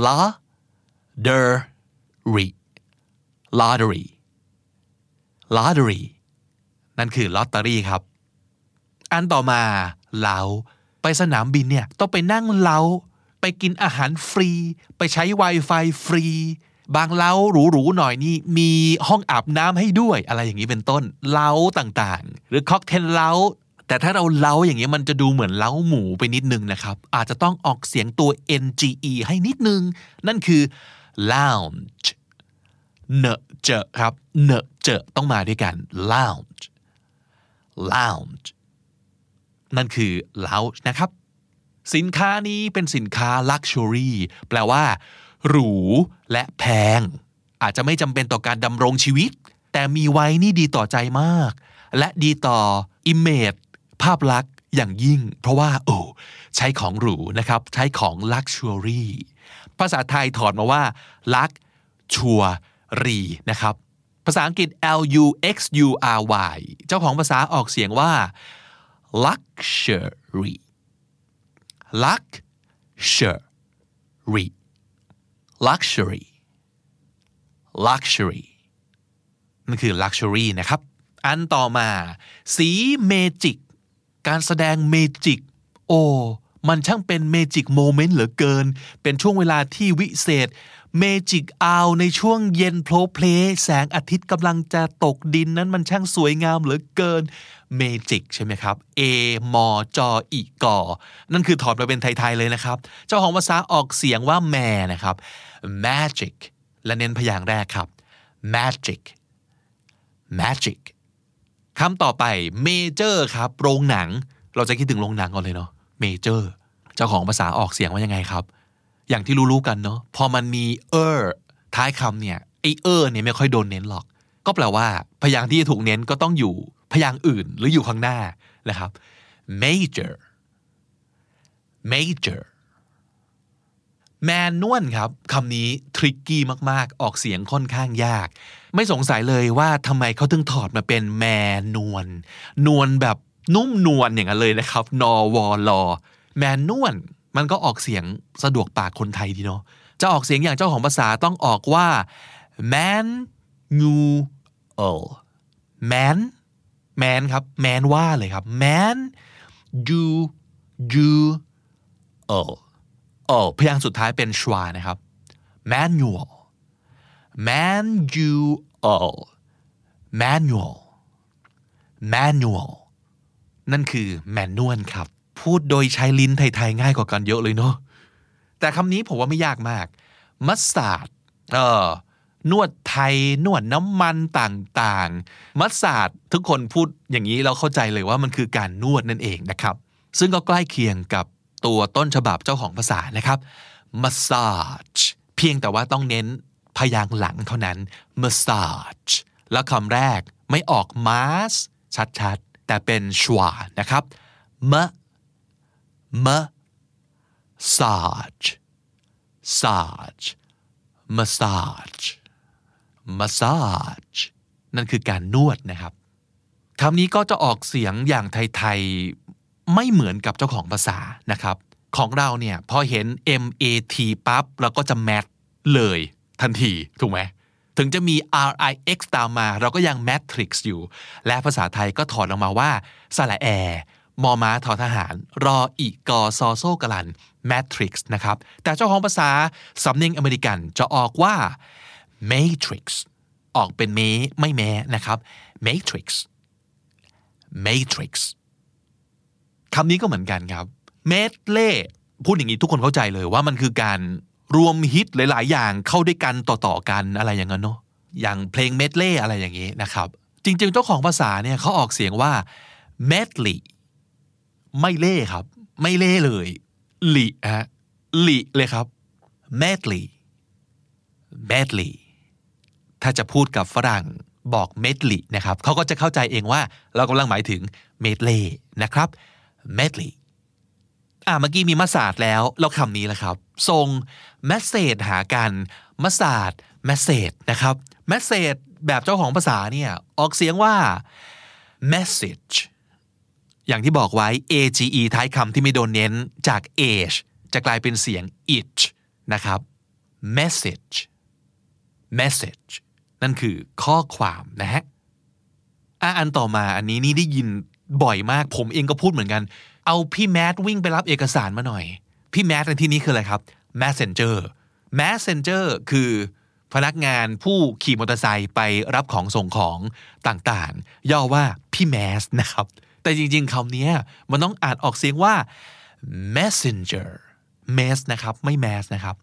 lottery lottery lottery นั่นคือลอตเตอรี่ครับอันต่อมาเล้าไปสนามบินเนี่ยต้องไปนั่งเล้าไปกินอาหารฟรีไปใช้ Wi-Fi ฟรีบางเล้าหรูๆหน่อยนี่มีห้องอาบน้ำให้ด้วยอะไรอย่างนี้เป็นต้นเล้าต่างๆหรือค็อกเทลเล้าแต่ถ้าเราเล้าอย่างเงี้ยมันจะดูเหมือนเล้าหมูไปนิดนึงนะครับอาจจะต้องออกเสียงตัว nge ให้นิดนึงนั่นคือ lounge เนอะเจอครับเนอะเจอต้องมาด้วยกัน lounge lounge นั่นคือ lounge นะครับสินค้านี้เป็นสินค้า luxury แปลว่าหรูและแพงอาจจะไม่จำเป็นต่อการดำรงชีวิตแต่มีไว้นี่ดีต่อใจมากและดีต่อ image ภาพลักษณ์อย่างยิ่งเพราะว่าโอ้ใช้ของหรูนะครับใช้ของ luxury ภาษาไทยถอดมาว่า luxury นะครับภาษาอังกฤษ l u x u r y เจ้าของภาษาออกเสียงว่า luxury luxury luxury luxury นั่นคือ luxury นะครับอันต่อมาสีเมจิกการแสดงเมจิกโอ้มันช่างเป็นเมจิกโมเมนต์เหลือเกินเป็นช่วงเวลาที่วิเศษเมจิกอาวในช่วงเย็นโพลเพลแสงอาทิตย์กำลังจะตกดินนั้นมันช่างสวยงามเหลือเกินเมจิกใช่ไหมครับ A มอจออีกอนั่นคือถอดมาเป็นไทยๆเลยนะครับเจ้าของภาษาออกเสียงว่าแมนะครับ magic และเน้นพยางค์แรกครับ magic magic คำต่อไป major ครับโรงหนังเราจะคิดถึงโรงหนังก่อนเลยเนาะ major เจ้าของภาษาออกเสียงว่ายังไงครับอย่างที่รู้ๆกันเนาะพอมันมี er ท้ายคำเนี่ยไอ er เนี่ยไม่ค่อยโดนเน้นหรอกก็แปลว่าพยางค์ที่จะถูกเน้นก็ต้องอยู่พยางค์อื่นหรืออยู่ข้างหน้านะครับ major major แมนนวลครับคำนี้ทริกกี้มากๆออกเสียงค่อนข้างยากไม่สงสัยเลยว่าทำไมเขาถึงถอดมาเป็นแมนนวลนวลแบบนุ่มนวลอย่างนั้นเลยนะครับนอวอลอแมนนวลมันก็ออกเสียงสะดวกปากคนไทยดีเนาะจะออกเสียงอย่างเจ้าของภาษาต้องออกว่า man nu l man man ครับ man ว่าเลยครับ man you you l เออพยางค์สุดท้ายเป็นชวานะครับ manual manual manual manual นั่นคือ manual ครับพูดโดยใช้ลิ้นไทยๆง่ายกว่ากันเยอะเลยเนาะแต่คำนี้ผมว่าไม่ยากมากมัสตาร์ดเออนวดไทยนวดน้ำมันต่างๆมัสตาร์ดทุกคนพูดอย่างนี้เราเข้าใจเลยว่ามันคือการนวดนั่นเองนะครับซึ่งก็ใกล้เคียงกับตัวต้นฉบับเจ้าของภาษานะครับ massage เพียงแต่ว่าต้องเน้นพยางค์หลังเท่านั้น massage แล้วคำแรกไม่ออก mas ชัดๆแต่เป็นชวานะครับ ma massage massage massage massage นั่นคือการนวดนะครับคำนี้ก็จะออกเสียงอย่างไทยๆไม่เหมือนกับเจ้าของภาษานะครับของเราเนี่ยพอเห็น mat ปั๊บเราก็จะ mat เลยทันทีถูกไหมถึงจะมี rix ตามมาเราก็ยัง matrix อยู่และภาษาไทยก็ถอดออกมาว่าสระแอมอม้าทอทหารรออีกอซอโซกลัน matrix นะครับแต่เจ้าของภาษาสำเนียงอเมริกันจะออกว่า matrix ออกเป็นเมไม่แม้นะครับ matrix matrix คำนี้ก็เหมือนกันครับ medley พูดอย่างนี้ทุกคนเข้าใจเลยว่ามันคือการรวมฮิตหลายๆอย่างเข้าด้วยกันต่อๆกันอะไรอย่างนั้นเนาะอย่างเพลง medley อะไรอย่างนี้นะครับจริงๆเจ้าของภาษาเนี่ยเขาออกเสียงว่า medley ไม่เล่ครับไม่เล่เลยหลีฮะหลีเลยครับ medley medley ถ้าจะพูดกับฝรั่งบอก medley นะครับเขาก็จะเข้าใจเองว่าเรากำลังหมายถึง medley นะครับ medley อ่ะเมื่อกี้มีมัสาดแล้วแล้วคำนี้แหละครับส่ง message หากันมัสาด message นะครับ message แบบเจ้าของภาษาเนี่ยออกเสียงว่า message อย่างที่บอกไว้ age ท้ายคำที่ไม่โดนเน้นจาก age จะกลายเป็นเสียง it นะครับ message message นั่นคือข้อความนะฮะอ่ะอันต่อมาอันนี้นี่ได้ยินบ่อยมากผมเองก็พูดเหมือนกันเอาพี่แมทวิ่งไปรับเอกสารมาหน่อยพี่แมทในที่นี้คืออะไรครับ messenger messenger คือพนักงานผู้ขี่มอเตอร์ไซค์ไปรับของส่งของต่างๆย่อว่าพี่แมสนะครับแต่จริงๆคำนี้มันต้องอ่านออกเสียงว่า messenger mess นะครับไม่ mass นะครับ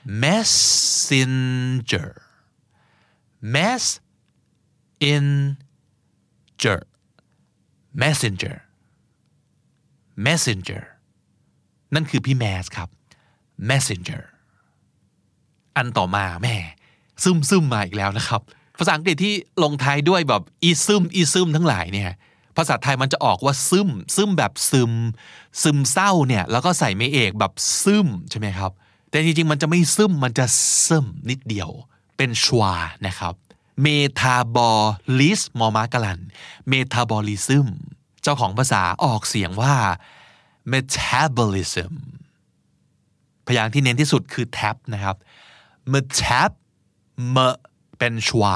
messenger mess in ger messenger messenger นั่นคือพี่แมสครับ messenger อันต่อมาแม่ซึมซึมมาอีกแล้วนะครับภาษาอังกฤษที่ลงท้ายด้วยแบบอีซึมอีซึมทั้งหลายเนี่ยภาษาไทยมันจะออกว่าซึมซึมแบบซึมซึมเศร้าเนี่ยแล้วก็ใส่ไม่เอกแบบซึมใช่ไหมครับแต่จริงๆมันจะไม่ซึมมันจะซึมนิดเดียวเป็นชวานะครับเมทาบอลิสมอมากะลันเมทาบอลิซึมเจ้าของภาษาออกเสียงว่า metabolism พยางค์ที่เน้นที่สุดคือ tab นะครับ metab m เป็นชวา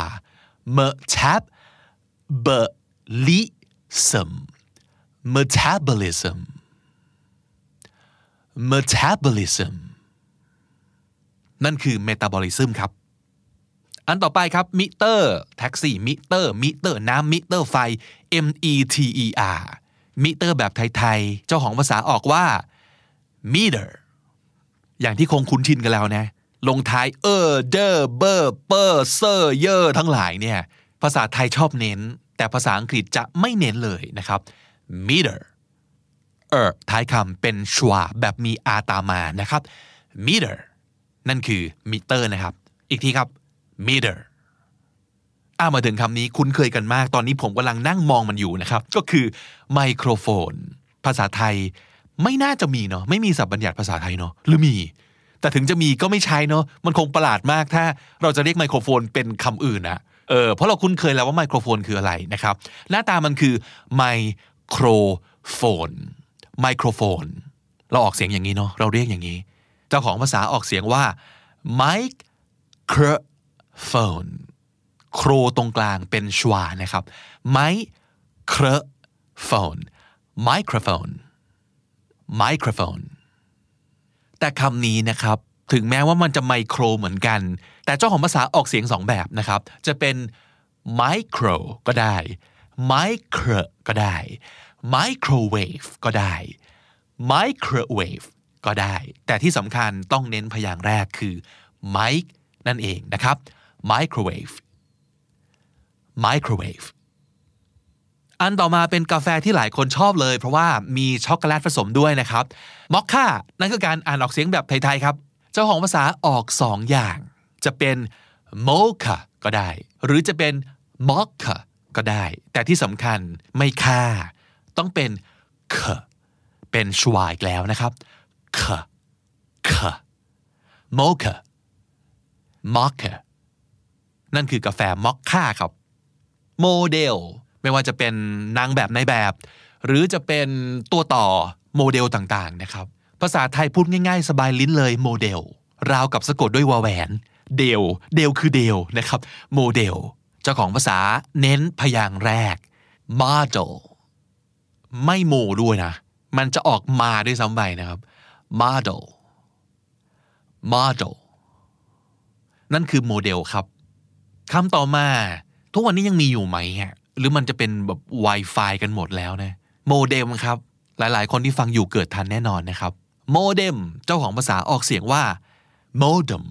metabolism metabolism metabolism นั่นคือ metabolism ครับอันต่อไปครับมิเตอร์แท็กซี่มิเตอร์มิเตอร์น้ำมิเตอร์ไฟ M E T E R มิเตอร์แบบไทยๆเจ้าของภาษาออกว่า meter อย่างที่คงคุ้นชินกันแล้วนะลงท้ายเออเดอเบอร์เปอร์เซอร์เยอร์ทั้งหลายเนี่ยภาษาไทยชอบเน้นแต่ภาษาอังกฤษจะไม่เน้นเลยนะครับ meter เออท้ายคำเป็นชวาแบบมีอาตามมานะครับ meter นั่นคือมิเตอร์นะครับอีกทีครับmeter อ่ะมาถึงคำนี้คุ้นเคยกันมากตอนนี้ผมกำลังนั่งมองมันอยู่นะครับก็คือไมโครโฟนภาษาไทยไม่น่าจะมีเนาะไม่มีศัพท์บัญญัติภาษาไทยเนาะหรือมีแต่ถึงจะมีก็ไม่ใช้เนาะมันคงประหลาดมากถ้าเราจะเรียกไมโครโฟนเป็นคำอื่นนะเออเพราะเราคุ้นเคยแล้วว่าไมโครโฟนคืออะไรนะครับหน้าตามันคือไมโครโฟนไมโครโฟนเราออกเสียงอย่างนี้เนาะเราเรียกอย่างนี้เจ้าของภาษาออกเสียงว่าไมโครโฟนโครตรงกลางเป็นชวานะครับไมโครโฟนไมโครโฟนไมโครโฟนแต่คำนี้นะครับถึงแม้ว่ามันจะไมโครเหมือนกันแต่เจ้าของภาษาออกเสียงสองแบบนะครับจะเป็นไมโครก็ได้ไมโครก็ได้ไมโครเวฟก็ได้ไมโครเวฟก็ได้แต่ที่สำคัญต้องเน้นพยางค์แรกคือไมค์นั่นเองนะครับไมโครเวฟไมโครเวฟอันต่อมาเป็นกาแฟที่หลายคนชอบเลยเพราะว่ามีช็อกโกแลตผสมด้วยนะครับมอคค่านั่นคือการอ่านออกเสียงแบบไทยๆครับเจ้าของภาษาออกสองอย่างจะเป็นโมคาก็ได้หรือจะเป็นมอคค่าก็ได้แต่ที่สำคัญไม่ค่าต้องเป็นคเป็นชวาอีกแล้วนะครับคคโมคามอคค่านั่นคือกาแฟมอคค่าครับโมเดลไม่ว่าจะเป็นนางแบบในแบบหรือจะเป็นตัวต่อโมเดลต่างๆนะครับภาษาไทยพูดง่ายๆสบายลิ้นเลยโมเดลราวกับสะกดด้วยวอแหวนเดลเดลคือเดลนะครับโมเดลเจ้าของภาษาเน้นพยางค์แรก model ไม่โมด้วยนะมันจะออกมาด้วยซ้ำไปนะครับ model model นั่นคือโมเดลครับคำต่อมาทุกวันนี้ยังมีอยู่ไหมฮะหรือมันจะเป็นแบบ Wi-Fi กันหมดแล้วนะโมเด็มครับหลายๆคนที่ฟังอยู่เกิดทันแน่นอนนะครับโมเด็มเจ้าของภาษาออกเสียงว่า modem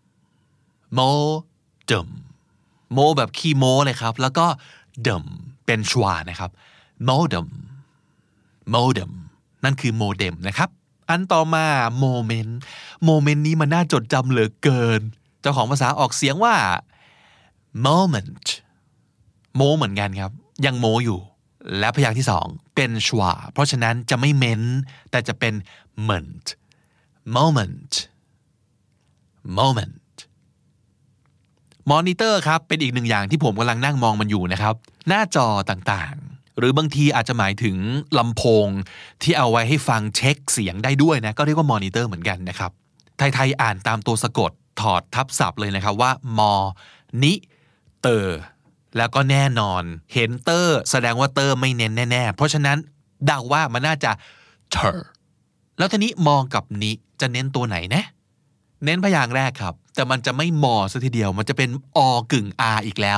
modem โมแบบขี้โมเลยครับแล้วก็เดมเป็นชวานะครับ modem modem นั่นคือโมเด็มนะครับอันต่อมาโมเมนต์โมเมนต์นี้มันน่าจดจำเหลือเกินเจ้าของภาษาออกเสียงว่า moment โมเหมือนกันครับยังโมอยู่และพยางค์ที่สองเป็นชวาเพราะฉะนั้นจะไม่เม้นแต่จะเป็น ment moment momentมอนิเตอร์ครับเป็นอีกหนึ่งอย่างที่ผมกำลังนั่งมองมันอยู่นะครับหน้าจอต่างๆหรือบางทีอาจจะหมายถึงลำโพงที่เอาไว้ให้ฟังเช็คเสียงได้ด้วยนะก็เรียกว่ามอนิเตอร์เหมือนกันนะครับไทยๆอ่านตามตัวสะกดถอดทับศัพท์เลยนะครับว่ามอนิเตอร์แล้วก็แน่นอนเห็นเตอร์แสดงว่าเตอร์ไม่เน้นแน่ๆเพราะฉะนั้นเดาว่ามันน่าจะ ter แล้วทีนี้มองกับนิจะเน้นตัวไหนนะเน้นพยางค์แรกครับแต่มันจะไม่มอซะทีเดียวมันจะเป็นอกึ่ง r อีกแล้ว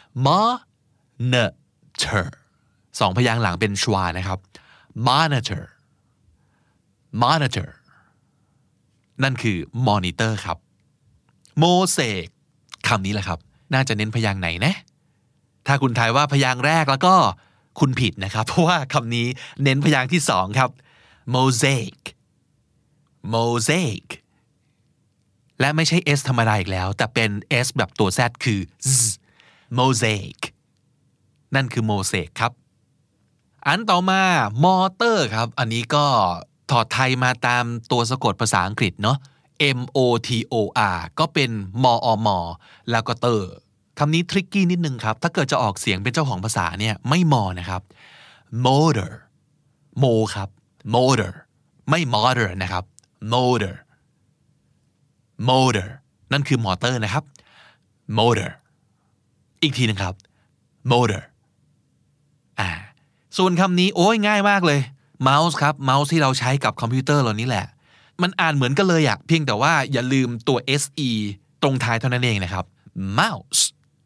monitor สองพยางค์หลังเป็นชวานะครับ monitor monitor นั่นคือ monitor ครับโมเสกคำนี้แหละครับน่าจะเน้นพยางค์ไหนนะถ้าคุณทายว่าพยางค์แรกแล้วก็คุณผิดนะครับเพราะว่าคำนี้เน้นพยางค์ที่สองครับ mosaic mosaic และไม่ใช่ s ธรรมดาอีกแล้วแต่เป็น s แบบตัว z คือ z mosaic นั่นคือโมเสกครับอันต่อมามอเตอร์ครับอันนี้ก็ถอดไทยมาตามตัวสะกดภาษาอังกฤษเนาะ m o t o r ก็เป็นมอมแล้วก็เตอร์คำนี้ทริกกี้นิดนึงครับถ้าเกิดจะออกเสียงเป็นเจ้าของภาษาเนี่ยไม่มอนะครับ motor โมครับ motor ไม่ motor นะครับ motor motor นั่นคือมอเตอร์นะครับ motor อีกทีนึงครับ motor อ่าส่วนคำนี้โอ้ยง่ายมากเลย mouse ครับ mouse ที่เราใช้กับคอมพิวเตอร์เหล่านี้แหละมันอ่านเหมือนกันเลยอะเพียงแต่ว่าอย่าลืมตัว se ตรงท้ายเท่านั้นเองนะครับ mouse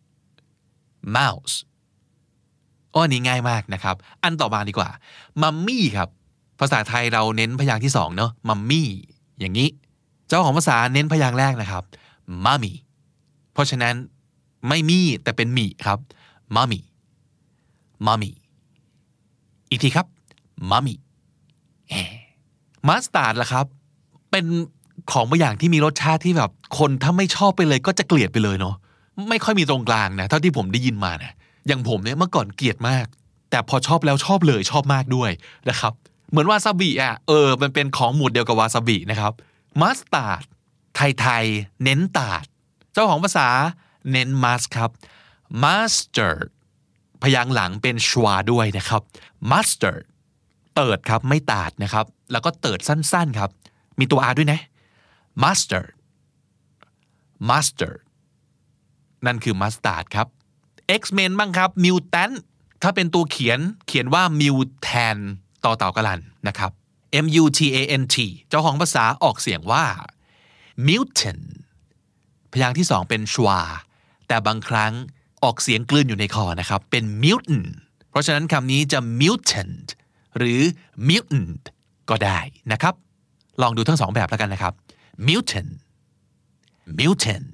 mouse อ้อนี่ง่ายมากนะครับอันต่อมาดีกว่ามัมมี่ครับภาษาไทยเราเน้นพยางค์ที่สองเนาะมัมมี่อย่างนี้เจ้าของภาษาเน้นพยางค์แรกนะครับมัมมี่เพราะฉะนั้นไม่มี่แต่เป็นมี่ครับมัมมี่มัมมี่อีกทีครับมัมมี่มัสตาร์ดล่ะครับเป็นของบางอย่างที่มีรสชาติที่แบบคนถ้าไม่ชอบไปเลยก็จะเกลียดไปเลยเนาะไม่ค่อยมีตรงกลางนะเท่าที่ผมได้ยินมานะอย่างผมเนี่ยเมื่อก่อนเกลียดมากแต่พอชอบแล้วชอบเลยชอบมากด้วยนะครับเหมือนวาซาบิอ่ะเออมันเป็นของหมู่เดียวกับวาซาบินะครับมัสตาร์ดไทยๆเน้นตาดเจ้าของภาษาเน้นมัสครับ mustard พยางค์หลังเป็นชวาด้วยนะครับ mustard เติร์ดครับไม่ตาดนะครับแล้วก็เติร์ดสั้นๆครับมีตัว r ด้วยนะ mustard mustard นั่นคือ mustard ครับ X-Men บ้างครับ mutant ถ้าเป็นตัวเขียนเขียนว่า mutant ต่อเต่ากะลันนะครับ M U T A N T เจ้าของภาษาออกเสียงว่า mutant พยางค์ที่สองเป็นชวาแต่บางครั้งออกเสียงกลืนอยู่ในคอนะครับเป็น mutant เพราะฉะนั้นคำนี้จะ mutant หรือ mutant ก็ได้นะครับลองดูทั้งสองแบบแล้วกันนะครับ mutant mutant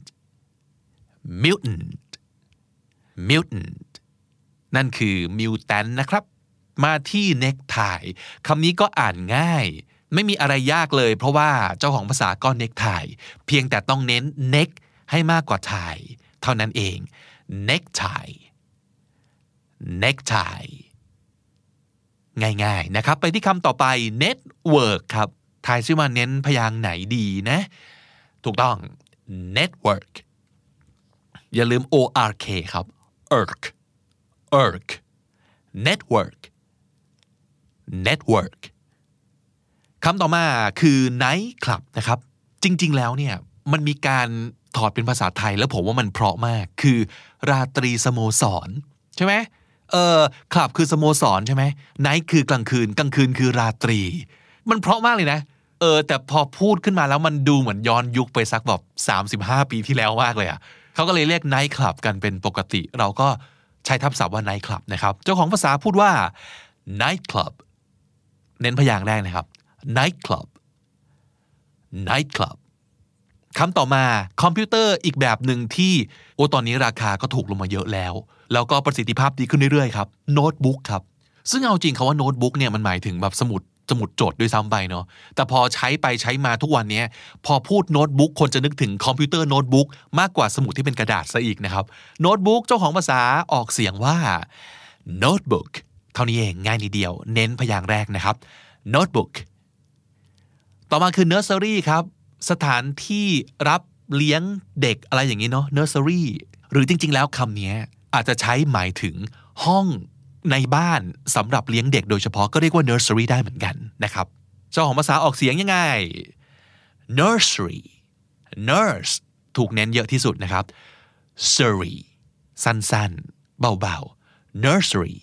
mutant mutant นั่นคือ mutant นะครับมาที่ necktie คำนี้ก็อ่านง่ายไม่มีอะไรยากเลยเพราะว่าเจ้าของภาษาก็ necktie เพียงแต่ต้องเน้น neck ให้มากกว่า tie เท่านั้นเอง necktie necktie ง่ายๆนะครับไปที่คำต่อไป network ครับทายซิว่าเน้นพยางค์ไหนดีนะถูกต้อง network อย่าลืม o r k ครับ irk irk network network คำต่อมาคือ night club นะครับจริงๆแล้วเนี่ยมันมีการถอดเป็นภาษาไทยแล้วผมว่ามันเพราะมากคือราตรีสโมสรใช่ไหมเออคลับคือสโมสรใช่ไหม night คือกลางคืนกลางคืนคือราตรีมันเพราะมากเลยนะเออแต่พอพูดขึ้นมาแล้วมันดูเหมือนย้อนยุคไปสักแบบสามสิบห้าปีที่แล้วมากเลยอ่ะเขาก็เลยเรียก night club กันเป็นปกติเราก็ใช้ทับศัพท์ว่า night club นะครับเจ้าของภาษาพูดว่า night club เน้นพยางค์แรกนะครับ night club night club คำต่อมาคอมพิวเตอร์อีกแบบหนึ่งที่โอ้ตอนนี้ราคาก็ถูกลงมาเยอะแล้วแล้วก็ประสิทธิภาพดีขึ้นเรื่อยๆครับโน้ตบุ๊กครับซึ่งเอาจริงคำว่าโน้ตบุ๊กเนี่ยมันหมายถึงแบบสมุดสมุดโจทย์ด้วยซ้ำไปเนาะแต่พอใช้ไปใช้มาทุกวันนี้พอพูดโน้ตบุ๊กคนจะนึกถึงคอมพิวเตอร์โน้ตบุ๊กมากกว่าสมุดที่เป็นกระดาษซะอีกนะครับโน้ตบุ๊กเจ้าของภาษาออกเสียงว่า notebook เท่านี้เองง่ายนิดเดียวเน้นพยางค์แรกนะครับ notebook ต่อมาคือ nursery ครับสถานที่รับเลี้ยงเด็กอะไรอย่างนี้เนาะ nursery หรือจริงๆแล้วคำนี้อาจจะใช้หมายถึงห้องในบ้านสำหรับเลี้ยงเด็กโดยเฉพาะก็เรียกว่า nursery ได้เหมือนกันนะครับเจ้าของภาษาออกเสียงยังไง nursery nurse ถูกเน้นเยอะที่สุดนะครับ surgery สั้นๆเบาๆ nursery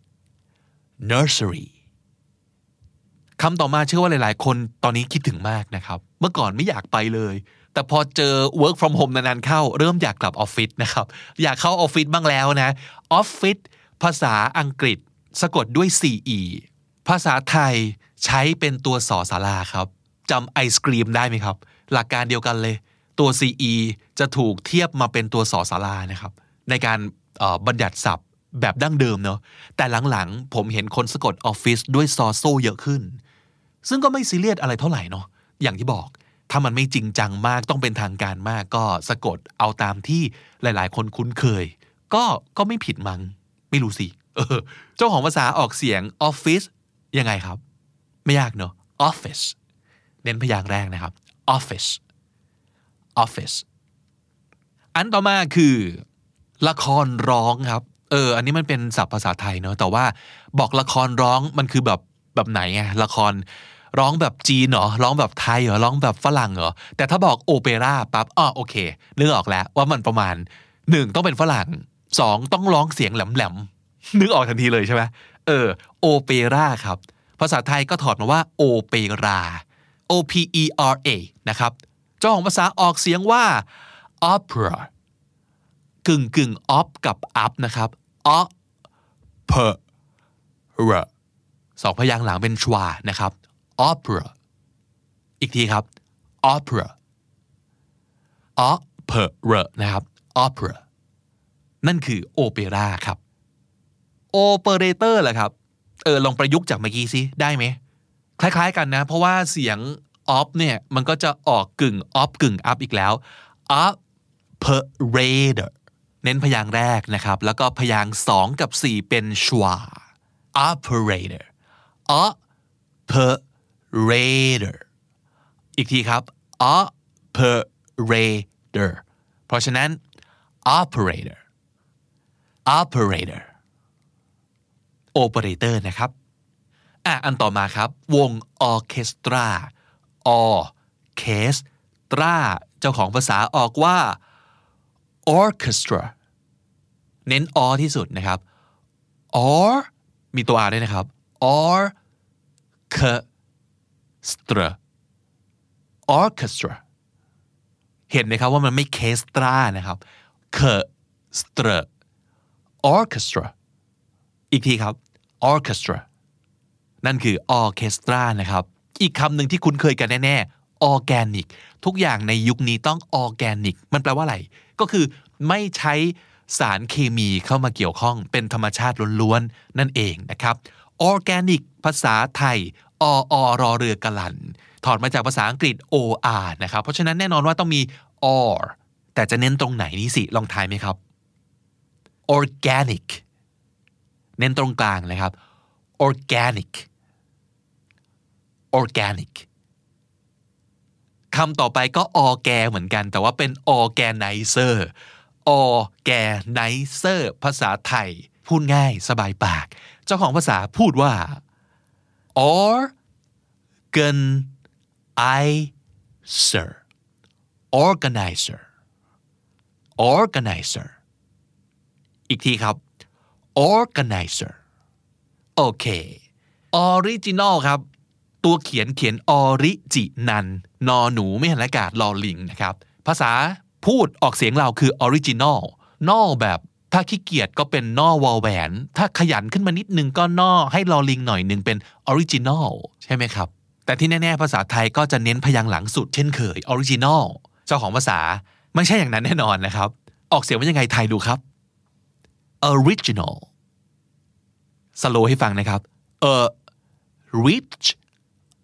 nursery คำต่อมาเชื่อว่าหลายๆคนตอนนี้คิดถึงมากนะครับเมื่อก่อนไม่อยากไปเลยแต่พอเจอ work from home นานๆเข้าเริ่มอยากกลับออฟฟิศนะครับอยากเข้าออฟฟิศบ้างแล้วนะออฟฟิศภาษาอังกฤษสะกดด้วย ซี อี ภาษาไทยใช้เป็นตัวสอศาลาครับจำไอศกรีมได้ไหมครับหลักการเดียวกันเลยตัว ซี อี จะถูกเทียบมาเป็นตัวสอศาลานะครับในการบัญญัติศัพท์แบบดั้งเดิมเนาะแต่หลังๆผมเห็นคนสะกดออฟฟิศด้วยซอโซเยอะขึ้นซึ่งก็ไม่ซีเรียสอะไรเท่าไหร่เนาะอย่างที่บอกถ้ามันไม่จริงจังมากต้องเป็นทางการมากก็สะกดเอาตามที่หลายๆคนคุ้นเคยก็ก็ไม่ผิดมั้งไม่รู้สิเออเจ้าของภาษาออกเสียงออฟฟิศยังไงครับไม่ยากเนาะ office เน้นพยางค์แรกนะครับ office office อันต่อมาคือละครร้องครับเอออันนี้มันเป็นศัพท์ภาษาไทยเนาะแต่ว่าบอกละครร้องมันคือแบบแบบไหนไงละครร้องแบบจีนเหรอร้องแบบไทยเหรอร้องแบบฝรั่งเหรอแต่ถ้าบอกโอเปร่าปั๊บอ้อโอเคนึกออกแล้วว่ามันประมาณหนึ่งต้องเป็นฝรั่งสองต้องร้องเสียงแหลมๆนึกออกทันทีเลยใช่ไหมเออโอเปร่าครับภาษาไทยก็ถอดมาว่าโอเปร่า O P E R A นะครับเจ้าของภาษาออกเสียงว่า opera กึ่งกึ่ง op กับ up นะครับ opera สองพยางค์หลังเป็นชวานะครับ opera อีกทีครับ opera opera นะครับ opera นั่นคือโอเปร่าครับ operator แหละครับเออลองประยุกต์จากเมื่อกี้สิได้ไหมคล้ายๆกันนะเพราะว่าเสียง op เนี่ยมันก็จะออกกึ่ง op กึ่ง up อีกแล้ว operator เน้นพยางค์แรกนะครับแล้วก็พยางค์สองกับสี่เป็นชวา operator operator อีกทีครับ operator เพราะฉะนั้น operator operator operator นะครับอ่ะอันต่อมาครับวงออเคสตราออเคสตราเจ้าของภาษาออกว่า orchestra เน้นอที่สุดนะครับ or มีตัว r ด้วยนะครับ orchestra orchestra เห็นไหมครับว่ามันไม่เคสตรานะครับ orchestra orchestra อีกทีครับ orchestra นั่นคือ orchestra นะครับอีกคำหนึ่งที่คุ้นเคยกันแน่ๆ organic ทุกอย่างในยุคนี้ต้อง organic มันแปลว่าอะไรก็คือไม่ใช้สารเคมีเข้ามาเกี่ยวข้องเป็นธรรมชาติล้วนๆนั่นเองนะครับ organic ภาษาไทยออรอเรือกะลันถอดมาจากภาษาอังกฤษ or นะครับเพราะฉะนั้นแน่นอนว่าต้องมี or แต่จะเน้นตรงไหนนี่สิลองทายไหมครับ organic เน้นตรงกลางนะครับ organic organic คำต่อไปก็ organ เหมือนกันแต่ว่าเป็น organizer organizer ภาษาไทยพูดง่ายสบายปากเจ้าของภาษาพูดว่า organizer organizer organizer อีกทีครับ organizer โอเค original ครับตัวเขียนเขียน original นอหนูไม่หันอากาศลอลิงนะครับภาษาพูดออกเสียงเราคือ original นอแบบถ้าขี้เกียจก็เป็นนอวอแหวนถ้าขยันขึ้นมานิดนึงก็นอให้ลอลิงหน่อยนึงเป็น original ใช่ไหมครับแต่ที่แน่ๆภาษาไทยก็จะเน้นพยางค์หลังสุดเช่นเคย original เจ้าของภาษาไม่ใช่อย่างนั้นแน่นอนนะครับออกเสียงว่ายังไงไทยดูครับ original สโลว์ให้ฟังนะครับ a rich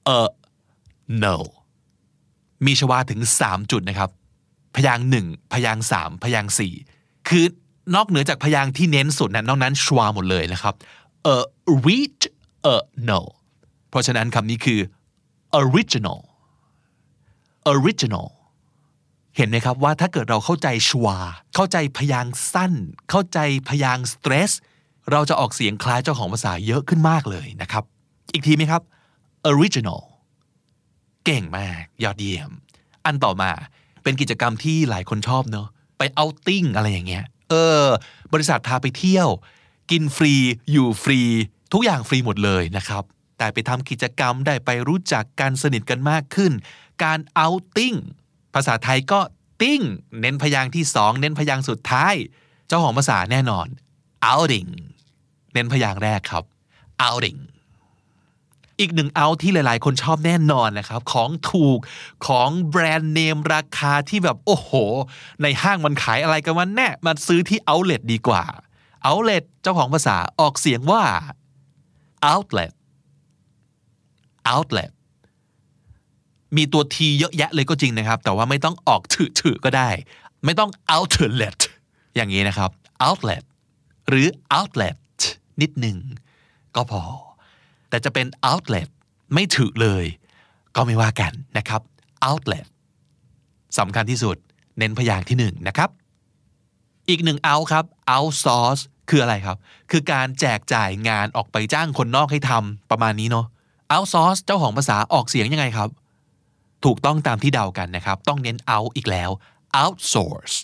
เออ no มีชวาถึงสามจุดนะครับพยางค์หนึ่งพยางค์สามพยางค์สี่คือนอกเหนือจากพยางค์ที่เน้นสุดนั้นนอกนั้นชวาหมดเลยนะครับเออ reach เออ no เพราะฉะนั้นคำนี้คือ original original เห็นไหมครับว่าถ้าเกิดเราเข้าใจชวาเข้าใจพยางค์สั้นเข้าใจพยางค์ stress เราจะออกเสียงคล้ายเจ้าของภาษาเยอะขึ้นมากเลยนะครับอีกทีไหมครับ original เก่งมากยอดเยี่ยมอันต่อมาเป็นกิจกรรมที่หลายคนชอบเนอะไปเอาท์ติ้งอะไรอย่างเงี้ยเออบริษัทพาไปเที่ยวกินฟรีอยู่ฟรีทุกอย่างฟรีหมดเลยนะครับแต่ไปทำกิจกรรมได้ไปรู้จักกันสนิทกันมากขึ้นการเอาท์ติ้งภาษาไทยก็ติ้งเน้นพยางค์ที่สองเน้นพยางค์สุดท้ายเจ้าของภาษาแน่นอน outing เน้นพยางค์แรกครับ outing อีกหนึ่งเอาที่หลายๆคนชอบแน่นอนนะครับของถูกของแบรนด์เนมราคาที่แบบโอ้โหในห้างมันขายอะไรกันวะแน่มาซื้อที่ outlet ดีกว่า outlet เจ้าของภาษาออกเสียงว่า outlet outlet มีตัว t เยอะแยะเลยก็จริงนะครับแต่ว่าไม่ต้องออกถือๆก็ได้ไม่ต้อง outlet อย่างนี้นะครับ outlet หรือ outlet นิดหนึ่งก็พอแต่จะเป็น outlet ไม่ถือเลยก็ไม่ว่ากันนะครับ outlet สำคัญที่สุดเน้นพยางค์ที่หนึ่งนะครับอีกหนึ่ง out ครับ outsource คืออะไรครับคือการแจกจ่ายงานออกไปจ้างคนนอกให้ทำประมาณนี้เนาะ outsource เจ้าของภาษาออกเสียงยังไงครับถูกต้องตามที่เดากันนะครับต้องเน้น out อีกแล้ว outsource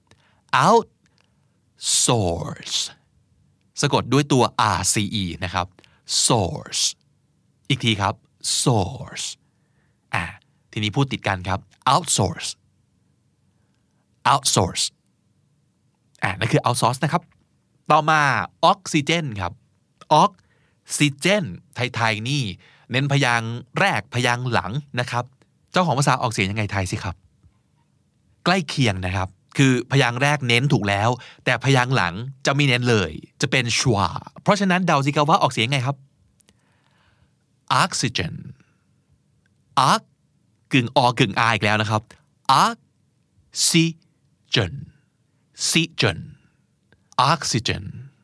outsource สะกดด้วยตัว rce นะครับ source อีกทีครับ source อ่ะทีนี้พูดติดกันครับ outsource outsource อ่ะนั่นคือ outsource นะครับต่อมา oxygen ครับ oxygen ไทยๆนี่เน้นพยางค์แรกพยางค์หลังนะครับเจ้าของภาษาออกเสียงยังไงไทยสิครับใกล้เคียงนะครับคือพยางค์แรกเน้นถูกแล้วแต่พยางค์หลังจะไม่เน้นเลยจะเป็นชวาเพราะฉะนั้นเดาสิครับว่าออกเสียงไงครับ oxygen ox กึ่งอกึ่ง r อีกแล้วนะครับ oxygen oxygen oxygen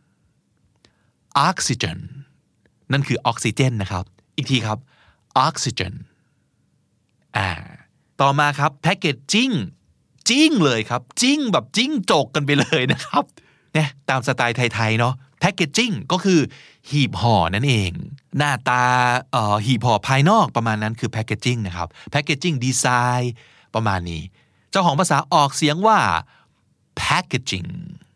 oxygen นั่นคือออกซิเจนนะครับอีกทีครับ oxygen อ่าต่อมาครับ packaging จิ้งเลยครับจิ้งแบบจิ้งจกกันไปเลยนะครับเนี่ยตามสไตล์ไทยๆเนาะ packaging ก็คือหีบห่อนั่นเองหน้าตาเอ่อหีบห่อภายนอกประมาณนั้นคือ packaging นะครับ packaging design ประมาณนี้เจ้าของภาษาออกเสียงว่า packaging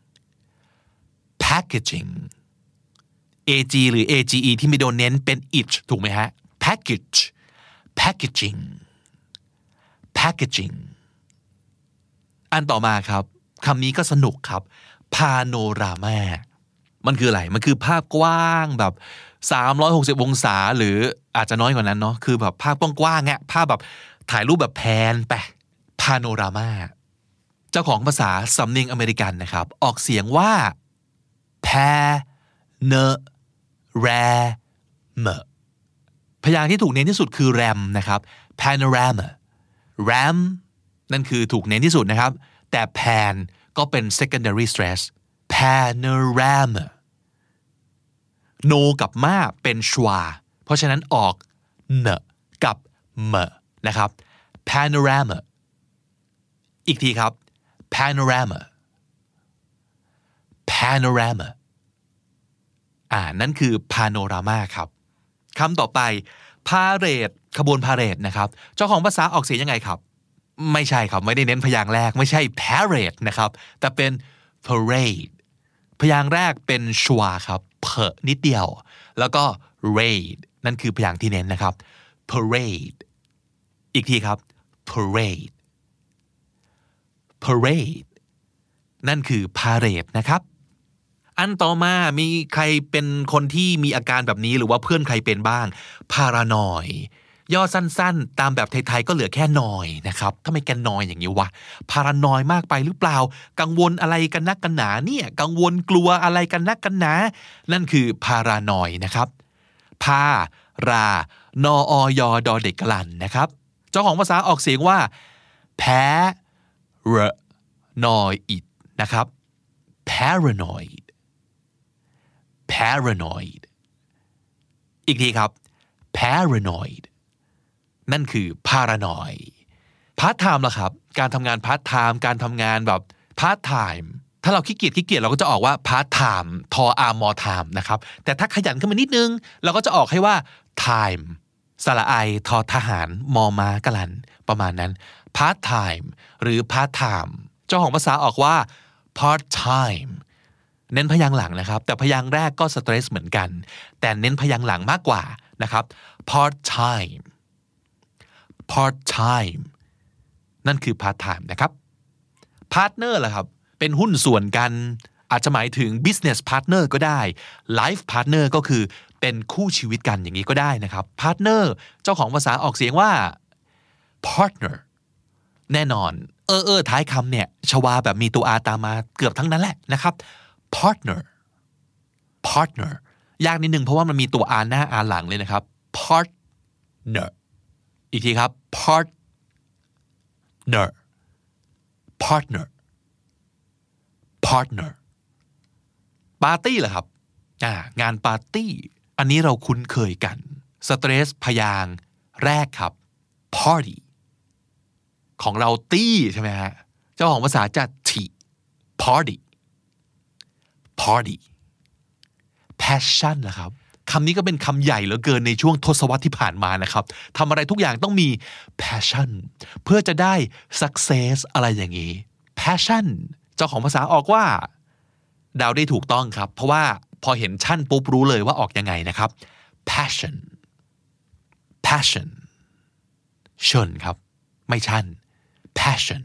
packaging ag หรือ age ที่ไม่โดนเน้นเป็น it ถูกไหมฮะ package packaging packaging อันต่อมาครับคำนี้ก็สนุกครับ panorama มันคืออะไรมันคือภาพกว้างแบบสามร้อยหกสิบองศาหรืออาจจะน้อยกว่านั้นเนาะคือแบบภาพกว้างๆอ่ะภาพแบบถ่ายรูปแบบแพนไป panorama เจ้าของภาษาสำเนียงอเมริกันนะครับออกเสียงว่า panorama พยางค์ที่ถูกเน้นที่สุดคือ ram นะครับ panorama ram นั่นคือถูกเน้นที่สุดนะครับแต่ pan ก็เป็น secondary stress panorama no กับมาเป็นชวาเพราะฉะนั้นออกเนกับเมนะครับ panorama อีกทีครับ panorama panorama อ่านั่นคือ panorama ครับคำต่อไป parade ขบวนพาเหรดนะครับเจ้าของภาษาออกเสียงยังไงครับไม่ใช่ครับไม่ได้เน้นพยางค์แรกไม่ใช่ parade นะครับแต่เป็น parade พยางค์แรกเป็นชวาครับเพอนิดเดียวแล้วก็ raid นั่นคือพยางค์ที่เน้นนะครับ parade อีกทีครับ parade parade นั่นคือ parade นะครับอันต่อมามีใครเป็นคนที่มีอาการแบบนี้หรือว่าเพื่อนใครเป็นบ้าง paranoid ย่อสั้นๆตามแบบไทยๆก็เหลือแค่นอยนะครับทำไมแกนอยอย่างนี้วะ paranoid มากไปหรือเปล่ากังวลอะไรกันนักกันหนาเนี่ยกังวลกลัวอะไรกันนักกันหนานั่นคือ paranoid นะครับพารานออยดอเด็กกลั่นนะครับเจ้าของภาษาออกเสียงว่าแพ้รนอยอิดนะครับ paranoid paranoid อีกทีครับ paranoid นั่นคือ paranoid part time ล่ะครับการทำงาน part time การทำงานแบบ part time ถ้าเราขี้เกียจขี้เกียจเราก็จะออกว่า part time ทอ r more time นะครับแต่ถ้าขยันขึ้นมานิดนึงเราก็จะออกให้ว่า time สระไอทอทหารมอม้ากะลันประมาณนั้น part time หรือ part time เจ้าของภาษาออกว่า part time เน้นพยางค์หลังนะครับแต่พยางค์แรกก็สเตรสเหมือนกันแต่เน้นพยางค์หลังมากกว่านะครับ part time part time นั่นคือ part time นะครับ partner ล่ะครับเป็นหุ้นส่วนกันอาจจะหมายถึง business partner ก็ได้ life partner ก็คือเป็นคู่ชีวิตกันอย่างนี้ก็ได้นะครับ partner เจ้าของภาษาออกเสียงว่า partner แน่นอนเออเออท้ายคำเนี่ยชวาแบบมีตัว r ตามมาเกือบทั้งนั้นแหละนะครับ partner partner ยากนิดนึงเพราะว่ามันมีตัว r หน้า r หลังเลยนะครับ partner อีกทีครับ partner partner partner ปาร์ตี้เหรอครับอ่างานปาร์ตี้อันนี้เราคุ้นเคยกันสเตรสพยางค์แรกครับ party ของเราตี้ใช่ไหมฮะเจ้าของภาษาจะที party party passion นะครับคำนี้ก็เป็นคำใหญ่เหลือเกินในช่วงทศวรรษที่ผ่านมานะครับทำอะไรทุกอย่างต้องมี passion เพื่อจะได้ success อะไรอย่างนี้ passion เจ้าของภาษาออกว่าเดาได้ถูกต้องครับเพราะว่าพอเห็นชั่นปุ๊บรู้เลยว่าออกยังไงนะครับ passion passion ชนครับไม่ชั่น passion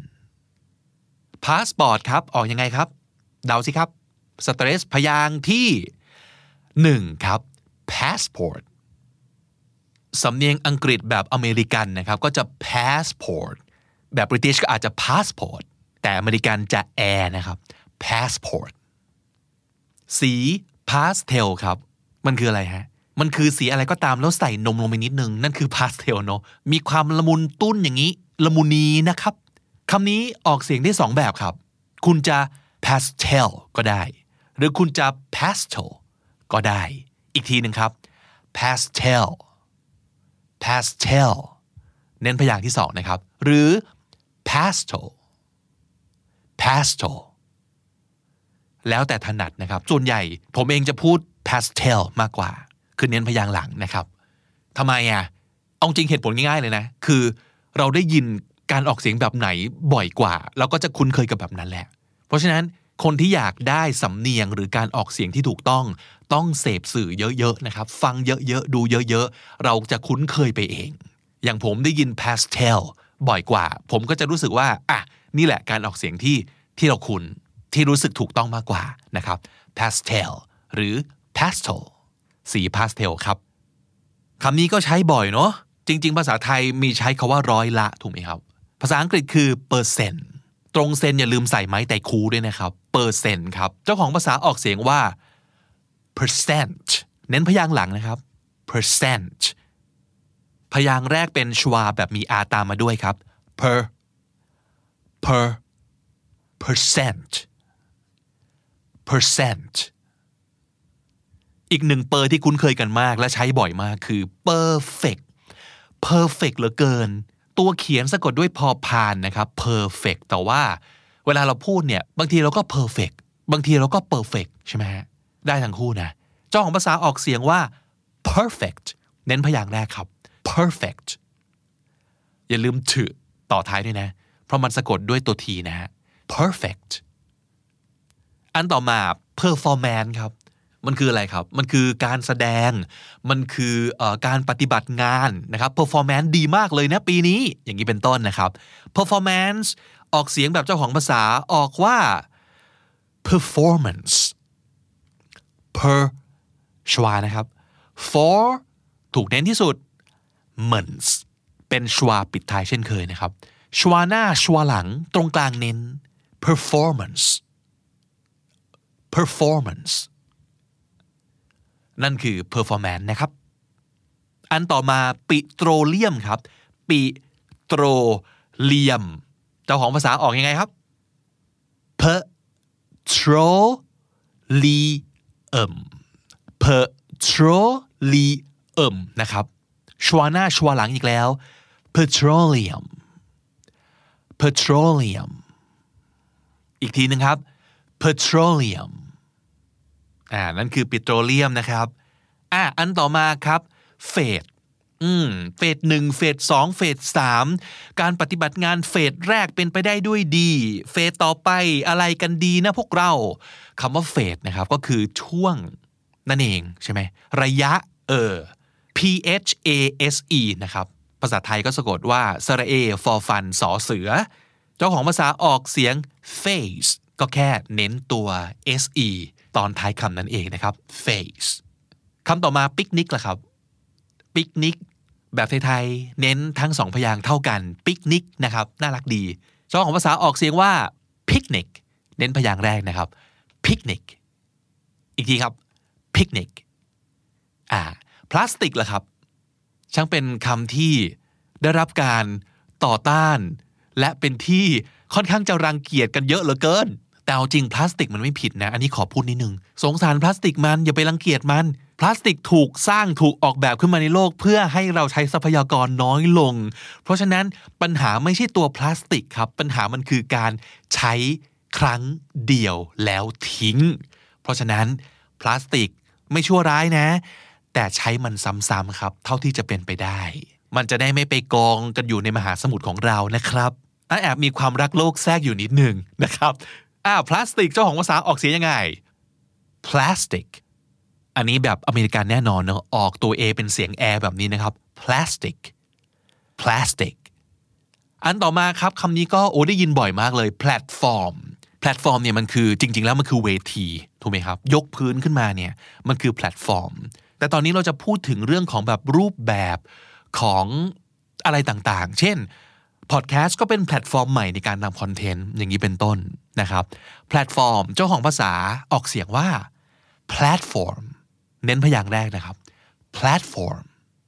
passport ครับออกยังไงครับเดาสิครับสเตรสพยางค์ที่หนึ่งครับ passport สำเนียงอังกฤษแบบอเมริกันนะครับก็จะ passport แบบ British ก็อาจจะ passport แต่อเมริกันจะ air นะครับ passport สี pastel ครับมันคืออะไรฮะมันคือสีอะไรก็ตามแล้วใส่นมลงไปนิดนึงนั่นคือ pastel เนอะมีความละมุนตุ้นอย่างนี้ละมุนีนะครับคำนี้ออกเสียงได้สองแบบครับคุณจะ pastel ก็ได้หรือคุณจะ pastel ก็ได้อีกทีหนึ่งครับ pastel pastel เน้นพยางค์ที่สองนะครับหรือ pastel pastel แล้วแต่ถนัดนะครับส่วนใหญ่ผมเองจะพูด pastel มากกว่าคือเน้นพยางค์หลังนะครับทำไมอ่ะเอาจริงเหตุผลง่ายๆเลยนะคือเราได้ยินการออกเสียงแบบไหนบ่อยกว่าเราก็จะคุ้นเคยกับแบบนั้นแหละเพราะฉะนั้นคนที่อยากได้สำเนียงหรือการออกเสียงที่ถูกต้องต้องเสพสื่อเยอะๆนะครับฟังเยอะๆดูเยอะๆเราจะคุ้นเคยไปเองอย่างผมได้ยิน pastel บ่อยกว่าผมก็จะรู้สึกว่าอ่ะนี่แหละการออกเสียงที่ที่เราคุ้นที่รู้สึกถูกต้องมากกว่านะครับ pastel หรือ pastel สี pastel ครับคำนี้ก็ใช้บ่อยเนาะจริงๆภาษาไทยมีใช้คาว่าร้อยละถูกไหมครับภาษาอังกฤษคือ percent ตรงเซนอย่าลืมใส่ไม้แต่คูด้วยนะครับเปอร์เซ็นต์ครับเจ้าของภาษาออกเสียงว่า percent เน้นพยางค์หลังนะครับ percent พยางค์แรกเป็นชวาแบบมี r ตามมาด้วยครับ per per percent percent อีกหนึ่งเปอร์ที่คุ้นเคยกันมากและใช้บ่อยมากคือ perfect perfect เหลือเกินตัวเขียนสะกดด้วยพอพานนะครับ perfect แต่ว่าเวลาเราพูดเนี่ยบางทีเราก็ perfect บางทีเราก็ perfect ใช่ไหมฮะได้ทั้งคู่นะเจ้าของภาษาออกเสียงว่า perfect เน้นพยางค์แรกครับ perfect อย่าลืมถึต่อท้ายด้วยนะเพราะมันสะกดด้วยตัวทีนะฮะ perfect อันต่อมา performance ครับมันคืออะไรครับมันคือการแสดงมันคือเอ่อการปฏิบัติงานนะครับ performance ดีมากเลยนะปีนี้อย่างนี้เป็นต้นนะครับ performance ออกเสียงแบบเจ้าของภาษาออกว่า performance per ชวานะครับ for ถูกเน้นที่สุด months เป็นชวาปิดท้ายเช่นเคยนะครับชวาหน้าชวาหลังตรงกลางเน้น performance performance นั่นคือ performance นะครับอันต่อมาปิโตรเลียมครับปิโตรเลียมเจ้าของภาษาออกยังไงครับ petroleum petroleum นะครับชวาหน้าชวาหลังอีกแล้ว petroleum petroleum อีกทีนึงครับ petroleum อ่านั่นคือปิโตรเลียมนะครับอ่ะอันต่อมาครับเฟสอืมเฟสหนึ่งเฟสสองเฟสสามการปฏิบัติงานเฟสแรกเป็นไปได้ด้วยดีเฟสต่อไปอะไรกันดีนะพวกเราคำว่าเฟสนะครับก็คือช่วงนั่นเองใช่ไหมระยะเออ P H A S E นะครับภาษาไทยก็สะกดว่าสระเอฟอฟันสอเสือเจ้าของภาษาออกเสียง face ก็แค่เน้นตัว S E ตอนท้ายคำนั่นเองนะครับ face คำต่อมาปิกนิกล่ะครับปิกนิกแบบไทยๆเน้นทั้งสองพยางค์เท่ากันปิกนิกนะครับน่ารักดีเจ้าของภาษาออกเสียงว่า picnic เน้นพยางค์แรกนะครับ picnic อีกทีครับ picnic อ่าพลาสติกล่ะครับช่างเป็นคำที่ได้รับการต่อต้านและเป็นที่ค่อนข้างจะรังเกียจกันเยอะเหลือเกินแต่เอาจริงพลาสติกมันไม่ผิดนะอันนี้ขอพูดนิดนึงสงสารพลาสติกมันอย่าไปรังเกียจมันพลาสติกถูกสร้างถูกออกแบบขึ้นมาในโลกเพื่อให้เราใช้ทรัพยากรน้อยลงเพราะฉะนั้นปัญหาไม่ใช่ตัวพลาสติกครับปัญหามันคือการใช้ครั้งเดียวแล้วทิ้งเพราะฉะนั้นพลาสติกไม่ชั่วร้ายนะแต่ใช้มันซ้ำๆครับเท่าที่จะเป็นไปได้มันจะได้ไม่ไปกองกันอยู่ในมหาสมุทรของเรานะครับแอบมีความรักโลกแทรกอยู่นิดนึงนะครับอ่าพลาสติกเจ้าของภาษาออกเสียงยังไง plastic อันนี้แบบอเมริกันแน่นอนเนอะออกตัว A เป็นเสียง air แบบนี้นะครับ plastic plastic อันต่อมาครับคำนี้ก็โอ้ได้ยินบ่อยมากเลย platform platform เนี่ยมันคือจริงๆแล้วมันคือเวทีถูกไหมครับยกพื้นขึ้นมาเนี่ยมันคือ platform แต่ตอนนี้เราจะพูดถึงเรื่องของแบบรูปแบบของอะไรต่างๆเช่นพอดแคสต์ก็เป็นแพลตฟอร์มใหม่ในการนำคอนเทนต์อย่างนี้เป็นต้นนะครับแพลตฟอร์มเจ้าของภาษาออกเสียงว่า platform เน้นพยางค์แรกนะครับ platform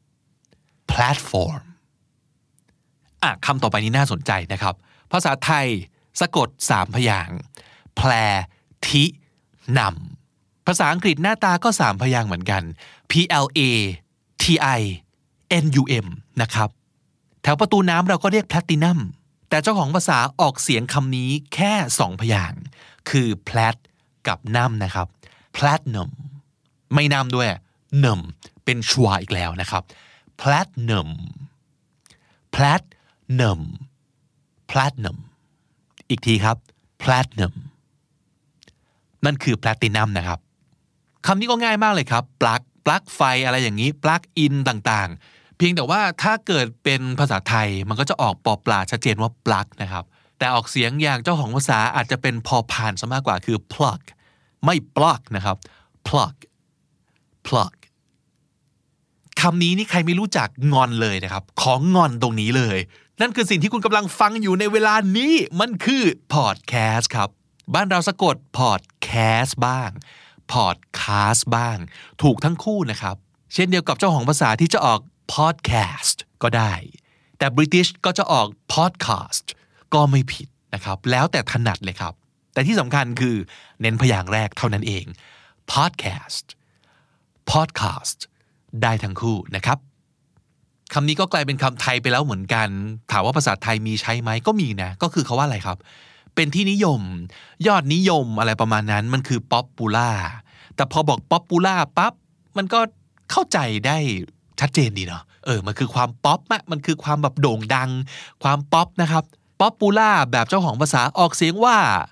platform อ่ะคำต่อไปนี้น่าสนใจนะครับภาษาไทยสะกดสามพยางค์แพลทินำภาษาอังกฤษหน้าตาก็สามพยางค์เหมือนกัน P L A T I N U M นะครับแถวประตูน้ำเราก็เรียกแพลตินัมแต่เจ้าของภาษาออกเสียงคำนี้แค่สองพยางค์คือแพลตกับนัมนะครับแพลตนัมไม่นัมด้วยนัมเป็นชวาอีกแล้วนะครับแพลตนัมแพลตนัมแพลตนัมอีกทีครับแพลตนัมนั่นคือแพลตินัมนะครับคำนี้ก็ง่ายมากเลยครับปลั๊กปลั๊กไฟอะไรอย่างนี้ปลั๊กอินต่างๆเพียงแต่ว่าถ้าเกิดเป็นภาษาไทยมันก็จะออกปอปลาชัดเจนว่าปลั๊กนะครับแต่ออกเสียงอย่างเจ้าของภาษาอาจจะเป็นพอพานซะมากกว่าคือ plug ไม่ plug นะครับ plug plug คำนี้นี่ใครไม่รู้จักงอนเลยนะครับของงอนตรงนี้เลยนั่นคือสิ่งที่คุณกำลังฟังอยู่ในเวลานี้มันคือ podcast ครับบ้านเราสะกด podcast บ้างpodcast บ้างถูกทั้งคู่นะครับเช่นเดียวกับเจ้าของภาษาที่จะออก podcast ก็ได้แต่ British ก็จะออก podcast ก็ไม่ผิดนะครับแล้วแต่ถนัดเลยครับแต่ที่สำคัญคือเน้นพยางค์แรกเท่านั้นเอง podcast podcast ได้ทั้งคู่นะครับคำนี้ก็กลายเป็นคำไทยไปแล้วเหมือนกันถามว่าภาษาไทยมีใช้ไหมก็มีนะก็คือเขาว่าอะไรครับเป็นที่นิยมยอดนิยมอะไรประมาณนั้นมันคือ popular แต่พอบอก popular ปั๊บมันก็เข้าใจได้ชัดเจนดีเนาะเออมันคือความป๊อปอะมันคือความแบบโด่งดังความป๊อปนะครับ popular แบบเจ้าของภาษาออกเสียงว่า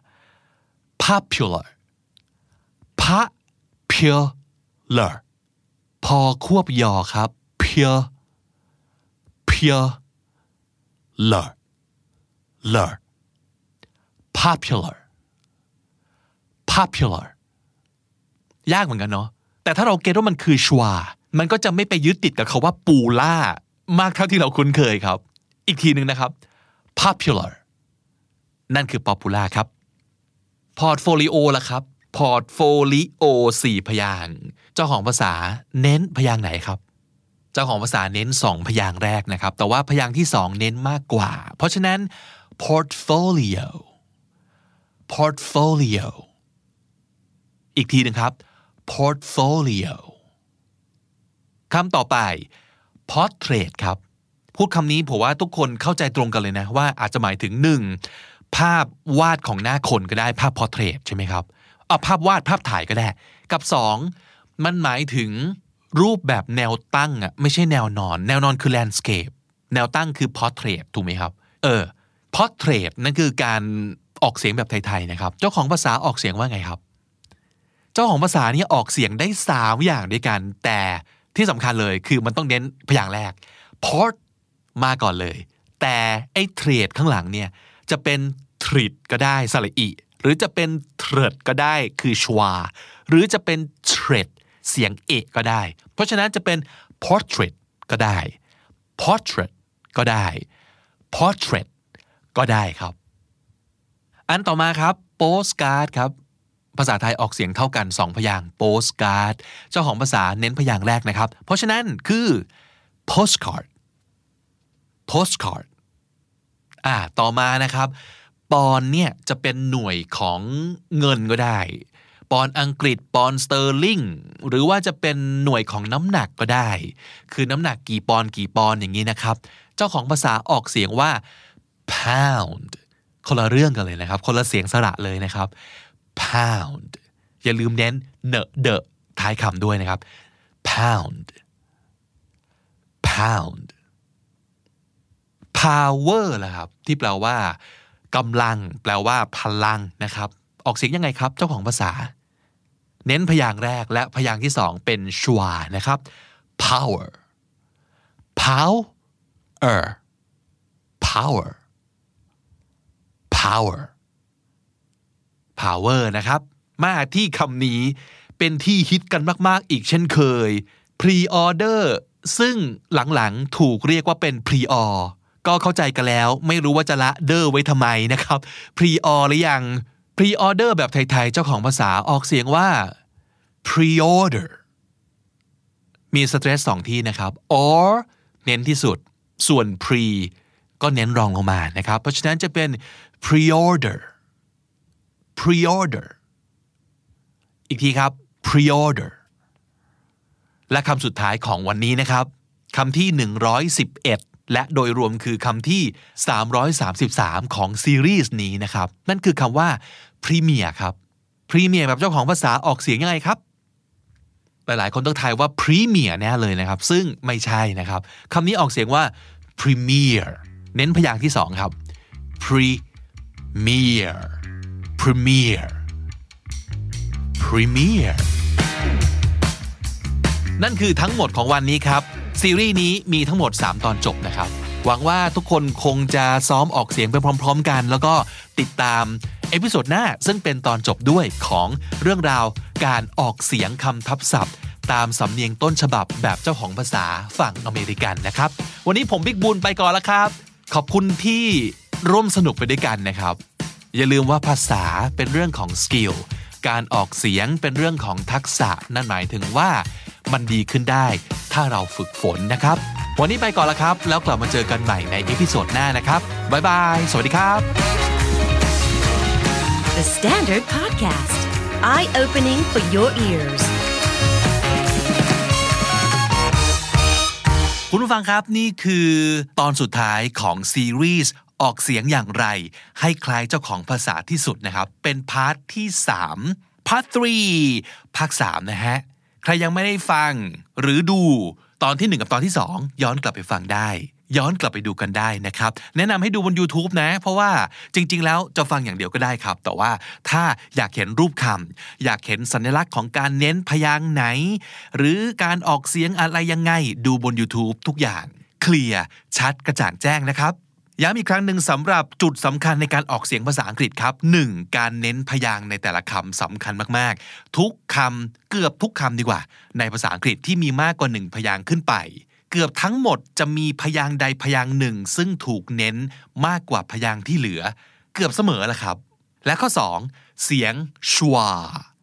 popular popular พอควบยอครับ pure pure lur lur popular popular ยากเหมือนกันเนาะแต่ถ้าเราเก็ตว่ามันคือชวามันก็จะไม่ไปยึดติดกับคำว่าปูล่ามากเท่าที่เราคุ้นเคยครับอีกทีหนึ่งนะครับ popular นั่นคือ popular ครับ portfolio ล่ะครับ portfolio สี่พยางค์เจ้าของภาษาเน้นพยางค์ไหนครับเจ้าของภาษาเน้นสองพยางค์แรกนะครับแต่ว่าพยางค์ที่สองเน้นมากกว่าเพราะฉะนั้น portfolio portfolio อีกทีนึงครับ portfolio คำต่อไป portrait ครับพูดคำนี้ผมว่าทุกคนเข้าใจตรงกันเลยนะว่าอาจจะหมายถึงหนึ่งภาพวาดของหน้าคนก็ได้ภาพ portrait ใช่ไหมครับเอาภาพวาดภาพถ่ายก็ได้กับสองมันหมายถึงรูปแบบแนวตั้งอ่ะไม่ใช่แนวนอนแนวนอนคือ landscape แนวตั้งคือ portrait ถูกไหมครับเออ portrait นั่นคือการออกเสียงแบบไทยๆนะครับเจ้าของภาษาออกเสียงว่าไงครับเจ้าของภาษานี่ออกเสียงได้สามอย่างด้วยกันแต่ที่สำคัญเลยคือมันต้องเน้นพยางค์แรก port มาก่อนเลยแต่ไอ้ trait ข้างหลังเนี่ยจะเป็น trit ก็ได้สระอิหรือจะเป็น tret ก็ได้คือชวาหรือจะเป็น tret เสียงเอะก็ได้เพราะฉะนั้นจะเป็น portrait ก็ได้ portrait ก็ได้ portrait ก็ได้ครับอันต่อมาครับ postcard ครับภาษาไทยออกเสียงเท่ากันสองพยางค์ postcard เจ้าของภาษาเน้นพยางค์แรกนะครับเพราะฉะนั้นคือ postcard postcard อ่าต่อมานะครับปอนด์เนี่ยจะเป็นหน่วยของเงินก็ได้ปอนด์อังกฤษปอนด์สเตอร์ลิงหรือว่าจะเป็นหน่วยของน้ำหนักก็ได้คือน้ำหนักกี่ปอนด์กี่ปอนด์อย่างนี้นะครับเจ้าของภาษาออกเสียงว่า pound คนละเรื่องกันเลยนะครับคนละเสียงสระเลยนะครับ pound อย่าลืมเน้นเนอะเดอะท้ายคำด้วยนะครับ pound pound power ล่ะครับที่แปลว่ากำลังแปลว่าพลังนะครับออกเสียงยังไงครับเจ้าของภาษาเน้นพยางค์แรกและพยางค์ที่สองเป็นชวานะครับ power power power power power นะครับมาที่คำนี้เป็นที่ฮิตกันมากๆอีกเช่นเคย pre-order ซึ่งหลังๆถูกเรียกว่าเป็น pre-or ก็เข้าใจกันแล้วไม่รู้ว่าจะละเดอร์ไว้ทำไมนะครับ pre-or หรือยัง pre-order แบบไทยๆเจ้าของภาษาออกเสียงว่า pre-order มีสเตรสสองที่นะครับ or เน้นที่สุดส่วน pre ก็เน้นรองลงมานะครับเพราะฉะนั้นจะเป็น pre-order pre-order อีกทีครับ pre-order และคำสุดท้ายของวันนี้นะครับคำที่หนึ่งร้อยสิบเอ็ดและโดยรวมคือคำที่สามร้อยสามสิบสามของซีรีส์นี้นะครับนั่นคือคำว่า premier ครับ premier แบบเจ้าของภาษาออกเสียงยังไงครับหลายๆคนต้องทายว่า premier แน่เลยนะครับซึ่งไม่ใช่นะครับคำนี้ออกเสียงว่า premier เน้นพยางค์ที่สองครับ premier premier premier นั่นคือทั้งหมดของวันนี้ครับซีรีส์นี้มีทั้งหมดสามตอนจบนะครับหวังว่าทุกคนคงจะซ้อมออกเสียงไปพร้อมๆกันแล้วก็ติดตามเอพิโซดหน้าซึ่งเป็นตอนจบด้วยของเรื่องราวการออกเสียงคำทับศัพท์ตามสำเนียงต้นฉบับแบบเจ้าของภาษาฝั่งอเมริกันนะครับวันนี้ผมบิ๊กบุญไปก่อนแล้วครับขอบคุณที่ร่วมสนุกไปด้วยกันนะครับอย่าลืมว่าภาษาเป็นเรื่องของสกิลการออกเสียงเป็นเรื่องของทักษะนั่นหมายถึงว่ามันดีขึ้นได้ถ้าเราฝึกฝนนะครับวันนี้ไปก่อนแล้วครับแล้วกลับมาเจอกันใหม่ในเอพิโซดหน้านะครับบ๊ายบายสวัสดีครับ The Standard Podcast Eye-opening for your ears คุณผู้ฟังครับนี่คือตอนสุดท้ายของซีรีส์ออกเสียงอย่างไรให้คล้ายเจ้าของภาษาที่สุดนะครับเป็นพาร์ทที่สามพาร์ทสามภาคสามนะฮะใครยังไม่ได้ฟังหรือดูตอนที่หนึ่งกับตอนที่สองย้อนกลับไปฟังได้ย้อนกลับไปดูกันได้นะครับแนะนำให้ดูบน YouTube นะเพราะว่าจริงๆแล้วจะฟังอย่างเดียวก็ได้ครับแต่ว่าถ้าอยากเห็นรูปคำอยากเห็นสัญลักษณ์ของการเน้นพยางค์ไหนหรือการออกเสียงอะไรยังไงดูบน YouTube ทุกอย่างเคลียร์ชัดกระจ่างแจ้งนะครับย้ำอีกครั้งหนึ่งสำหรับจุดสำคัญในการออกเสียงภาษาอังกฤษครับหนึ่งการเน้นพยางค์ในแต่ละคำสำคัญมากๆทุกคำเกือบทุกคำดีกว่าในภาษาอังกฤษที่มีมากกว่าหนึ่งพยางค์ขึ้นไปเกือบทั้งหมดจะมีพยางค์ใดพยางค์หนึ่งซึ่งถูกเน้นมากกว่าพยางค์ที่เหลือเกือบเสมอแหละครับและข้อสองเสียงชวา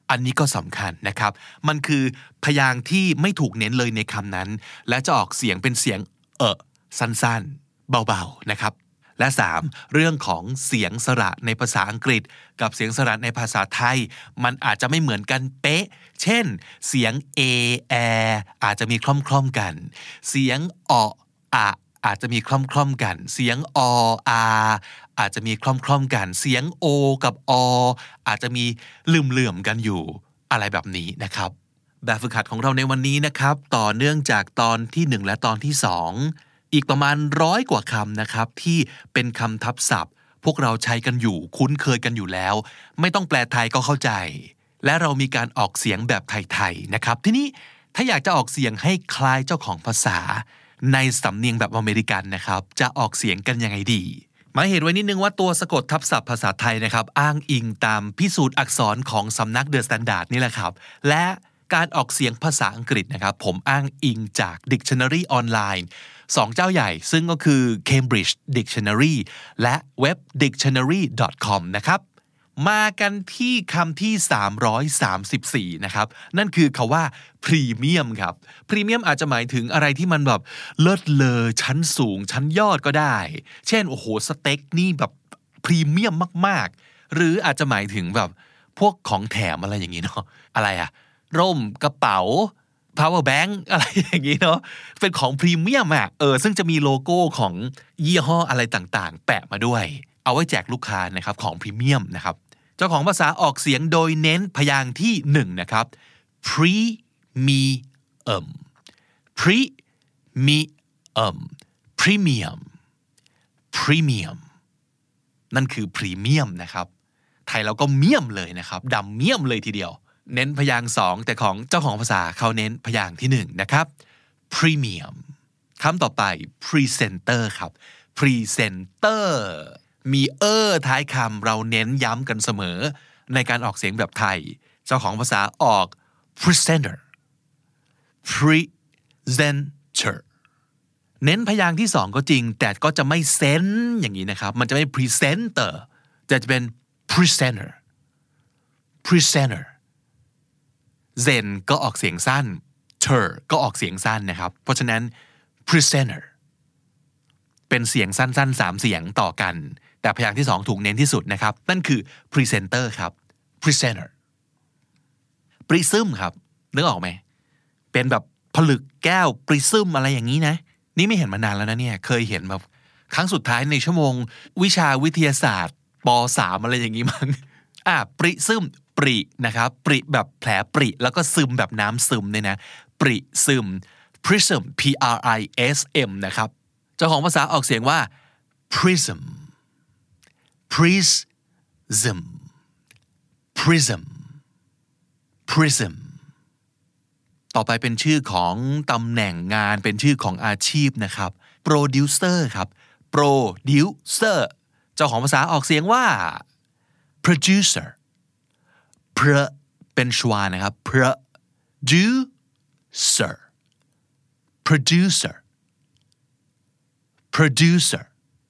อันนี้ก็สำคัญนะครับมันคือพยางค์ที่ไม่ถูกเน้นเลยในคำนั้นและจะออกเสียงเป็นเสียงเอะสั้นๆเบาๆนะครับและสามเรื่องของเสียงสระในภาษาอังกฤษกับเสียงสระในภาษาไทยมันอาจจะไม่เหมือนกันเป๊ะเช่นเสียง a แออาจจะมีคล่อมๆกันเสียงออะอาจจะมีคล่อมๆกันเสียงออาอาจจะมีคล่อมๆกันเสียงโอกับออาจจะมีลืมๆกันอยู่อะไรแบบนี้นะครับแบบฝึกหัดของเราในวันนี้นะครับต่อเนื่องจากตอนที่หนึ่งและตอนที่สองอีกประมาณร้อยกว่าคำนะครับที่เป็นคำทับศัพท์พวกเราใช้กันอยู่คุ้นเคยกันอยู่แล้วไม่ต้องแปลไทยก็เข้าใจและเรามีการออกเสียงแบบไทยๆนะครับทีนี้ถ้าอยากจะออกเสียงให้คล้ายเจ้าของภาษาในสำเนียงแบบอเมริกันนะครับจะออกเสียงกันยังไงดีหมายเหตุไว้นิดนึงว่าตัวสะกดทับศัพท์ภาษาไทยนะครับอ้างอิงตามพิสูจน์อักษรของสำนัก The Standard นี่แหละครับและการออกเสียงภาษาอังกฤษนะครับผมอ้างอิงจาก Dictionary ออนไลน์สองเจ้าใหญ่ซึ่งก็คือ Cambridge Dictionary และเว็บ ดิกชันนารี ดอท คอม นะครับมากันที่คำที่สามร้อยสามสิบสี่นะครับนั่นคือคำว่าพรีเมียมครับพรีเมียมอาจจะหมายถึงอะไรที่มันแบบเลิศเลอชั้นสูงชั้นยอดก็ได้เช่นโอ้โหสเต็กนี่แบบพรีเมียมมากๆหรืออาจจะหมายถึงแบบพวกของแถมอะไรอย่างนี้เนาะอะไรอะร่มกระเป๋า power bank อะไรอย่างนี้เนาะเป็นของพรีเมียมอ่ะเออซึ่งจะมีโลโก้ของยี่ห้ออะไรต่างๆแปะมาด้วยเอาไว้แจกลูกค้านะครับของพรีเมียมนะครับเจ้าของภาษาออกเสียงโดยเน้นพยางค์ที่หนึ่งนะครับ premium premium premium premium นั่นคือพรีเมียมนะครับไทยเราก็เมียมเลยนะครับดำเมียมเลยทีเดียวเน้นพยางค์สองแต่ของเจ้าของภาษาเขาเน้นพยางค์ที่หนึ่งนะครับ premium คำต่อไป presenter ครับ presenter มีเออท้ายคำเราเน้นย้ำกันเสมอในการออกเสียงแบบไทยเจ้าของภาษาออก presenter presenter เน้นพยางค์ที่สองก็จริงแต่ก็จะไม่เซนอย่างนี้นะครับมันจะไม่ presenter แต่จะเป็น presenter presenter เซนก็ออกเสียงสั้น ter ก็ออกเสียงสั้นนะครับเพราะฉะนั้น presenter เป็นเสียงสั้นๆสามเสียงต่อกันแต่พยางค์ที่สองถูกเน้นที่สุดนะครับนั่นคือ presenter ครับ presenter prism ครับนึกออกไหมเป็นแบบผลึกแก้ว prism อะไรอย่างนี้นะนี่ไม่เห็นมานานแล้วนะเนี่ยเคยเห็นแบบครั้งสุดท้ายในชั่วโมงวิชาวิทยาศาสตร์ป สาม อะไรอย่างนี้มั้งอ่ะ prism ปรินะครับปริแบบแผลปริแล้วก็ซึมแบบน้ำซึมเนี่ยนะปริซึม prism p r i s m นะครับเจ้าของภาษาออกเสียงว่า prism prism prism prism ต่อไปเป็นชื่อของตำแหน่งงานเป็นชื่อของอาชีพนะครับ producer ครับ producer เจ้าของภาษาออกเสียงว่า producer pr เป็นชวานะครับ producer producer producer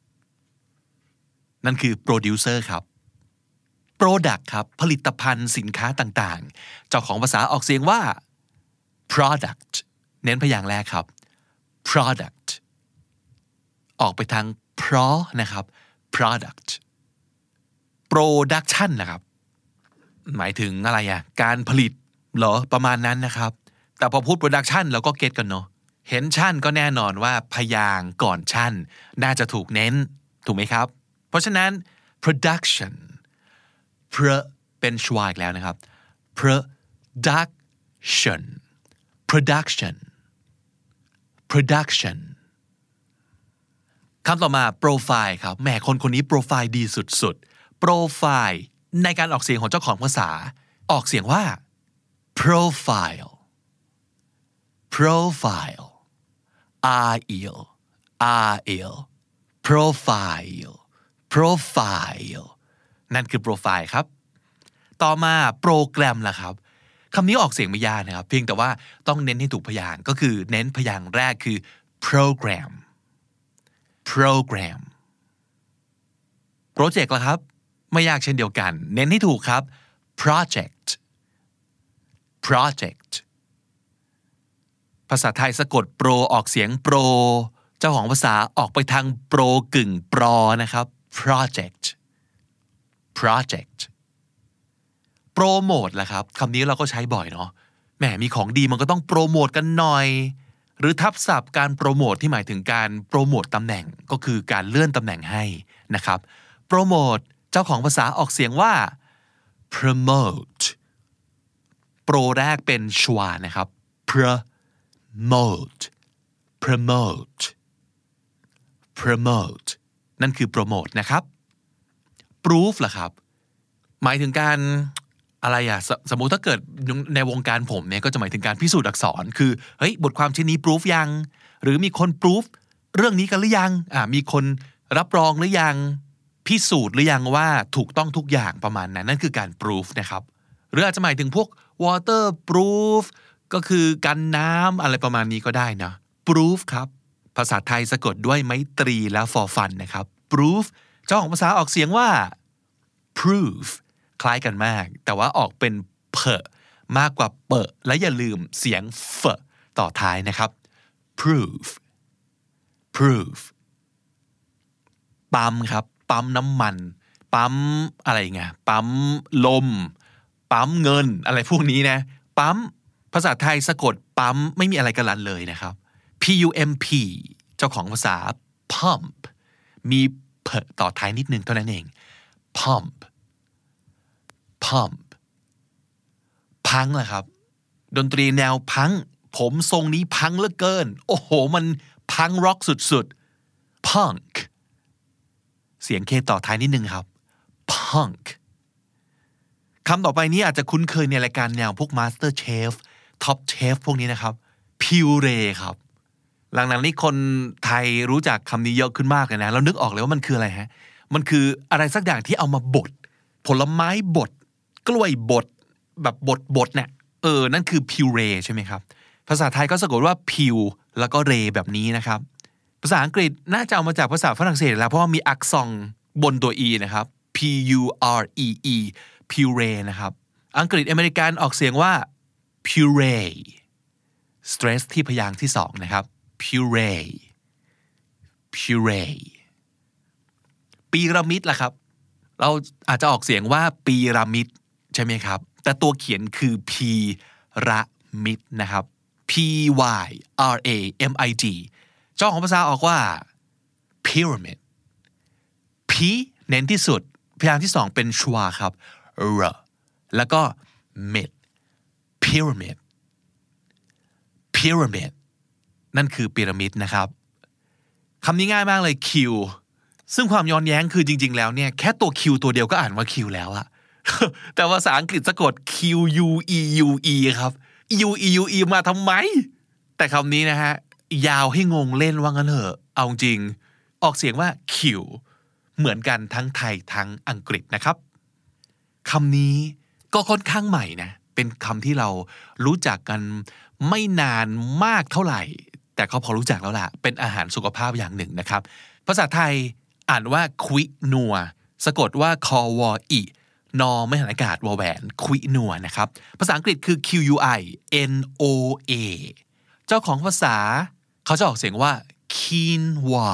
นั่นคือ producer ครับ product ครับผลิตภัณฑ์สินค้าต่างๆเจ้าของภาษาออกเสียงว่า product เน้นพยางค์แรกครับ product ออกไปทางเพราะนะครับ product production นะครับหมายถึงอะไรอ่ะการผลิตเหรอประมาณนั้นนะครับแต่พอพูด production เราก็เก็ตกันเนาะเห็นชั่นก็แน่นอนว่าพยางค์ก่อนชั่นน่าจะถูกเน้นถูกไหมครับเพราะฉะนั้น production pro เป็นชวาอีกแล้วนะครับ production production production คำต่อมา profile ครับแหมคนคนนี้โปรไฟล์ดีสุดๆ profile ในการออกเสียงของเจ้าของภาษาออกเสียงว่า profile profile r e l r l profile profile นั่นคือ profile ครับต่อมาโปรแกรมล่ะครับคำนี้ออกเสียงไม่ยากนะครับเพียงแต่ว่าต้องเน้นให้ถูกพยางค์ก็คือเน้นพยางค์แรกคือ program program project ล่ะครับไม่ยากเช่นเดียวกันเน้นให้ถูกครับ project project ภาษาไทยสะกดโปรออกเสียงโปรเจ้าของภาษาออกไปทางโปรกึ่งปรอนะครับ project project โปรโมทล่ะครับคำนี้เราก็ใช้บ่อยเนาะแหมมีของดีมันก็ต้องโปรโมทกันหน่อยหรือทับศัพท์การโปรโมทที่หมายถึงการโปรโมทตำแหน่งก็คือการเลื่อนตำแหน่งให้นะครับโปรโมทเจ้าของภาษาออกเสียงว่า promote โปรแรกเป็นชวานะครับ promote promote promote นั่นคือโปรโมทนะครับ proof ล่ะครับหมายถึงการอะไรอะส, สมมุติถ้าเกิดในวงการผมเนี่ยก็จะหมายถึงการพิสูจน์อักษรคือเฮ้ยบทความชิ้นนี้ proof ยังหรือมีคน proof เรื่องนี้กันหรือยังอ่ามีคนรับรองหรือยังพิสูจน์หรือยังว่าถูกต้องทุกอย่างประมาณนั้นนั่นคือการ proof นะครับหรืออาจจะหมายถึงพวก water proof ก็คือกันน้ำอะไรประมาณนี้ก็ได้นะ proof ครับภาษาไทยสะกดด้วยไม้ตรีและ for fun นะครับ proof เจ้าของภาษาออกเสียงว่า proof คล้ายกันมากแต่ว่าออกเป็นเพอมากกว่าเปะและอย่าลืมเสียงเฟต่อท้ายนะครับ proof proof ปั๊มครับปั๊มน้ำมันปั๊มอะไรไงปั๊มลมปั๊มเงินอะไรพวกนี้นะปั๊มภาษาไทยสะกดปั๊มไม่มีอะไรกันลันเลยนะครับ p u m p เจ้าของภาษา pump มีเพอต่อท้ายนิดนึงเท่านั้นเอง pump pump พังล่ะครับดนตรีแนวพังผมทรงนี้พังเหลือเกินโอ้โหมันพังร็อกสุดๆ punk เสียงเคต่อท้ายนิดนึงครับ punk คำต่อไปนี้อาจจะคุ้นเคยในรายการแนวพวก Master Chef Top Chef พวกนี้นะครับ puree ครับหลังๆนี้คนไทยรู้จักคำนี้เยอะขึ้นมากเลยนะเรานึกออกเลยว่ามันคืออะไรฮะมันคืออะไรสักอย่างที่เอามาบดผลไม้บดกล้วยบดแบบบดบดเนี่ยเออนั่นคือ puree ใช่ไหมครับภาษาไทยก็สะกดว่า pure แล้วก็ re แบบนี้นะครับภาษาอังกฤษน่าจะเอามาจากภาษาฝรั่งเศสแล้วเพราะว่ามีอักษรบนตัว e นะครับ p u r e e puree นะครับอังกฤษอเมริกันออกเสียงว่า puree stress ที่พยางค์ที่สองนะครับ puree puree ปีระมิดล่ะครับเราอาจจะออกเสียงว่าปีระมิดใช่ไหมครับแต่ตัวเขียนคือ p ระมิดนะครับ p y r a m i d เจ้าของภาษาออกว่า pyramid p เน้นที่สุดพยางค์ที่สองเป็นชวาครับ r แล้วก็ mid pyramid pyramid นั่นคือพีระมิดนะครับคำนี้ง่ายมากเลย Q ซึ่งความย้อนแย้งคือจริงๆแล้วเนี่ยแค่ตัว Q ตัวเดียวก็อ่านว่า Q แล้วอะ แต่ภาษาอังกฤษสะกด Q U E U E ครับ U E U E มาทำไมแต่คำนี้นะฮะยาวให้งงเล่นว่างั้นเถอะเอาจริงออกเสียงว่า Q เหมือนกันทั้งไทยทั้งอังกฤษนะครับคำนี้ก็ค่อนข้างใหม่นะเป็นคำที่เรารู้จักกันไม่นานมากเท่าไหร่แต่เขาพอรู้จักแล้วล่ะเป็นอาหารสุขภาพอย่างหนึ่งนะครับภาษาไทยอ่านว่าควินัวสะกดว่าคอวออีนอไม่หันอากาศวอแหวนควินัวนะครับภาษาอังกฤษคือ Q U I N O A เจ้าของภาษาเขาจะออกเสียงว่า quinoa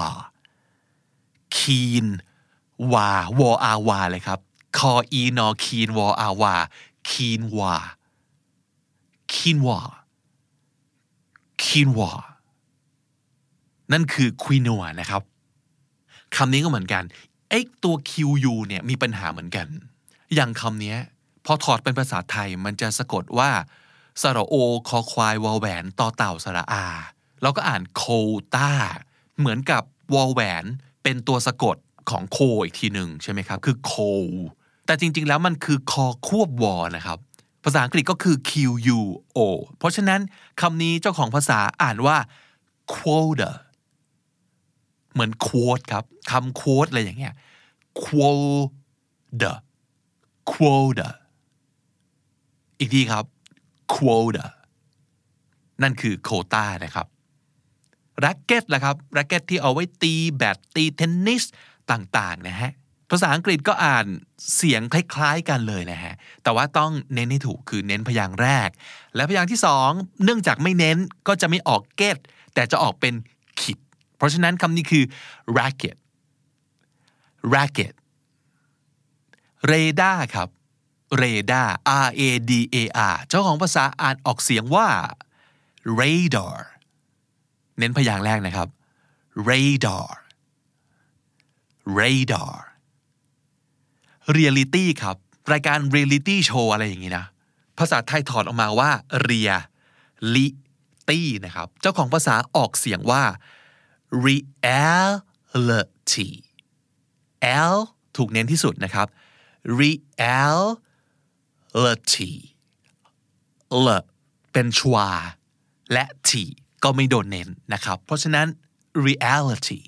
quin วาวออาวาเลยครับคออีนอคีนวออาวาคีนวาคีนวาคีนวานั่นคือควินัวนะครับคำนี้ก็เหมือนกันไอ้ตัว คิว ยู เนี่ยมีปัญหาเหมือนกันอย่างคำนี้พอถอดเป็นภาษาไทยมันจะสะกดว่าสระโอคอควายวอแหวนต่อเต่าสระอาเราก็อ่านโคต้าเหมือนกับวอแหวนเป็นตัวสะกดของโคอีกทีหนึ่งใช่ไหมครับคือโคแต่จริงๆแล้วมันคือคอควบวอนะครับภาษาอังกฤษก็คือ Q U O เพราะฉะนั้นคำนี้เจ้าของภาษาอ่านว่า quota เหมือน quote ครับคำ quote อะไรอย่างเงี้ย quota quota อีกทีครับ quota นั่นคือโควต้านะครับแร็คเก็ตล่ะครับแร็คเก็ตที่เอาไว้ตีแบดตีเทนนิสต่างๆนะฮะภาษาอังกฤษก็อ่านเสียงคล้ายๆกันเลยนะฮะแต่ว่าต้องเน้นให้ถูกคือเน้นพยางค์แรกและพยางค์ที่สองเนื่องจากไม่เน้นก็จะไม่ออก get แต่จะออกเป็น kid เพราะฉะนั้นคำนี้คือ racket racket radar ครับ radar R A D A R เจ้าของภาษาอ่านออกเสียงว่า radar เน้นพยางค์แรกนะครับ radar radar reality ครับรายการ reality show อะไรอย่างงี้นะภาษาไทยถอดออกมาว่า reality นะครับเจ้าของภาษาออกเสียงว่า reality l ถูกเน้นที่สุดนะครับ reality l เป็นชวาและ t ก็ไม่โดนเน้นนะครับเพราะฉะนั้น reality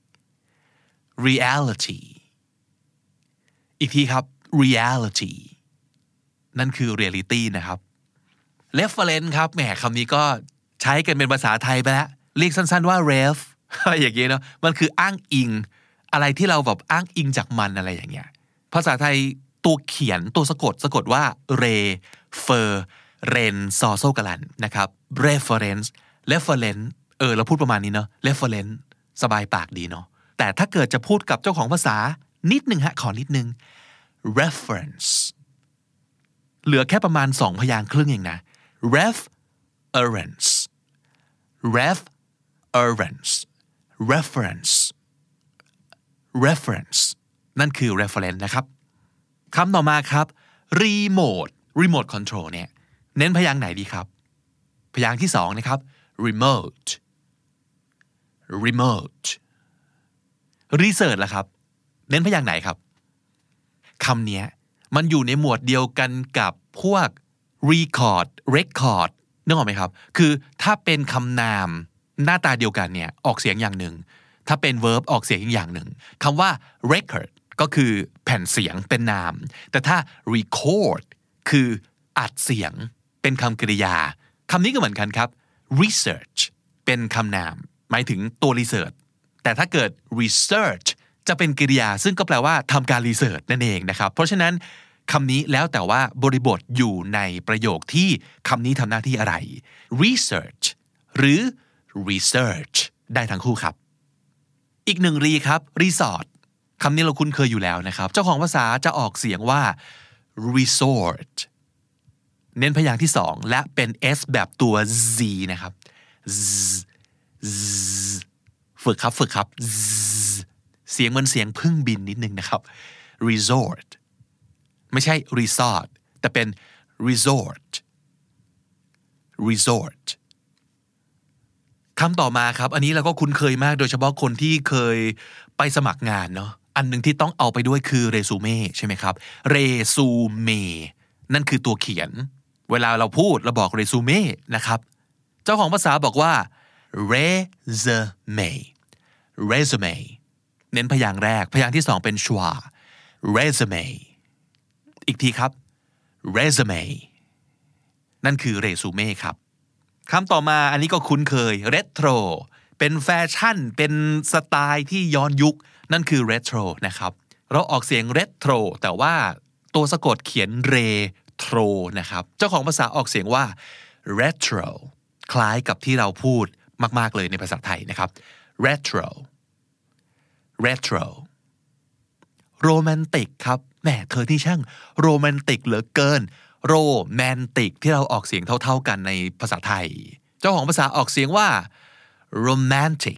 reality อีกทีครับ reality นั่นคือ reality นะครับ reference ครับแหมคำนี้ก็ใช้กันเป็นภาษาไทยไปแล้วเรียกสั้นๆว่า ref อย่างเงี้ยเนาะมันคืออ้างอิงอะไรที่เราแบบอ้างอิงจากมันอะไรอย่างเงี้ยภาษาไทยตัวเขียนตัวสะกดสะกดว่า re fer ren ซอโซกะลันนะครับ reference reference เออเราพูดประมาณนี้เนาะ reference สบายปากดีเนาะแต่ถ้าเกิดจะพูดกับเจ้าของภาษานิดนึงฮะขอนิดนึง reference เหลือแค่ประมาณสองพยางค์ครึ่งเองนะ reference reference reference reference นั่นคือ reference นะครับคำต่อมาครับ remote remote control เนี่ยเน้นพยางค์ไหนดีครับพยางค์ที่สองนะครับ remote remote research ล่ะครับเน้นพยางค์ไหนครับคำนี้มันอยู่ในหมวดเดียวกันกับพวก record record นึกออกไหมครับคือถ้าเป็นคำนามหน้าตาเดียวกันเนี่ยออกเสียงอย่างหนึ่งถ้าเป็น verb ออกเสียงอีกอย่างหนึ่งคำว่า record ก็คือแผ่นเสียงเป็นนามแต่ถ้า record คืออัดเสียงเป็นคำกริยาคำนี้ก็เหมือนกันครับ research เป็นคำนามหมายถึงตัว research แต่ถ้าเกิด research จะเป็นกริยาซึ่งก็แปลว่าทำการ research นั่นเองนะครับเพราะฉะนั้นคำนี้แล้วแต่ว่าบริบทอยู่ในประโยคที่คำนี้ทำหน้าที่อะไร research หรือ research ได้ทั้งคู่ครับอีกหนึ่งรีครับ resort คำนี้เราคุ้นเคยอยู่แล้วนะครับเจ้าของภาษาจะออกเสียงว่า resort เน้นพยางค์ที่สองและเป็น s แบบตัว z นะครับ z z ฝึกครับฝึกครับ z เสียงเหมือนเสียงพึ่งบินนิดนึงนะครับ resort ไม่ใช่ resort แต่เป็น resort resort คำต่อมาครับอันนี้เราก็คุ้นเคยมากโดยเฉพาะคนที่เคยไปสมัครงานเนาะอันหนึ่งที่ต้องเอาไปด้วยคือเรซูเม่ใช่ไหมครับเรซูเม่นั่นคือตัวเขียนเวลาเราพูดเราบอกเรซูเม่นะครับเจ้าของภาษาบอกว่า resume resume เน้นพยางค์แรกพยางค์ที่สองเป็นชวา resume อีกทีครับ resume นั่นคือเรซูเม่ครับคำต่อมาอันนี้ก็คุ้นเคย retro เป็นแฟชั่นเป็นสไตล์ที่ย้อนยุคนั่นคือ retro นะครับเราออกเสียง retro แต่ว่าตัวสะกดเขียน retro นะครับเจ้าของภาษาออกเสียงว่า retro คล้ายกับที่เราพูดมากๆเลยในภาษาไทยนะครับ retro retro romantic ครับแหมเธอที่ช่างโรแมนติกเหลือเกินโรแมนติกที่เราออกเสียงเท่าๆกันในภาษาไทยเจ้าของภาษาออกเสียงว่า romantic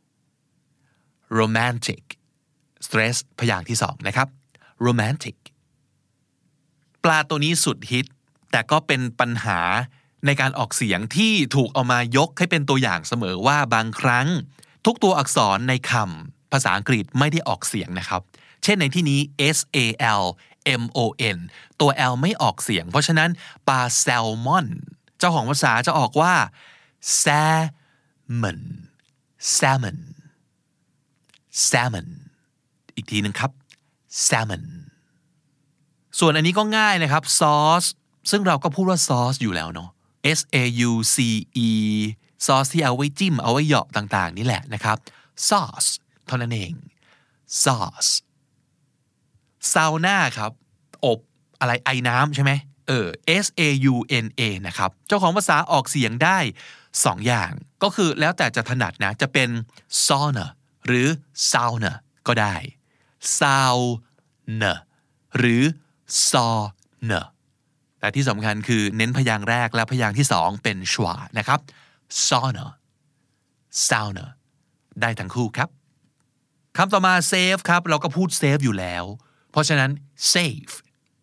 romantic stress พยางค์ที่สองนะครับ romantic ปลาตัวนี้สุดฮิตแต่ก็เป็นปัญหาในการออกเสียงที่ถูกเอามายกให้เป็นตัวอย่างเสมอว่าบางครั้งทุกตัวอักษรในคำภาษาอังกฤษไม่ได้ออกเสียงนะครับเช่นในที่นี้ s a l m o n ตัว l ไม่ออกเสียงเพราะฉะนั้นปลาแซลมอนเจ้าของภาษาจะออกว่า salmon salmon salmon อีกทีนึงครับ salmon ส่วนอันนี้ก็ง่ายนะครับซอสซึ่งเราก็พูดว่าซอสอยู่แล้วเนาะ s a u c e ซอสที่เอาไว้จิ้มเอาไว้เหยาะต่างๆนี่แหละนะครับ sauce เท่านั้นเอง sauce ซาวน่าครับอบอะไรไอน้ำใช่ไหมเออ S A U N A นะครับเจ้าของภาษาออกเสียงได้สองอย่างก็คือแล้วแต่จะถนัดนะจะเป็น sauna หรือ sauna ก็ได้ sauna หรือ sauna แต่ที่สำคัญคือเน้นพยางค์แรกและพยางค์ที่สองเป็นชวานะครับ sauna sauna ได้ทั้งคู่ครับคำต่อมา save ครับเราก็พูด save อยู่แล้วเพราะฉะนั้น save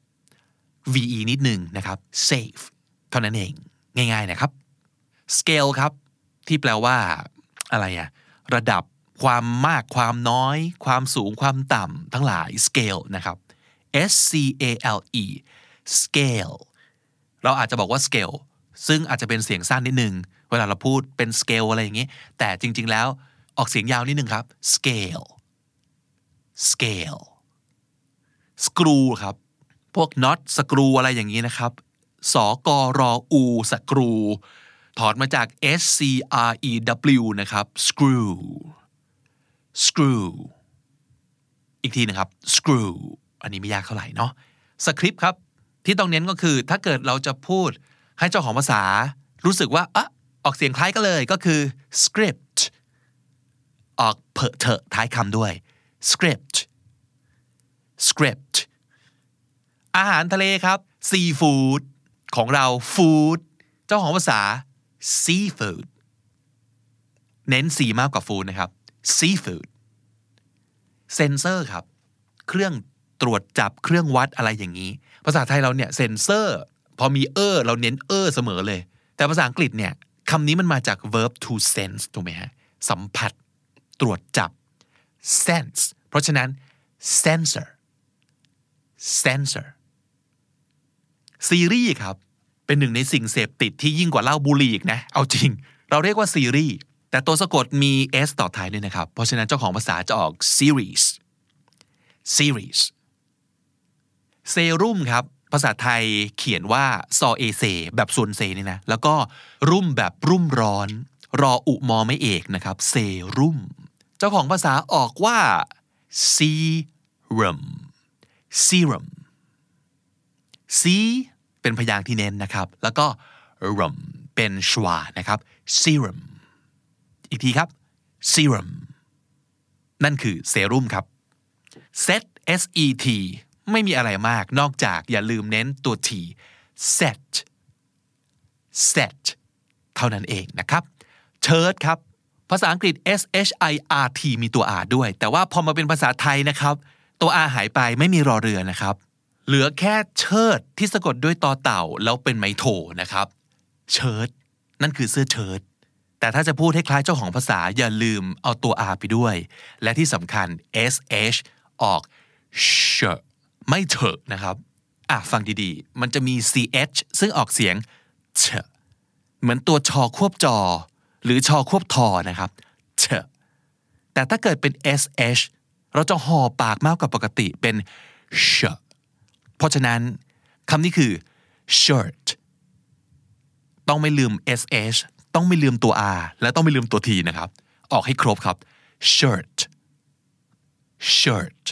ve นิดหนึ่งนะครับ save เท่านั้นเองง่ายๆนะครับ scale ครับที่แปลว่าอะไรอะระดับความมากความน้อยความสูงความต่ำทั้งหลาย scale นะครับ S C A L E scale เราอาจจะบอกว่า scale ซึ่งอาจจะเป็นเสียงสั้นนิดนึงเวลาเราพูดเป็น scale อะไรอย่างนี้แต่จริงๆแล้วออกเสียงยาวนิดนึงครับ scale scale screw ครับพวก น็อต สกรูอะไรอย่างนี้นะครับสกรอูสกรูถอดมาจาก S C R E W นะครับ screw screw อีกทีนะครับ screw อันนี้ไม่ยากเท่าไหร่เนาะสคริปต์ครับที่ต้องเน้นก็คือถ้าเกิดเราจะพูดให้เจ้าของภาษารู้สึกว่าอ่ะออกเสียงคล้ายกันเลยก็คือ script ออกเพอเถอะท้ายคำด้วย script script อาหารทะเลครับซีฟู้ดของเราฟู้ดเจ้าของภาษา seafood เน้นสีมากกว่าฟู้ดนะครับ seafood เซนเซอร์ครับเครื่องตรวจจับเครื่องวัดอะไรอย่างนี้ภาษาไทยเราเนี่ยเซนเซอร์พอมีเออเราเน้นเออเสมอเลยแต่ภาษาอังกฤษเนี่ยคำนี้มันมาจาก verb to sense ถูกไหมฮะสัมผัสตรวจจับ sense เพราะฉะนั้น sensor sensor ซีรีส์ครับเป็นหนึ่งในสิ่งเสพติดที่ยิ่งกว่าเหล้าบุหรี่อีกนะเอาจริงเราเรียกว่าซีรีส์แต่ตัวสะกดมี s ต่อท้ายด้วยนะครับเพราะฉะนั้นเจ้าของภาษาจะออก series series เซรุ่มครับภาษาไทยเขียนว่าซอเอเซแบบส่วนเซนี่นะแล้วก็รุ่มแบบรุ่มร้อนรออุมอไม่เอกนะครับเซรุ่มเจ้าของภาษาออกว่า serum serum c เป็นพยางค์ที่เน้นนะครับแล้วก็ rum เป็นชวานะครับ serum อีกทีครับ serum นั่นคือเซรุ่มครับ set s e t ไม่มีอะไรมากนอกจากอย่าลืมเน้นตัว t set set เท่านั้นเองนะครับ shirt ครับภาษาอังกฤษ s h i r t มีตัว r ด้วยแต่ว่าพอมาเป็นภาษาไทยนะครับตัว r หายไปไม่มีรอเรือนะครับเหลือแค่เชิดที่สะกดด้วยตอเต่าแล้วเป็นไม้โทนะครับเชิดนั่นคือเสื้อเชิ้ตแต่ถ้าจะพูดให้คล้ายเจ้าของภาษาอย่าลืมเอาตัว r ไปด้วยและที่สำคัญ sh ออก shirt ไม่เถอะนะครับอ่ะฟังดีๆมันจะมี ch ซึ่งออกเสียงเฉเหมือนตัวชอควบจอหรือชอควบทอนะครับเฉแต่ถ้าเกิดเป็น sh เราจะห่อปากมากกว่าปกติเป็น shirtเพราะฉะนั้นคำนี้คือ shirt ต้องไม่ลืม sh ต้องไม่ลืมตัว r และต้องไม่ลืมตัว t นะครับออกให้ครบครับ shirt shirt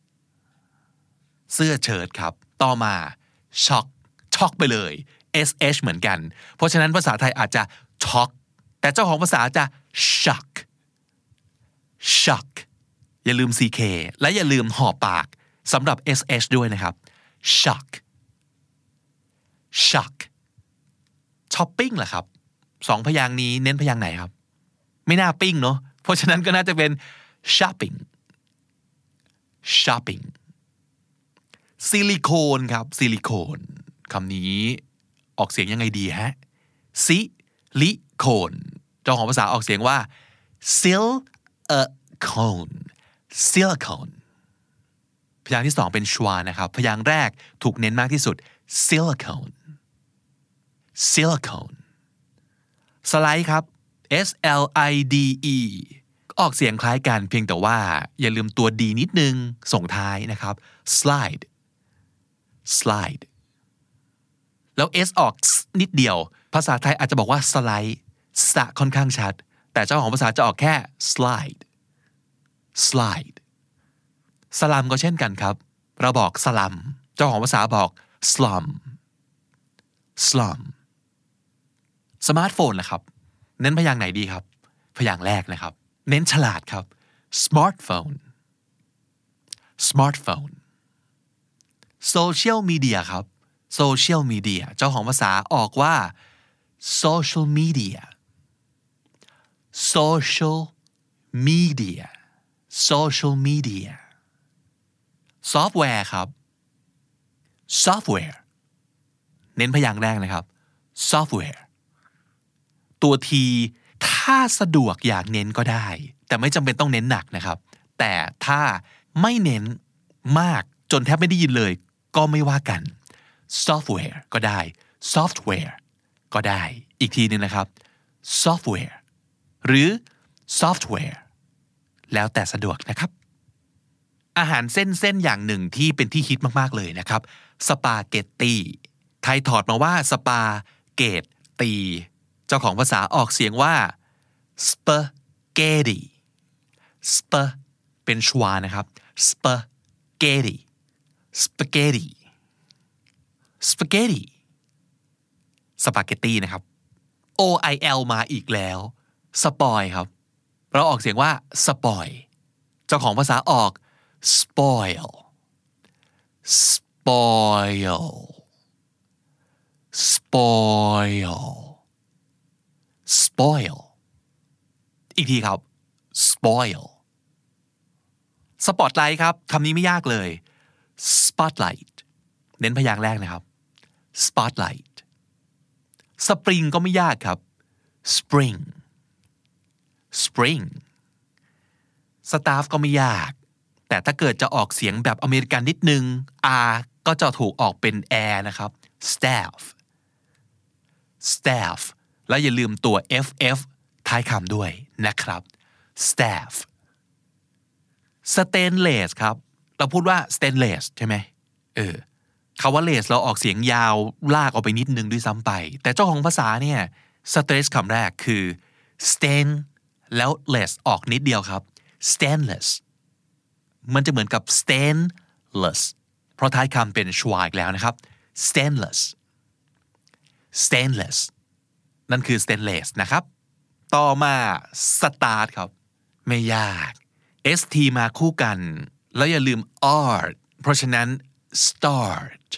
เสื้อเชิ้ตครับต่อมาช็อกช็อกไปเลย sh เหมือนกันเพราะฉะนั้นภาษาไทยอาจจะช็อกแต่เจ้าของภาษาจะ shock shock อย่าลืม ck และอย่าลืมห่อปากสำหรับ sh ด้วยนะครับ shock shock ช้อปปิ้งล่ะครับสองพยางค์นี้เน้นพยางค์ไหนครับไม่น่าปิ้งเนาะเพราะฉะนั้นก็น่าจะเป็น shopping shopping ซิลิโคนครับซิลิโคนคำนี้ออกเสียงยังไงดีฮะซิลิโคนเจ้าของภาษาออกเสียงว่า silicone silicone พยางค์ที่สองเป็นชวานะครับพยางค์แรกถูกเน้นมากที่สุด silicone silicone สไลด์ครับ s l i d e ออกเสียงคล้ายกันเพียงแต่ว่าอย่าลืมตัว d นิดนึงส่งท้ายนะครับ slide slide แล้ว s ออกนิดเดียวภาษาไทยอาจจะบอกว่าสไลด์สะค่อนข้างชัดแต่เจ้าของภาษาจะออกแค่ slide slide สลัมก็เช่นกันครับเราบอกสลัมเจ้าของภาษาบอก slum slum สมาร์ทโฟนล่ะครับเน้นพยางค์ไหนดีครับพยางค์แรกนะครับเน้นฉลาดครับ smartphone smartphone social media ครับ social media เจ้าของภาษาออกว่า social media social media social media ซอฟต์แวร์ครับ software เน้นพยางค์แรกนะครับ software ตัวทีถ้าสะดวกอยากเน้นก็ได้แต่ไม่จำเป็นต้องเน้นหนักนะครับแต่ถ้าไม่เน้นมากจนแทบไม่ได้ยินเลยก็ไม่ว่ากัน software ก็ได้ software ก็ได้อีกทีนึงนะครับ software หรือ software แล้วแต่สะดวกนะครับอาหารเส้นๆอย่างหนึ่งที่เป็นที่ฮิตมากๆเลยนะครับสปาเกตตีไทยถอดมาว่าสปาเกตตีเจ้าของภาษาออกเสียงว่า spaghetti sp เป็นชวานะครับ spaghetti spaghetti spaghetti สปาเกตตีนะครับ โอ ไอ แอล มาอีกแล้วสปอยครับเราออกเสียงว่าสปอยเจ้าของภาษาออก spoil spoil spoil spoil อีกทีครับ spoil spotlight ครับคำนี้ไม่ยากเลย spotlight เน้นพยางค์แรกนะครับ spotlight spring ก็ไม่ยากครับ spring spring staff ก็ไม่ยากแต่ถ้าเกิดจะออกเสียงแบบอเมริกันนิดนึง R ก็จะถูกออกเป็น air นะครับ staff staff แล้วอย่าลืมตัว เอฟ เอฟ ท้ายคำด้วยนะครับ staff stainless ครับเราพูดว่า stainless ใช่ไหมเออคำว่า less เราออกเสียงยาวลากออกไปนิดนึงด้วยซ้ำไปแต่เจ้าของภาษาเนี่ย stress คำแรกคือ stain แล้ว less ออกนิดเดียวครับ stainless มันจะเหมือนกับ stainless เพราะท้ายคำเป็นชวาอีกแล้วนะครับ stainless stainless นั่นคือ stainless นะครับต่อมา start ครับไม่ยาก st มาคู่กันแล้วอย่าลืม art เพราะฉะนั้น start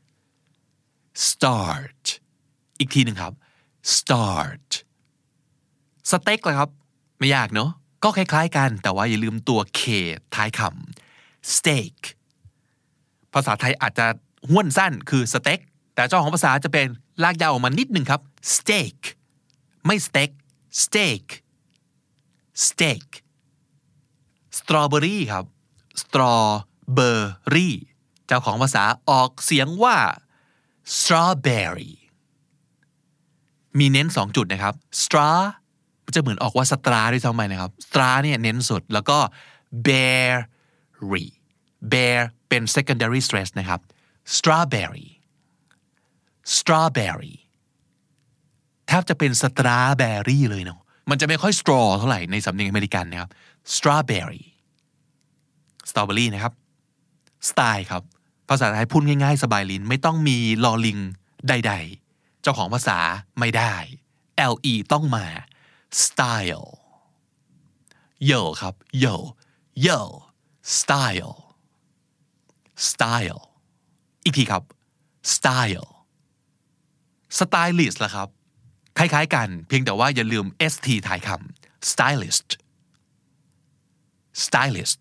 start อีกทีหนึ่งครับ start สเต็กเลยครับไม่ยากเนอะก็คล้ายๆกันแต่ว่าอย่าลืมตัว k ท้ายคำ steak ภาษาไทยอาจจะห้วนสั้นคือสเต็กแต่เจ้าของภาษาจะเป็นลากยาวออกมานิดหนึ่งครับ steak ไม่สเต็ก steak steak strawberry ครับ strawberry เจ้าของภาษาออกเสียงว่า strawberry มีเน้นสองจุดนะครับ straw จะเหมือนออกว่าสตราด้วยซ้ำไปนะครับ straw เนี่ยเน้นสุดแล้วก็ berry bear เป็น secondary stress นะครับ strawberry strawberry แทบจะเป็น strawberry เลยเนาะมันจะไม่ค่อย straw เท่าไหร่ในสำเนียงอเมริกันนะครับ strawberry strawberry นะครับ style ครับภาษาไทยพูดง่ายๆสบายลิ้นไม่ต้องมีลอลิงใดๆเจ้าของภาษาไม่ได้ le ต้องมา style yo ครับ yo yo style style อีกทีครับ style stylist ล่ะครับคล้ายๆกันเพียงแต่ว่าอย่าลืม st ท้ายคำ stylist stylist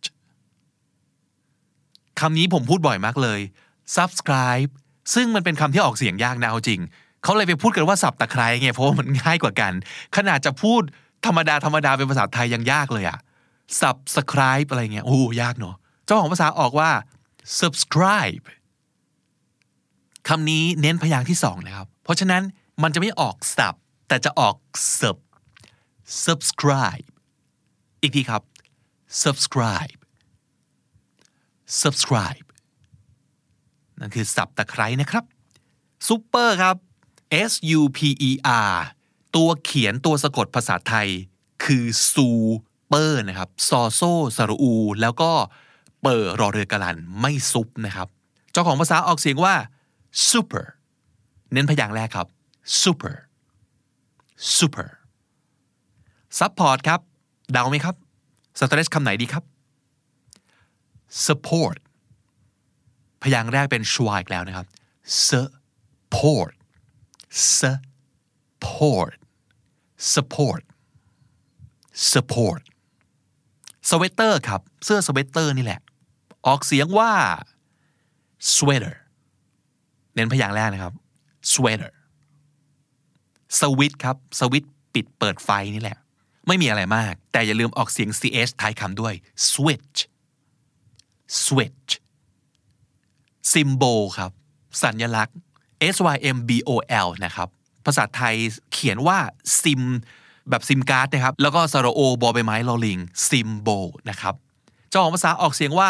คำนี้ผมพูดบ่อยมากเลย subscribe ซึ่งมันเป็นคำที่ออกเสียงยากนะเอาจริงเขาเลยไปพูดกันว่าสับตะไคร้ไงเพราะว่ามันง่ายกว่ากันขนาดจะพูดธรรมดาธรรมดาเป็นภาษาไทยยังยากเลยอะ subscribe อะไรเงี้ยโอ้ยากเนอะเจ้าของภาษาออกว่า subscribe คำนี้เน้นพยางค์ที่สองนะครับเพราะฉะนั้นมันจะไม่ออกสับแต่จะออก sub subscribe อีกทีครับ subscribe subscribe นั่นคือสับตะไคร้นะครับซุปเปอร์ครับ S U P E R ตัวเขียนตัวสะกดภาษาไทยคือซูเปอร์นะครับซอโซสระอูแล้วก็เปอร์รอเรือกะลันไม่ซุปนะครับเจ้าของภาษาออกเสียงว่า super เน้นพยางค์แรกครับ super super support ครับเดาไหมครับสเตรสคำไหนดีครับ support พยางค์แรกเป็นชวาอีกแล้วนะครับ support support support support สเวตเตอร์ครับเสื้อสเวตเตอร์นี่แหละออกเสียงว่า sweater เน้นพยางค์แรกนะครับ sweater สวิตช์ครับสวิตช์ปิดเปิดไฟนี่แหละไม่มีอะไรมากแต่อย่าลืมออกเสียง ch ท้ายคำด้วย switch switch symbol ครับสัญลักษณ์ symbol นะครับภาษาไทยเขียนว่า sim แบบซิมการ์ดนะครับแล้วก็สระโอบอใบไม้ลอลิง symbol นะครับเจ้าของภาษาออกเสียงว่า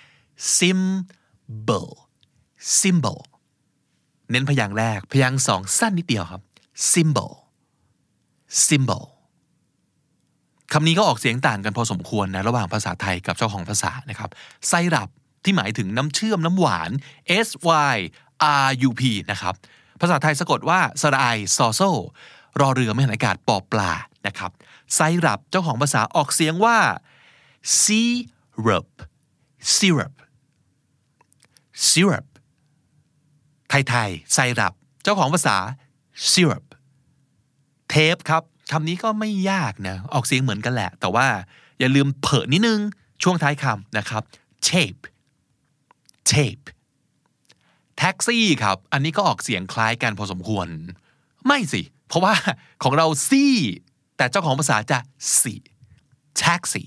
symbol symbol เน้นพยางค์แรกพยางค์สองสั้นนิดเดียวครับ symbol symbol คำนี้ก็ออกเสียงต่างกันพอสมควรนะระหว่างภาษาไทยกับเจ้าของภาษานะครับไซรัปที่หมายถึงน้ำเชื่อมน้ำหวาน s y r u p นะครับภาษาไทยสะกดว่าสระไอซอโซรอเรือไม่หันอากาศปอปลานะครับไซรัปเจ้าของภาษาออกเสียงว่า syrup syrup syrup ไทยๆไซรัปเจ้าของภาษา syrup เทปครับคำนี้ก็ไม่ยากนะออกเสียงเหมือนกันแหละแต่ว่าอย่าลืมเผลอนิดนึงช่วงท้ายคำนะครับ tape tape แท็กซี่ครับอันนี้ก็ออกเสียงคล้ายกันพอสมควรไม่สิเพราะว่าของเราซี่แต่เจ้าของภาษาจะสิ taxi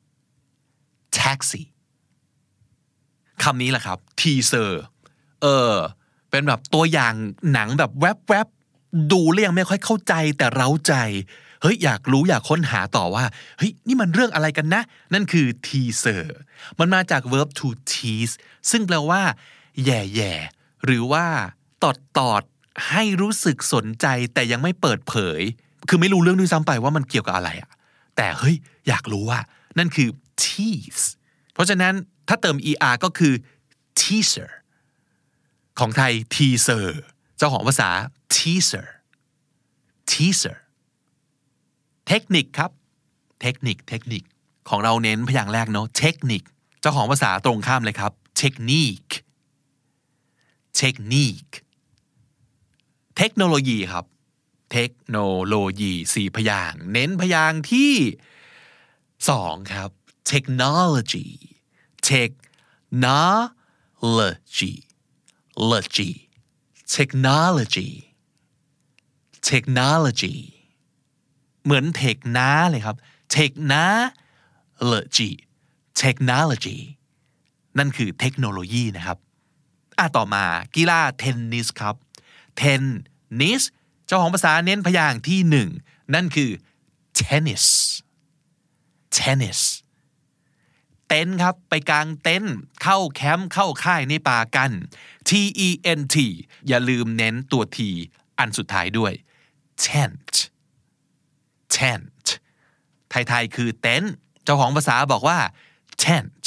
taxi คำนี้แหละครับ teaser เออเป็นแบบตัวอย่างหนังแบบแวบๆดูแล้วยังไม่ค่อยเข้าใจแต่เร้าใจเฮ้ยอยากรู้อยากค้นหาต่อว่าเฮ้ยนี่มันเรื่องอะไรกันนะนั่นคือ teaser มันมาจาก verb to tease ซึ่งแปลว่าแย่ๆหรือว่าตอดตอดให้รู้สึกสนใจแต่ยังไม่เปิดเผยคือไม่รู้เรื่องด้วยซ้ำไปว่ามันเกี่ยวกับอะไรอะแต่เฮ้ยอยากรู้ว่านั่นคือ tease เพราะฉะนั้นถ้าเติม er ก็คือ teaser ของไทย teaser เจ้าของภาษา teaser teaser เทคนิคครับเทคนิคเทคนิคของเราเน้นพยางค์แรกเนาะเทคนิคเจ้าของภาษาตรงข้ามเลยครับ technique technique เทคโนโลยีครับเทคโนโลยีสี่พยางค์เน้นพยางค์ที่สองครับ technology technology logy technology technology เหมือนเทคน้าเลยครับ technology technology นั่นคือเทคโนโลยีนะครับอ่ะต่อมากีฬาเทนนิสครับเทนนิสเจ้าของภาษาเน้นพยางค์ที่หนึ่งนั่นคือ tennis tennis เต็นท์ครับไปกางเต็นท์เข้าแคมป์เข้าค่ายในป่ากัน T E N T อย่าลืมเน้นตัว T อันสุดท้ายด้วย tent tent ไทยๆคือเต็นท์เจ้าของภาษาบอกว่า tent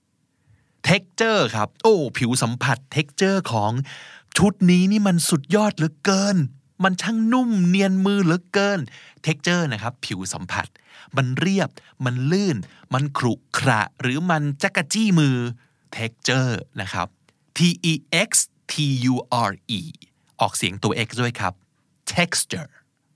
texture ครับโอ้ผิวสัมผัส texture ของชุดนี้นี่มันสุดยอดเหลือเกินมันช่างนุ่มเนียนมือเหลือเกิน texture นะครับผิวสัมผัสมันเรียบมันลื่นมันขรุขระหรือมันจักรจี้มือ texture นะครับ T E X T U R E ออกเสียงตัว X ด้วยครับ texture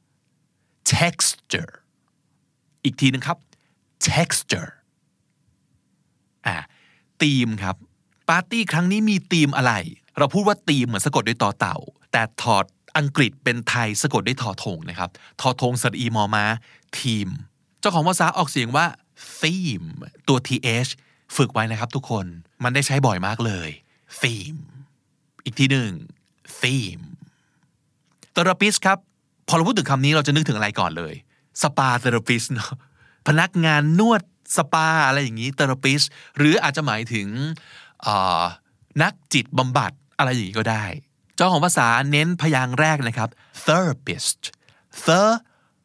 texture อีกทีนึงครับ texture อ่ะธีมครับปาร์ตี้ครั้งนี้มีธีมอะไรเราพูดว่าธีมเหมือนสะกดด้วยต่อเต่าแต่ถอดอังกฤษเป็นไทยสะกดด้วยทอทงนะครับทอทงสระอีมอม้าทีมเจ้าของภาษาออกเสียงว่า theme ตัว th ฝึกไว้นะครับทุกคนมันได้ใช้บ่อยมากเลย theme อีกทีหนึ่ง theme therapist ครับพอเราพูดถึงคำนี้เราจะนึกถึงอะไรก่อนเลยสปา therapist เนาะพนักงานนวดสปาอะไรอย่างนี้ therapist หรืออาจจะหมายถึงนักจิตบำบัดอะไรอย่างนี้ก็ได้เจ้าของภาษาเน้นพยางค์แรกนะครับ therapist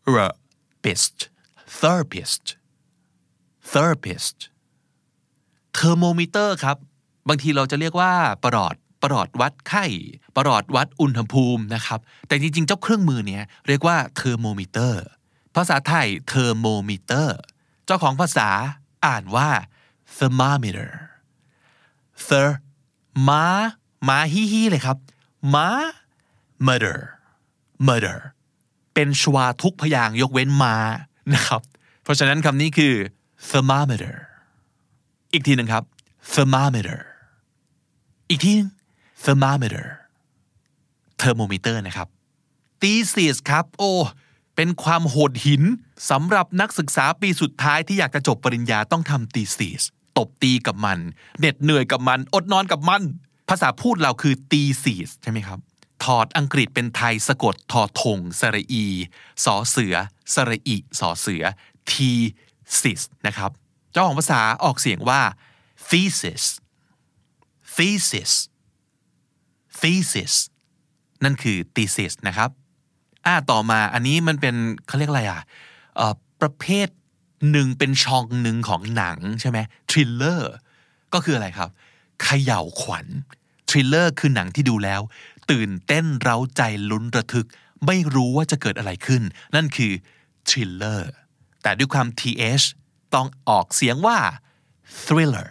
therapist therapist therapist thermometer ครับบางทีเราจะเรียกว่าประหลอดประหลอดวัดไข้ประหลอดวัดอุณหภูมินะครับแต่จริงๆเจ้าเครื่องมือเนี้ยเรียกว่า thermometer ภาษาไทย thermometer เจ้าของภาษาอ่านว่า thermometer ther ม้าม้าฮีฮีเลยครับม้า murder murder เป็นชวาทุกพยางค์ยกเว้นม้านะครับเพราะฉะนั้นคำนี้คือ thermometer อีกทีหนึ่งครับ thermometer อีกทีนึง thermometer thermometer นะครับ thesis ครับโอ้เป็นความโหดหินสำหรับนักศึกษาปีสุดท้ายที่อยากจะจบปริญญาต้องทำ thesis ตบตีกับมันเหน็ดเหนื่อยกับมันอดนอนกับมันภาษาพูดเราคือ thesis ใช่ไหมครับถอดอังกฤษเป็นไทยสะกดทอทงสระอีสอเสือสระอีสอเสือ thesis นะครับเจ้าของภาษาออกเสียงว่า thesis thesis thesis นั่นคือ thesis นะครับอ่าต่อมาอันนี้มันเป็นเขาเรียกอะไรอ่ะเอ่อประเภทหนึ่งเป็นช่องหนึ่งของหนังใช่ไหม thriller ก็คืออะไรครับเขย่าขวัญ thriller คือหนังที่ดูแล้วตื่นเต้นเร้าใจลุ้นระทึกไม่รู้ว่าจะเกิดอะไรขึ้นนั่นคือ thriller แต่ด้วยความ th ต้องออกเสียงว่า thriller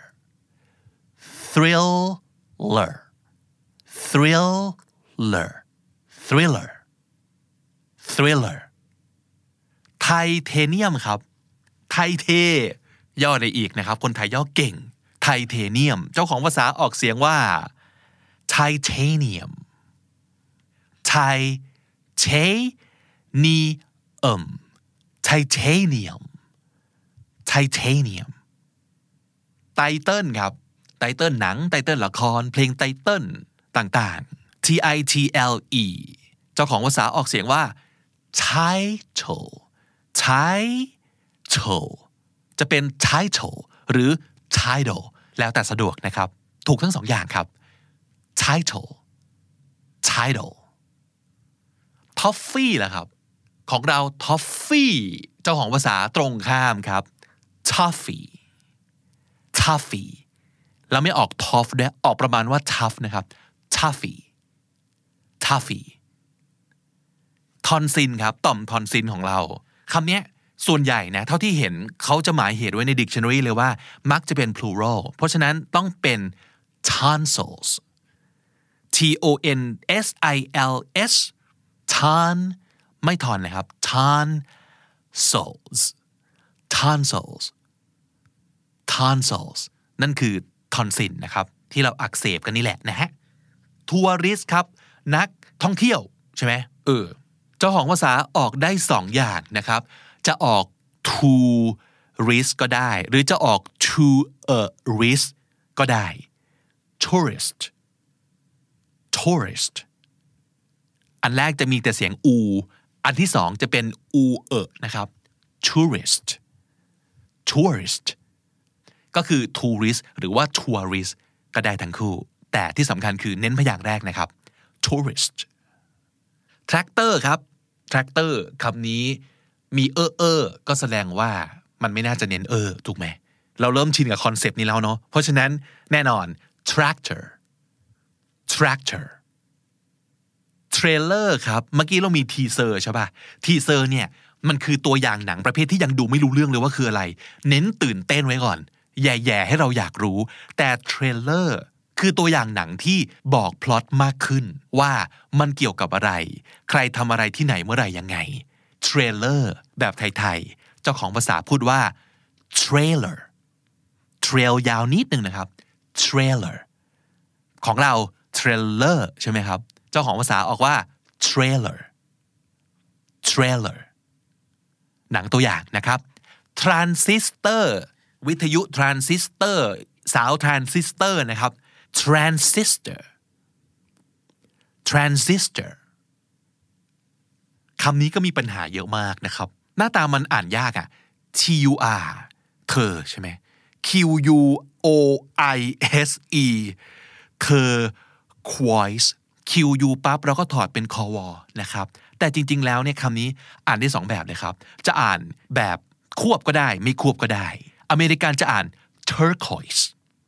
thriller thriller thriller thriller ไทเทเนียมครับไทเทย่อได้อีกนะครับคนไทยย่อเก่งไทเทเนียมเจ้าของภาษาออกเสียงว่า titanium ไทเทนีเอ็ม titanium titanium ไตเติ้ลครับไตเติ้ลหนังไตเติ้ลละครเพลงไตเติ้ลต่างๆ t i t l e เจ้าของภาษาออกเสียงว่า title title จะเป็น title หรือ title แล้วแต่สะดวกนะครับถูกทั้งสองอย่างครับ title title toffee ล่ะครับของเรา toffee เจ้าของภาษาตรงข้ามครับ toffee toffee แล้วไม่ออก tough ด้วยออกประมาณว่า tough นะครับ toffee toffee ทอนซินครับต่อมทอนซินของเราคำนี้ส่วนใหญ่นะเท่าที่เห็นเขาจะหมายเหตุไว้ใน dictionary เลยว่ามักจะเป็น plural เพราะฉะนั้นต้องเป็น tonsils t o n s i l s ton ไม่ทอนนะครับ tonsils tonsils tonsils นั่นคือทอนซินนะครับที่เราอักเสบกันนี่แหละนะฮะทัวริสต์ครับนักท่องเที่ยวใช่ไหมเออเจ้าของภาษาออกได้สองอย่างนะครับจะออก tourist ก็ได้หรือจะออก tourist ก็ได้ tourist tourist อันแรกจะมีแต่เสียงอูอันที่สองจะเป็นอูเอนะครับ tourist tourist ก็คือ tourist หรือว่า tourist ก็ได้ทั้งคู่แต่ที่สำคัญคือเน้นพยางค์แรกนะครับ tourist tractor ครับ tractor คำนี้มีเออเออก็แสดงว่ามันไม่น่าจะเน้นเออถูกไหมเราเริ่มชินกับคอนเซปต์นี้แล้วเนาะเพราะฉะนั้นแน่นอน tractor tractor trailer ครับเมื่อกี้เรามี teaser ใช่ป่ะ teaser เนี่ยมันคือตัวอย่างหนังประเภทที่ยังดูไม่รู้เรื่องเลยว่าคืออะไรเน้นตื่นเต้นไว้ก่อนแย่ๆให้เราอยากรู้แต่ trailer คือตัวอย่างหนังที่บอกพล็อตมากขึ้นว่ามันเกี่ยวกับอะไรใครทำอะไรที่ไหนเมื่อไหร่ยังไง trailer แบบไทยๆเจ้าของภาษาพูดว่า trailer trail ยาวนิดนึงนะครับ trailer ของเรา trailer ใช่ไหมครับเจ้าของภาษาออกว่า trailer trailer หนังตัวอย่างนะครับ transistor วิทยุ transistor สาว transistor นะครับ transistor transistor คำนี้ก็มีปัญหาเยอะมากนะครับหน้าตามันอ่านยากอ่ะ t u r เธอใช่ไหม q u o i s e เธอ quoise q u ปั๊บเราก็ถอดเป็นคอวอนะครับแต่จริงๆแล้วเนี่ยคำนี้อ่านได้สองแบบเลยครับจะอ่านแบบควบก็ได้ไม่ควบก็ได้อเมริกันจะอ่าน turquoise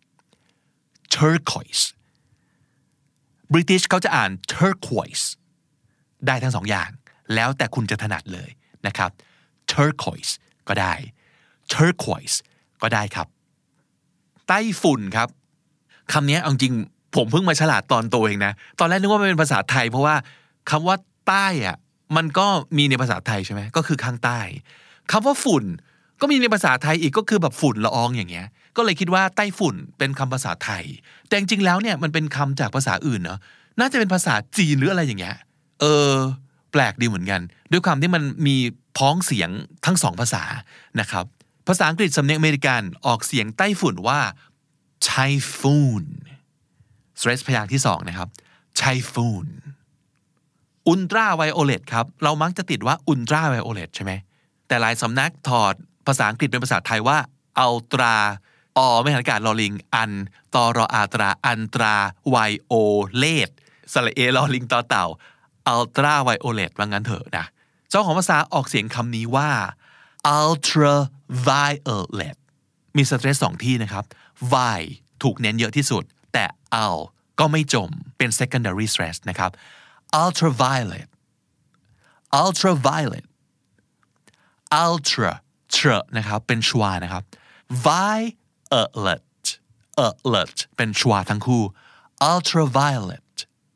turquoise British เขาจะอ่าน turquoise ได้ทั้งสองอย่างแล้วแต่คุณจะถนัดเลยนะครับ turquoise ก็ได้ turquoise ก็ได้ครับไต้ฝุ่นครับคำนี้เอาจริงผมเพิ่งมาฉลาดตอนโตเองนะตอนแรกนึกว่ามันเป็นภาษาไทยเพราะว่าคำว่าใต้อะมันก็มีในภาษาไทยใช่ไหมก็คือข้างใต้คำว่าฝุ่นก็มีในภาษาไทยอีกก็คือแบบฝุ่นละอองอย่างเงี้ยก็เลยคิดว่าไต้ฝุ่นเป็นคำภาษาไทยแต่จริงๆแล้วเนี่ยมันเป็นคำจากภาษาอื่นเนาะน่าจะเป็นภาษาจีนหรืออะไรอย่างเงี้ยเออแปลกดีเหมือนกันด้วยความที่มันมีพ้องเสียงทั้งสองภาษานะครับภาษาอังกฤษสำเนียงอเมริกันออกเสียงไต้ฝุ่นว่า typhoon stress พยางค์ที่สองนะครับ typhoon อุลตราไวโอเลตครับเรามักจะติดว่าอุลตราไวโอเลตใช่ไหมแต่หลายสำนักถอดภาษาอังกฤษเป็นภาษาไทยว่าอัลตราอไม่หันอากาศลอลิงอันตอรออาตราอันตราไวโอเลตสระเอลอลิงต่อเต่าอัลตราไวโอเลตว่างั้นเถอะนะเจ้าของภาษาออกเสียงคำนี้ว่า ultraviolet มีสเตรสสองที่นะครับ vi ถูกเน้นเยอะที่สุดแต่ al ก็ไม่จมเป็น secondary stress นะครับ ultraviolet ultraviolet ultra tra นะครับเป็นชวานะครับ violet alert เป็นชวาทั้งคู่ ultraviolet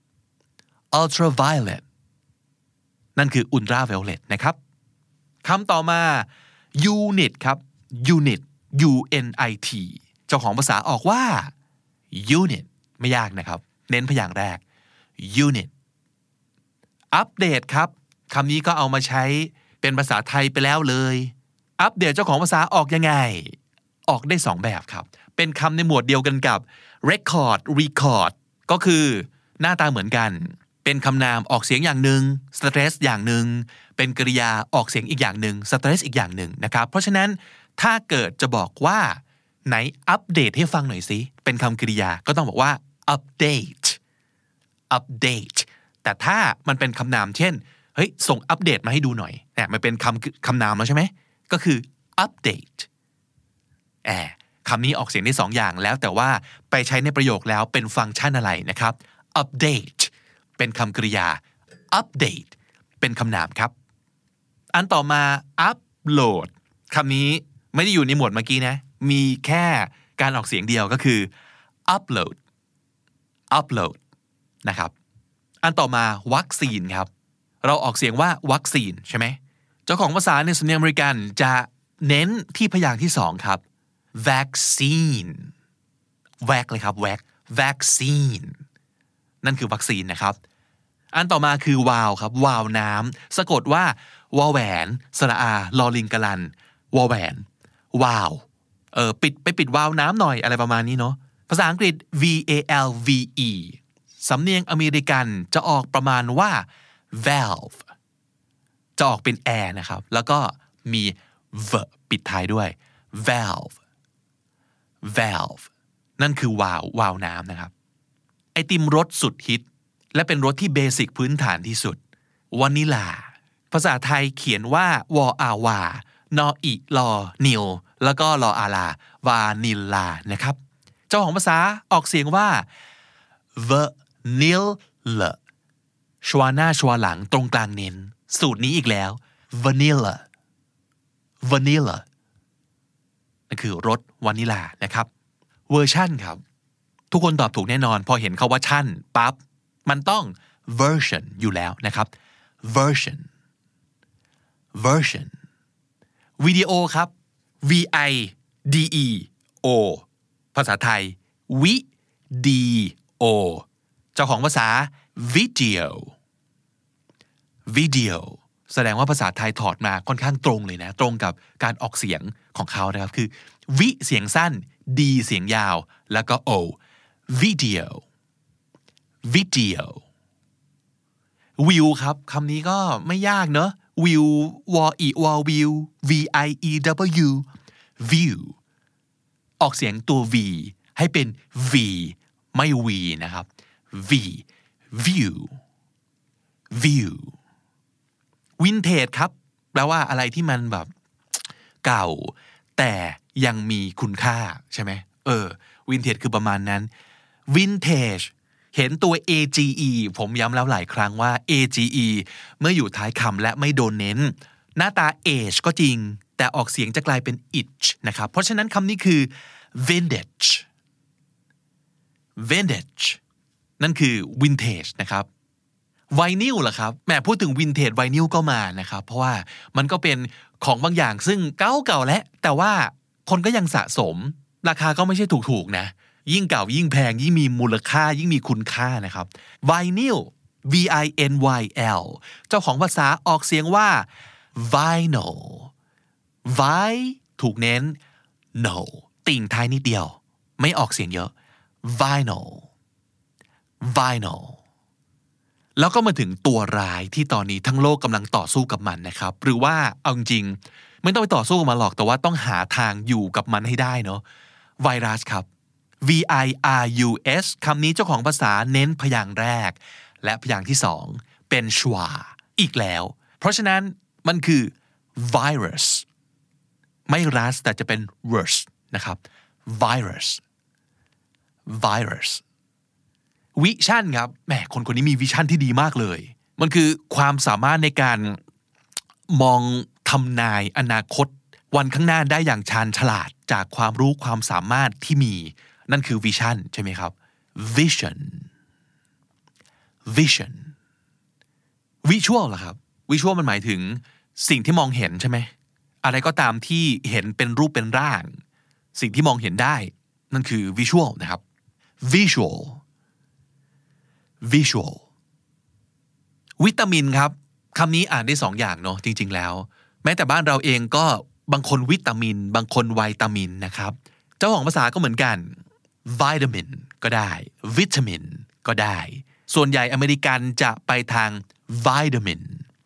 ultraviolet นั่นคือ ultraviolet นะครับคำต่อมา unit ครับ unit u n i t เจ้าของภาษาออกว่า unit ไม่ยากนะครับเน้นพยางค์แรก unit อัปเดตครับคำนี้ก็เอามาใช้เป็นภาษาไทยไปแล้วเลยอัปเดตเจ้าของภาษาออกยังไงออกได้สองแบบครับเป็นคำในหมวดเดียวกันกับ record record ก็คือหน้าตาเหมือนกันเป็นคำนามออกเสียงอย่างหนึ่ง stress อย่างหนึ่งเป็นกริยาออกเสียงอีกอย่างหนึ่ง stress อีกอย่างหนึ่งนะครับเพราะฉะนั้นถ้าเกิดจะบอกว่าไหนอัปเดตให้ฟังหน่อยสิเป็นคำกริยาก็ต้องบอกว่า update update แต่ถ้ามันเป็นคำนามเช่นเฮ้ยส่งอัปเดตมาให้ดูหน่อยเนี่ยมันเป็นคำคำนามแล้วใช่ไหมก็คือ update แอบคำนี้ออกเสียงได้สองอย่างแล้วแต่ว่าไปใช้ในประโยคแล้วเป็นฟังก์ชันอะไรนะครับ update เป็นคำกริยา update เป็นคำนามครับอันต่อมา upload คำนี้ไม่ได้อยู่ในหมวดเมื่อกี้นะมีแค่การออกเสียงเดียวก็คือ upload upload นะครับอันต่อมาวัคซีนครับเราออกเสียงว่าวัคซีนใช่ไหมเจ้าของภาษาในสำเนียงอเมริกันจะเน้นที่พยางค์ที่สองครับ vaccine vac เลยครับ vac vaccine นั่นคือวัคซีนนะครับอันต่อมาคือวาวครับวาวน้ำสะกดว่าวอแหวนสระอาลอลิงกะลันวอแหวนวาวเออปิดไปปิดวาวน้ำหน่อยอะไรประมาณนี้เนาะภาษาอังกฤษ v a l v e สำเนียงอเมริกันจะออกประมาณว่า valve จะออกเป็น air นะครับแล้วก็มี v ปิดท้ายด้วย valve valve นั่นคือวาววาวน้ำนะครับไอติมรสสุดฮิตและเป็นรสที่เบสิกพื้นฐานที่สุดวานิลาภาษาไทยเขียนว่าวออาวานออิลอนิลแล้วก็ลออาลาวานิลานะครับเจ้าของภาษาออกเสียงว่า vanilla ชวาหน้าชวาหลังตรงกลางเน้นสูตรนี้อีกแล้ว vanilla vanilla นั่นคือรสวานิลานะครับเวอร์ชันครับทุกคนตอบถูกแน่นอนพอเห็นคาว่าชั่นปั๊บมันต้อง version อยู่แล้วนะครับ version version วิดีโอครับ v i d e o ภาษาไทยวิดีโอเจ้าของภาษา video video แสดงว่าภาษาไทยถอดมาค่อนข้างตรงเลยนะตรงกับการออกเสียงของเขานะครับคือวิเสียงสั้นดีเสียงยาวแล้วก็ o video video วิวครับคำนี้ก็ไม่ยากเนอะวิววออีวอวิว v i e w view ออกเสียงตัว v ให้เป็น v ไม่ v นะครับ v view view vintage ครับแปลว่าอะไรที่มันแบบเก่าแต่ยังมีคุณค่าใช่ไหมเออ vintage คือประมาณนั้น vintage เห็นตัว age ผมย้ำแล้วหลายครั้งว่า age เมื่ออยู่ท้ายคำและไม่โดนเน้นหน้าตา age ก็จริงแต่ออกเสียงจะกลายเป็น itch นะครับเพราะฉะนั้นคำนี้คือ vintage vintage นั่นคือ vintage นะครับไวนิลล่ะครับแหมพูดถึง vintage ไวนิลก็มานะครับเพราะว่ามันก็เป็นของบางอย่างซึ่งเก่าๆแล้วแต่ว่าคนก็ยังสะสมราคาก็ไม่ใช่ถูกๆนะยิ่งเก่ายิ่งแพงยิ่งมีมูลค่ายิ่งมีคุณค่านะครับไวนิล V I N Y L เจ้าของภาษาออกเสียงว่า vinyl vi ถูกเน้น no ติ่งท้ายนิดเดียวไม่ออกเสียงเยอะ vinyl vinyl แล้วก็มาถึงตัวร้ายที่ตอนนี้ทั้งโลกกำลังต่อสู้กับมันนะครับหรือว่าเอาจริงๆไม่ต้องไปต่อสู้กับมันหรอกแต่ว่าต้องหาทางอยู่กับมันให้ได้เนาะไวรัสครับ V I R U S คำนี้เจ้าของภาษาเน้นพยางค์แรกและพยางค์ที่สองเป็นชวาอีกแล้วเพราะฉะนั้นมันคือ virus ไม่รัสแต่จะเป็น worse นะครับ virus virus วิชั่นครับแหมคนคนนี้มีวิชั่นที่ดีมากเลยมันคือความสามารถในการมองทำนายอนาคตวันข้างหน้าได้อย่างชาญฉลาดจากความรู้ความสามารถที่มีนั่นคือวิชั่นใช่ไหมครับ vision vision visual ล่ะครับ visual มันหมายถึงสิ่งที่มองเห็นใช่ไหมอะไรก็ตามที่เห็นเป็นรูปเป็นร่างสิ่งที่มองเห็นได้นั่นคือ visual นะครับ visual visual วิตามินครับคำนี้อ่านได้สองอย่างเนาะจริงๆแล้วแม้แต่บ้านเราเองก็บางคนวิตามินบางคนไวตามินนะครับเจ้าของภาษาก็เหมือนกัน vitamin ก็ได้วิตามินก็ได้ส่วนใหญ่อเมริกันจะไปทาง vitamin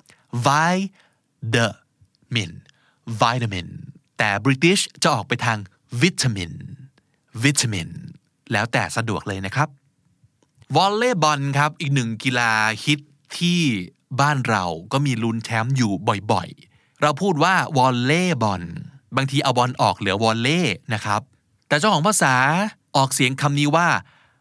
vitamin vitamin แต่ British จะออกไปทางวิตามินวิตามินแล้วแต่สะดวกเลยนะครับวอลเลย์บอลครับอีกหนึ่งกีฬาฮิตที่บ้านเราก็มีลุ้นแชมป์อยู่บ่อยๆเราพูดว่าวอลเลย์บอลบางทีเอาบอลออกเหลือวอลเล่นะครับแต่เจ้าของภาษาออกเสียงคำนี้ว่า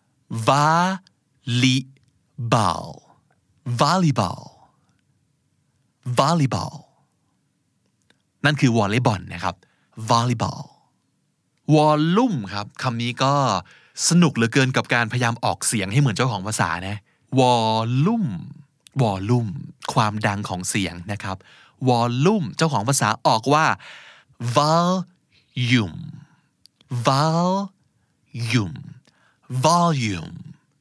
volleyball volleyball volleyball นั่นคือวอลเลย์บอลนะครับ volleyball วอลลุ่มครับคำนี้ก็สนุกเหลือเกินกับการพยายามออกเสียงให้เหมือนเจ้าของภาษานะวอลลุ่มวอลลุ่มความดังของเสียงนะครับวอลลุ่มเจ้าของภาษาออกว่า volume volume volume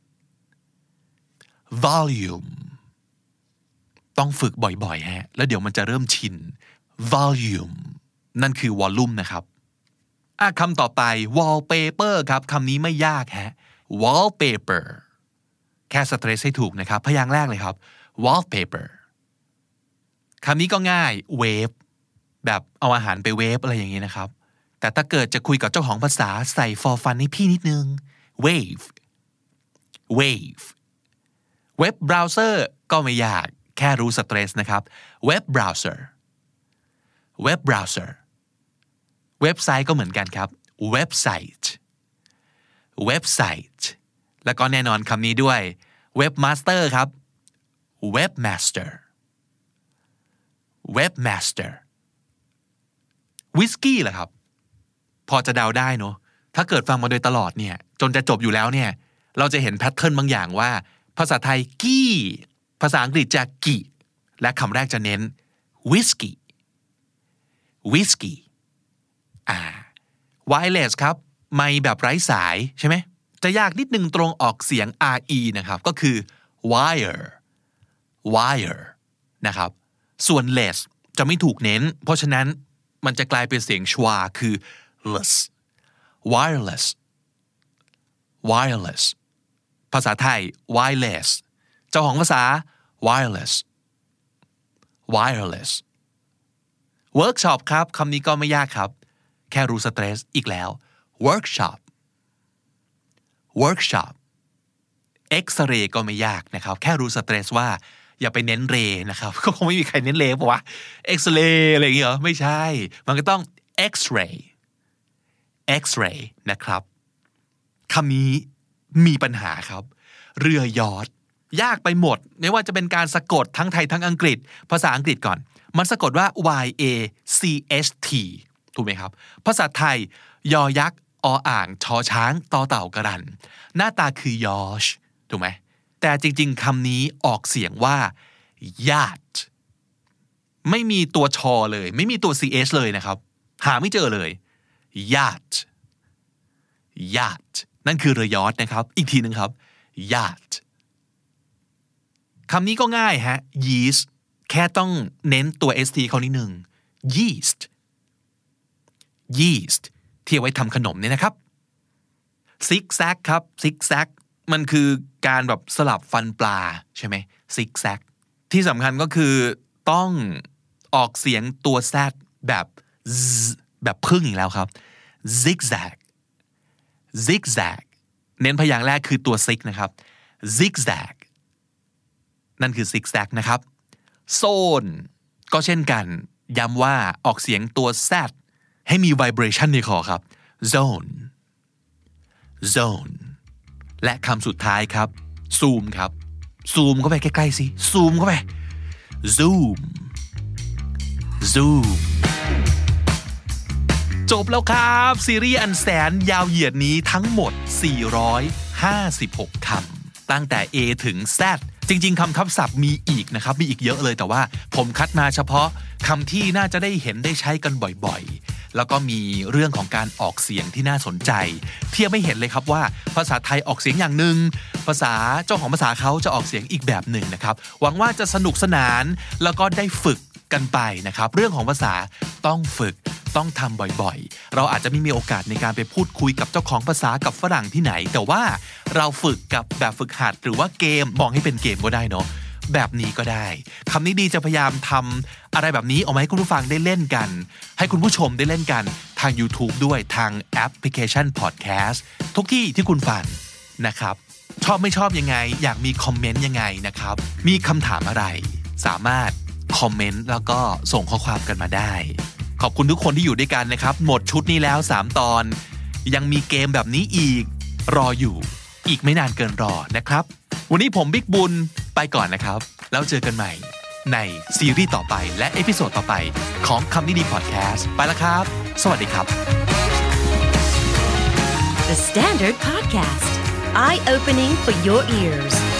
volume ต้องฝึกบ่อยๆฮะแล้วเดี๋ยวมันจะเริ่มชิน volume นั่นคือวอลลุ่มนะครับอ่ะคำต่อไป wallpaper ครับคำนี้ไม่ยากฮะ wallpaper แค่สเตรสให้ถูกนะครับพยางค์แรกเลยครับ wallpaper คำนี้ก็ง่าย wave แบบเอาอาหารไปเวฟอะไรอย่างนี้นะครับแต่ถ้าเกิดจะคุยกับเจ้าของภาษาใส่ for fun ให้พี่นิดนึง wave wave เว็บเบราว์เซอร์ก็ไม่ยากแค่รู้สเตรสนะครับเว็บเบราว์เซอร์เว็บเบราว์เซอร์เว็บไซต์ก็เหมือนกันครับเว็บไซต์เว็บไซต์แล้วก็แน่นอนคำนี้ด้วยเว็บมาสเตอร์ครับเว็บมาสเตอร์เว็บมาสเตอร์วิสกี้เหรอครับพอจะเดาได้เนอะถ้าเกิดฟังมาโดยตลอดเนี่ยจนจะจบอยู่แล้วเนี่ยเราจะเห็นแพทเทิร์นบางอย่างว่าภาษาไทยกี้ภาษาอังกฤษจะกิและคำแรกจะเน้นวิสกี้วิสกี้อ่า wireless ครับไมค์แบบไร้สายใช่ไหมจะยากนิดนึงตรงออกเสียง re นะครับก็คือ wire wire นะครับส่วน less จะไม่ถูกเน้นเพราะฉะนั้นมันจะกลายเป็นเสียงชวาคือ less wireless wireless ภาษาไทย wireless เจ้าของภาษา wireless wireless workshop ครับคำนี้ก็ไม่ยากครับแค่รู้สเตรสอีกแล้ว workshop workshop X-ray ก็ไม่ยากนะครับแค่รู้สเตรสว่าอย่าไปเน้นเรนะครับก็คงไม่มีใครเน้นเรป่ะวะ X-ray อะไรอย่างเงี้ยเหรอไม่ใช่มันก็ต้อง X-ray X-ray นะครับคำนี้มีปัญหาครับเรือยอชต์ยากไปหมดไม่ว่าจะเป็นการสะกดทั้งไทยทั้งอังกฤษภาษาอังกฤษก่อนมันสะกดว่า y a c h t ถูกไหมครับภาษาไทยยอยักษ์ออ่างชอช้างตอเต่ากระรันหน้าตาคือยอชถูกไหมแต่จริงๆคำนี้ออกเสียงว่า yacht ไม่มีตัวชอเลยไม่มีตัว ch เลยนะครับหาไม่เจอเลย yacht yacht นั่นคือเรือยอชต์นะครับอีกทีนึงครับ yacht คำนี้ก็ง่ายฮะ yeast แค่ต้องเน้นตัว st เขานิดนึง yeast yeast ที่เอาไว้ทำขนมเนี่ยนะครับ zigzag ครับ zigzag มันคือการแบบสลับฟันปลาใช่ไหม zigzag ที่สำคัญก็คือต้องออกเสียงตัว z แบบ z แบบพึ่งอีกแล้วครับ zigzag zigzag เน้นพยางค์แรกคือตัว zig นะครับ zigzag นั่นคือ zigzag นะครับ zone ก็เช่นกันย้ำว่าออกเสียงตัว z ให้มี vibration ในคอครับ zone zone และคำสุดท้ายครับ zoom ครับ zoom เข้าไปใกล้ๆสิ zoom เข้าไป zoom zoom จบแล้วครับซีรีส์อันแสนยาวเหยียดนี้ทั้งหมดสี่ร้อยห้าสิบหกคำตั้งแต่ A ถึง Z จริงๆคำทับศัพท์มีอีกนะครับมีอีกเยอะเลยแต่ว่าผมคัดมาเฉพาะคำที่น่าจะได้เห็นได้ใช้กันบ่อยๆแล้วก็มีเรื่องของการออกเสียงที่น่าสนใจเทียบไม่เห็นเลยครับว่าภาษาไทยออกเสียงอย่างหนึ่งภาษาเจ้าของภาษาเขาจะออกเสียงอีกแบบหนึ่งนะครับหวังว่าจะสนุกสนานแล้วก็ได้ฝึกกันไปนะครับเรื่องของภาษาต้องฝึกต้องทำบ่อยๆเราอาจจะไม่มีโอกาสในการไปพูดคุยกับเจ้าของภาษากับฝรั่งที่ไหนแต่ว่าเราฝึกกับแบบฝึกหัดหรือว่าเกมมองให้เป็นเกมก็ได้เนาะแบบนี้ก็ได้คำนี้ดีจะพยายามทำอะไรแบบนี้ออกมาให้คุณผู้ฟังได้เล่นกันให้คุณผู้ชมได้เล่นกันทาง YouTube ด้วยทางแอปพลิเคชัน Podcast ทุกที่ที่คุณฟังนะครับชอบไม่ชอบยังไงอยากมีคอมเมนต์ยังไงนะครับมีคำถามอะไรสามารถคอมเมนต์แล้วก็ส่งข้อความกันมาได้ขอบคุณทุกคนที่อยู่ด้วยกันนะครับหมดชุดนี้แล้วสามตอนยังมีเกมแบบนี้อีกรออยู่อีกไม่นานเกินรอนะครับวันนี้ผมบิ๊กบุญไปก่อนนะครับแล้วเจอกันใหม่ในซีรีส์ต่อไปและเอพิโซดต่อไปของคำนี้ดีพอดแคสต์ไปแล้วครับสวัสดีครับ The Standard Podcast Eye Opening for Your Ears